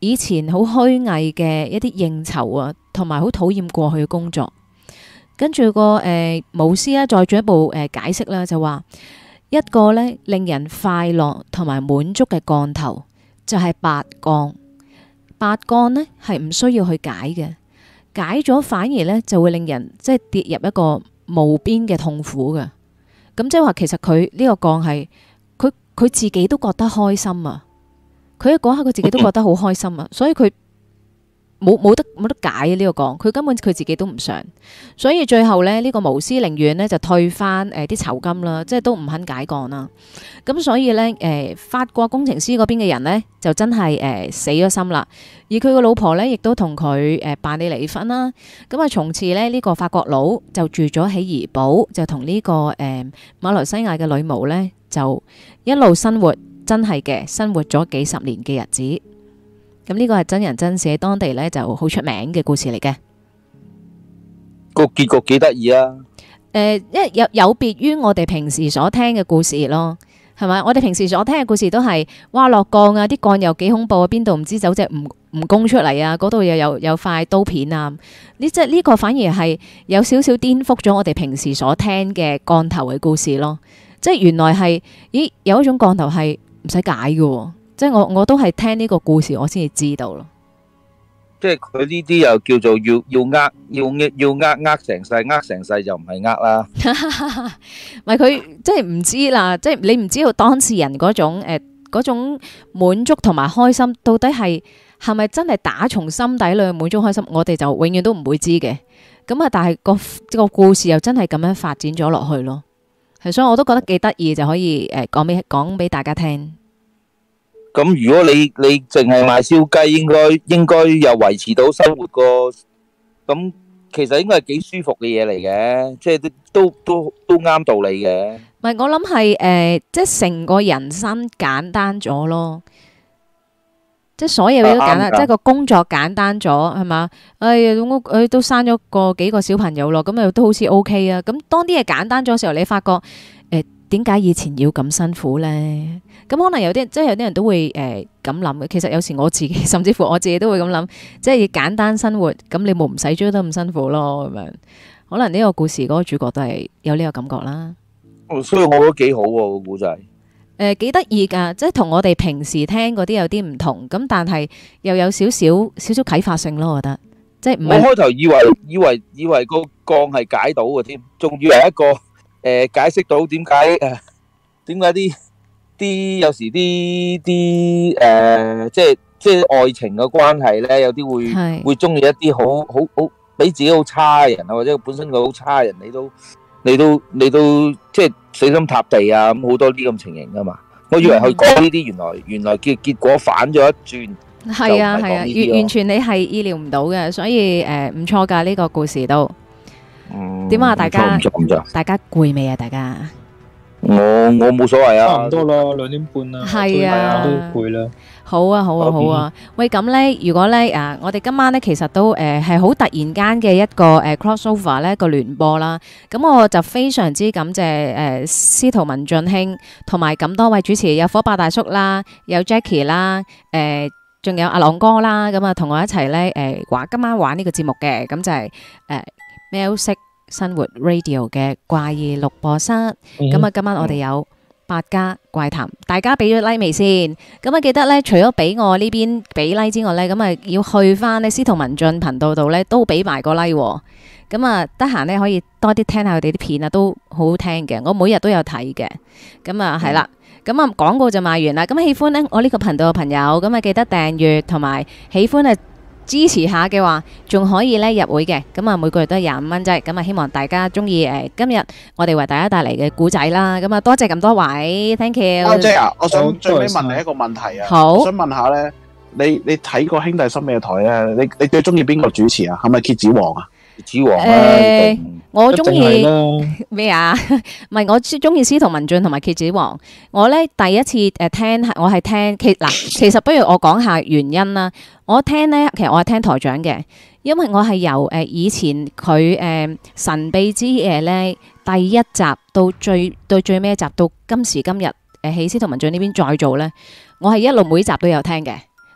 以前好虛偽嘅一啲應酬啊，同埋好討厭過去嘅工作。跟住個誒巫師咧，再進一步誒、呃、解釋啦，就話一個咧令人快樂同埋滿足嘅降頭就係八降。八降呢係唔需要去解嘅，解咗反而咧就會令人即係跌入一個無邊嘅痛苦嘅。咁即係話，其實佢呢個降係佢佢自己都覺得開心啊！佢嗰刻佢自己都覺得好開心啊，所以佢冇冇得冇得解呢個降，佢根本佢自己都唔想，所以最後咧呢個巫師寧願呢就退翻誒啲酬金啦，即係都唔肯解降啦。咁所以咧誒法國工程師嗰邊嘅人呢，就真係誒死咗心啦，而佢個老婆咧亦都同佢誒辦理離婚啦。咁啊從此咧呢個法國佬就住咗喺怡保，就同呢個誒馬來西亞嘅女巫咧就一路生活。真係嘅，生活咗幾十年嘅日子，咁呢個係真人真事，喺當地呢就好出名嘅故事嚟嘅。
個結局幾得意啊！
誒，因為有有別於我哋平時所聽嘅故事咯，係咪？我哋平時所聽嘅故事都係哇落降啊，啲降又幾恐怖啊，邊度唔知走隻蜈蜈蚣出嚟啊，嗰度又有有塊刀片啊，呢即係呢個反而係有少少顛覆咗我哋平時所聽嘅降頭嘅故事咯。即係原來係，咦有一種降頭係唔使解嘅，即係我我都係聽呢個故事我先至知道咯。
即係佢呢啲又叫做要要呃要要呃呃成世，呃成世就唔係呃啦。
唔係佢即係唔知啦，即係你唔知道當事人嗰種誒嗰種滿足同埋開心，到底係係咪真係打從心底裏滿足開心？我哋就永遠都唔會知嘅。咁啊，但係個個故事又真係咁樣發展咗落去咯。係，所以我都覺得幾得意，就可以誒講俾講俾大家聽。
咁如果你你淨係賣燒雞，應該應該又維持到生活個，咁其實應該係幾舒服嘅嘢嚟嘅，即係都都都都啱道理嘅。
唔係，我諗係誒，即係成個人生簡單咗咯。即係所有嘢都簡單，即係個工作簡單咗，係嘛？哎呀，我誒都生咗個幾個小朋友咯，咁又都好似 O K 啊。咁當啲嘢簡單咗嘅時候，你發覺誒點解以前要咁辛苦咧？咁可能有啲即係有啲人都會誒咁諗嘅。其實有時我自己，甚至乎我自己都會咁諗，即係簡單生活，咁你冇唔使追得咁辛苦咯。咁樣可能呢個故事嗰個主角都係有呢個感覺啦。
所以我覺得幾好喎個故仔。
誒幾得意㗎，即係同我哋平時聽嗰啲有啲唔同，咁但係又有少少少少啟發性咯，我覺得。即係唔係？
我開頭以為以為以為個降係解到嘅添，仲以為一個誒解釋到點解誒點解啲啲有時啲啲誒即係即係愛情嘅關係咧，有啲會會中意一啲好好好比自己好差嘅人啊，或者本身佢好差嘅人，你都你都你都即係死心塌地啊，咁好多啲咁情形噶嘛。我以為佢講呢啲，原來原來結結果反咗一轉。
係啊係啊，完完全你係意料唔到嘅，所以誒唔錯㗎呢個故事都。點啊大家？大家攰未啊？大家？
我我冇所謂啊，
差唔多啦，兩點半啦，
係啊，
都攰啦。
好啊好啊好啊！喂，咁咧，如果咧啊，我哋今晚咧其實都誒係好突然間嘅一個誒 crossover 咧一個聯播啦。咁我就非常之感謝誒司徒文進兄同埋咁多位主持，有火爆大叔啦，有 Jackie 啦，誒仲有阿朗哥啦，咁啊同我一齊咧誒玩今晚玩呢個節目嘅，咁就係誒喵式生活 Radio 嘅怪異錄播室。咁啊今晚我哋有百家怪談，大家俾咗 like 未先？咁啊記得咧，除咗俾我呢邊俾 like 之外咧，咁啊要去翻咧司徒文進頻道度咧都俾埋個 like。咁啊得閒咧可以多啲聽下佢哋啲片啊，都好好聽嘅。我每日都有睇嘅。咁啊係啦，咁啊廣告就賣完啦。咁喜歡咧我呢個頻道嘅朋友，咁啊記得訂閱同埋喜歡啊支持下嘅話，仲可以咧入會嘅。咁啊每個月都係廿五蚊啫。咁啊希望大家中意誒今日我哋為大家帶嚟嘅故仔啦。咁啊多謝咁多位 ，thank you。
阿姐啊，我想最尾問你一個問題啊。
好，
我想問下咧，你你睇過兄弟深夜台咧？你你最中意邊個主持啊？係咪蠍子王啊？
蠍子王
誒，我中意咩啊？唔係，我中意司徒文進同埋蠍子王。我咧第一次誒聽，我係聽其嗱，其實不如我講下原因啦。我聽咧，其實我係聽台長嘅，因為我係由誒以前佢誒神秘之夜咧第一集到最到最尾一集到今時今日誒喺司徒文進呢邊再做咧，我係一路每集都有聽嘅。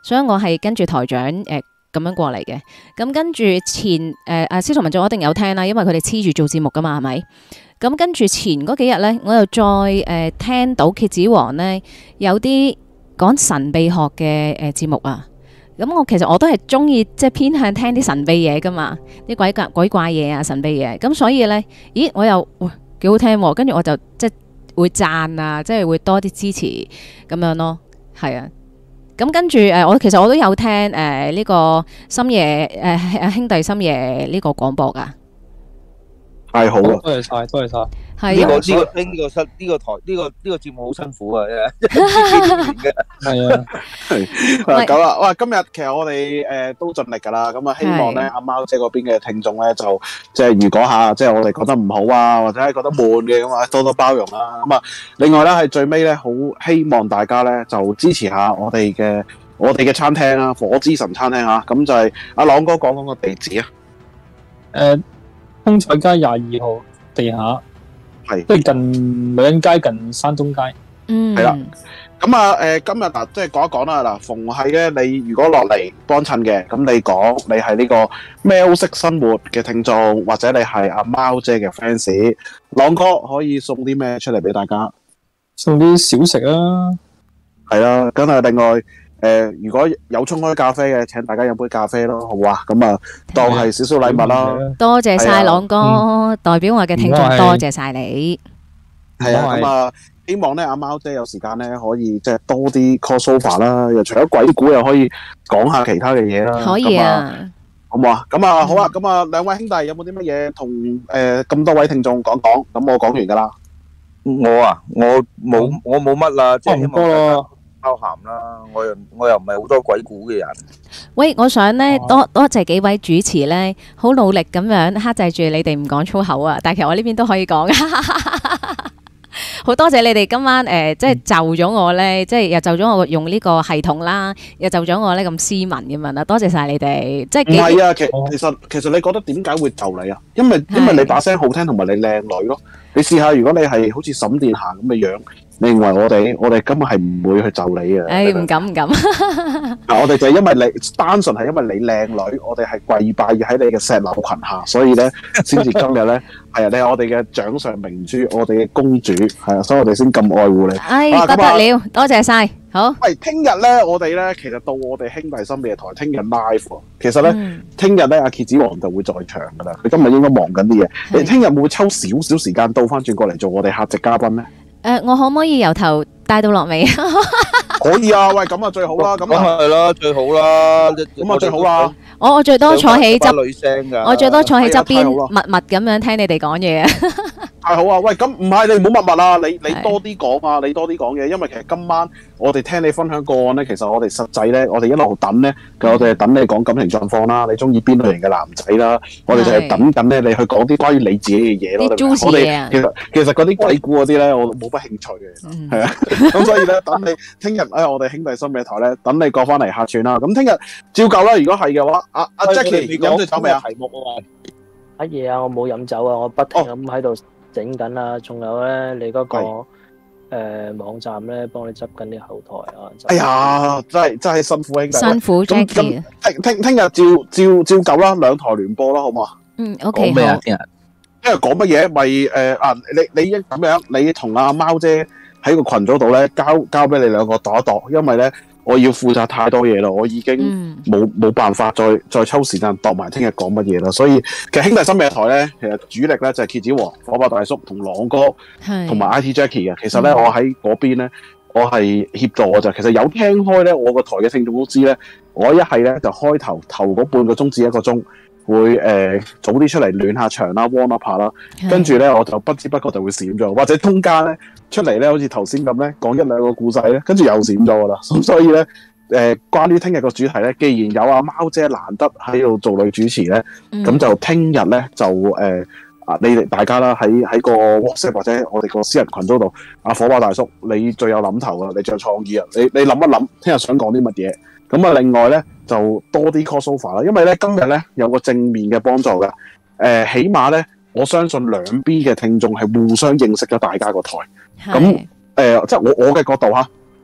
所以我係跟住台長誒咁樣過嚟嘅。咁跟住前誒阿司徒文進我一定有聽啦，因為佢哋黐住做節目噶嘛，係咪？咁跟住前嗰幾日咧，我又再誒、呃、聽到蠍子王咧有啲講神秘學嘅誒節目啊。咁我其實我都係中意即係偏向聽啲神秘嘢噶嘛，啲鬼怪鬼怪嘢啊，神秘嘢。咁所以咧，咦我又哇幾好聽喎，跟住我就即係會讚啊，即係會多啲支持咁樣咯，係啊。咁跟住誒，我其實我都有聽誒呢、呃這個深夜誒、呃、兄弟深夜呢個廣播噶。
太好啦！
多謝晒，多謝晒。
呢個
係啊，
呢個呢個新呢個台呢個呢個節目好辛苦啊！係
係啊，
係咁啦。哇！今日其實我哋誒都盡力㗎啦。咁啊，希望咧阿貓姐嗰邊嘅聽眾咧，就即係如果下即係我哋覺得唔好啊，或者係覺得悶嘅咁啊，多多包容啦。咁啊，另外咧係最尾咧，好希望大家咧就支持下我哋嘅我哋嘅餐廳啦，火之神餐廳啊。咁就係阿朗哥講講個地址啊。
誒，通菜街廿二號地下。
係，
即係近女人街近山東街。
嗯，
係啦。咁啊，誒今日嗱，即係講一講啦。嗱，逢係咧，你如果落嚟幫襯嘅，咁你講你係呢個喵式生活嘅聽眾，或者你係阿貓姐嘅 fans，朗哥可以送啲咩出嚟俾大家？
送啲小食啊，
係啦。咁啊，另外誒、呃，如果有沖開咖啡嘅，請大家飲杯咖啡咯，好唔好啊？咁啊，當係少少禮物啦。
多謝晒朗哥，
嗯、
代表我嘅聽眾多謝晒你。
係啊，咁啊，希望咧阿貓姐有時間咧可以即係多啲 crossover 啦，又除咗鬼故又可以講下其他嘅嘢啦。
可以啊，
好唔好啊？咁啊，好啊，咁啊，兩位兄弟有冇啲乜嘢同誒咁多位聽眾講講？咁我講完噶啦。
我啊，我冇我冇乜啦，即係希望大家包涵啦。我又我又唔係好多鬼故嘅人。
喂，我想咧多多謝幾位主持咧，好努力咁樣克制住你哋唔講粗口啊！但係其實我呢邊都可以講。好多謝你哋今晚誒、呃，即係就咗我咧，即係又就咗我用呢個系統啦，又就咗我咧咁斯文咁樣啦，多謝晒你哋。即係
唔係啊，其其實其實你覺得點解會就你啊？因為因為你把聲好聽，同埋你靚女咯。你試下，如果你係好似沈殿霞咁嘅樣，你認為我哋我哋根本係唔會去就你嘅。
誒，唔敢唔敢。
嗱，我哋就係因為你單純係因為你靚女，我哋係跪拜喺你嘅石榴裙下，所以咧先至今日咧係啊，你係我哋嘅掌上明珠，我哋嘅公主係啊，所以我哋先咁愛護你。
哎，不得了，多謝晒。好。
喂，聽日咧，我哋咧其實到我哋兄弟深夜台聽日 live 喎。其實咧，聽日咧阿蠍子王就會在場噶啦。佢今日應該忙緊啲嘢。你聽日會唔會抽少少時間倒翻轉過嚟做我哋客席嘉賓咧？
誒，我可唔可以由頭帶到落尾？
可以啊，喂，咁啊最好啦，咁
啊係啦，最好啦，
咁啊最好啦。
我我最多坐喺側，
女聲㗎，
我最多坐喺側邊，默默咁樣聽你哋講嘢啊。
太好啊！喂，咁唔係你唔好默默啊，你你多啲講啊，你多啲講嘢，因為其實今晚我哋聽你分享個案咧，其實我哋實際咧，我哋一路等咧，我哋係等你講感情狀況啦，你中意邊類型嘅男仔啦，我哋就係等緊咧，你去講啲關於你自己嘅嘢咯。我哋其實其實嗰啲鬼故嗰啲咧，我冇乜興趣嘅，係啊，咁所以咧，等你聽日喺我哋兄弟深夜台咧，等你過翻嚟客串啦。咁聽日照舊啦，如果係嘅話，阿阿 Jackie 飲咗酒未啊？題目啊嘛，
乜嘢啊？我冇飲酒啊，我不停咁喺度整緊啦，仲有咧，你嗰個誒網站咧，幫你執緊啲後台啊！
哎呀，真係真係辛苦兄弟，
辛苦 Jackie。
聽聽聽日照照照舊啦，兩台聯播啦，好唔好啊？
嗯 ，OK
好。
聽日聽日講乜嘢？咪誒啊！你你一咁樣，你同阿貓姐喺個群組度咧，交交俾你兩個度一度，因為咧我要負責太多嘢啦，我已經冇冇、嗯、辦法再再抽時間度埋聽日講乜嘢啦。所以其實兄弟深夜台咧，其實主力咧就係蠍子王、火爆大叔同朗哥同埋 I T Jackie 嘅。其實咧、嗯、我喺嗰邊咧，我係協助我就其實有聽開咧，我個台嘅聽眾都知咧，我一係咧就開頭頭嗰半個鐘至一個鐘。會誒、呃、早啲出嚟暖下場啦 warm up 下啦，跟住咧我就不知不覺就會閃咗，或者中間咧出嚟咧好似頭先咁咧講一兩個故仔咧，跟住又閃咗噶啦。咁所以咧誒、呃，關於聽日個主題咧，既然有阿貓姐難得喺度做女主持咧，咁、嗯、就聽日咧就誒啊、呃、你哋大家啦喺喺個 WhatsApp 或者我哋個私人群組度，阿火爆大叔你最有諗頭啊，你最有創意啊，你你諗一諗聽日想講啲乜嘢？咁啊，另外咧就多啲 crossover 啦，因為咧今日咧有個正面嘅幫助嘅，誒、呃，起碼咧我相信兩邊嘅聽眾係互相認識咗大家個台，咁誒、呃，即係我我嘅角度嚇，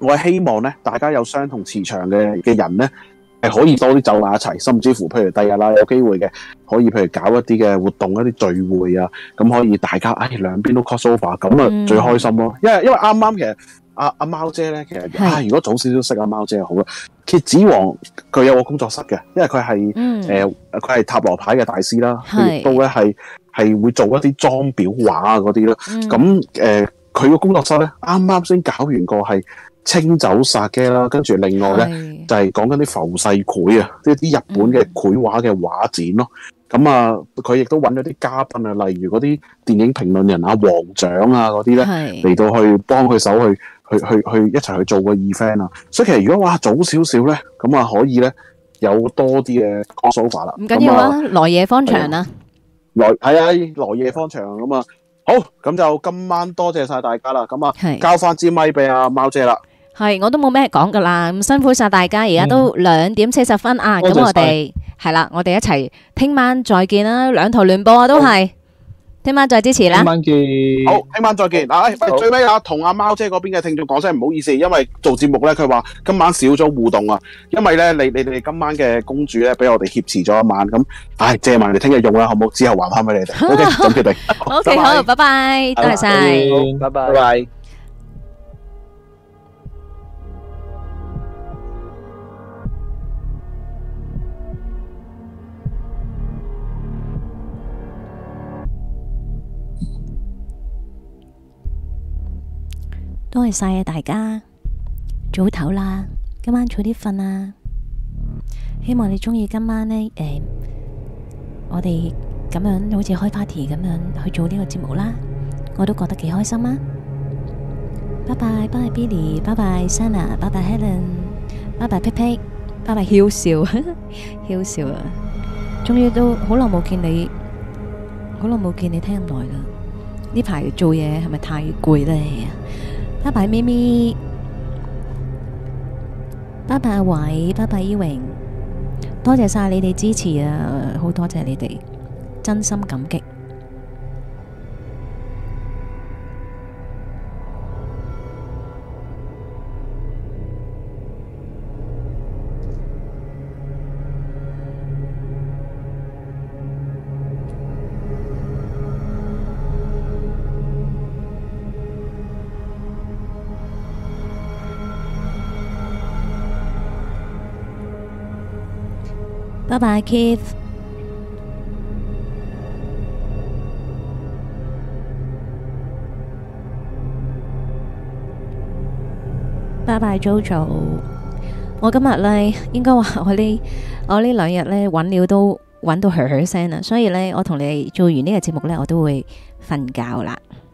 我係希望咧，大家有相同磁場嘅嘅人咧，係可以多啲走埋一齊，甚至乎譬如第日啦有機會嘅，可以譬如搞一啲嘅活動、一啲聚會啊，咁可以大家唉兩邊都 cross over，咁啊最開心咯。因為因為啱啱其實阿阿貓姐咧，其實啊如果早少少識阿貓姐就好啦。蠍子王佢有個工作室嘅，因為佢係誒佢係塔羅牌嘅大師啦，佢亦都咧係係會做一啲裝裱畫啊嗰啲咯。咁誒佢個工作室咧，啱啱先搞完個係清酒殺機啦，跟住另外咧就係講緊啲浮世繪啊，即係啲日本嘅繪畫嘅畫展咯。咁啊，佢亦都揾咗啲嘉賓啊，例如嗰啲電影評論人啊、黃獎啊嗰啲咧嚟到去幫佢手去去去去一齊去做個 event 啊。所以其實如果哇早少少咧，咁啊可以咧有多啲嘅 crossover 啦。
唔緊要啊，來夜方長啊，
來係啊，來夜方長咁啊。好，咁就今晚多謝晒大家啦。咁啊，交翻支咪俾阿貓姐啦。
係，我都冇咩講噶啦，咁辛苦晒大家，而家都兩點四十分啊，咁我哋係啦，我哋一齊聽晚再見啦，兩台聯播啊，都係聽晚再支持啦。
聽晚見。
好，聽晚再見。啊，喂，最尾啊，同阿貓姐嗰邊嘅聽眾講聲唔好意思，因為做節目咧，佢話今晚少咗互動啊，因為咧你你哋今晚嘅公主咧俾我哋挾持咗一晚，咁唉借埋你聽日用啦，好唔好？之後還翻俾你哋。O K，咁決定。
O K，好，拜拜，多謝晒，
拜拜，
拜拜。
多謝晒啊大家，早唞啦，今晚早啲瞓啦。希望你中意今晚呢，誒、呃，我哋咁樣好似開 party 咁樣去做呢個節目啦，我都覺得幾開心啊！拜拜，拜拜 Billy， 拜拜 Sana， 拜拜 Helen， 拜拜 Pip， 拜拜囂笑，囂笑啊！終於都好耐冇見你，好耐冇見你聽咁耐啦。呢排做嘢係咪太攰咧？拜拜咪咪，拜拜阿偉，拜拜依榮，多謝晒你哋支持啊！好多謝你哋，真心感激。拜拜 Keith， 拜拜 Jojo。我今日呢，應該話我呢我呢兩日呢揾料都揾到噓噓聲啦，所以呢，我同你做完呢個節目呢，我都會瞓覺啦。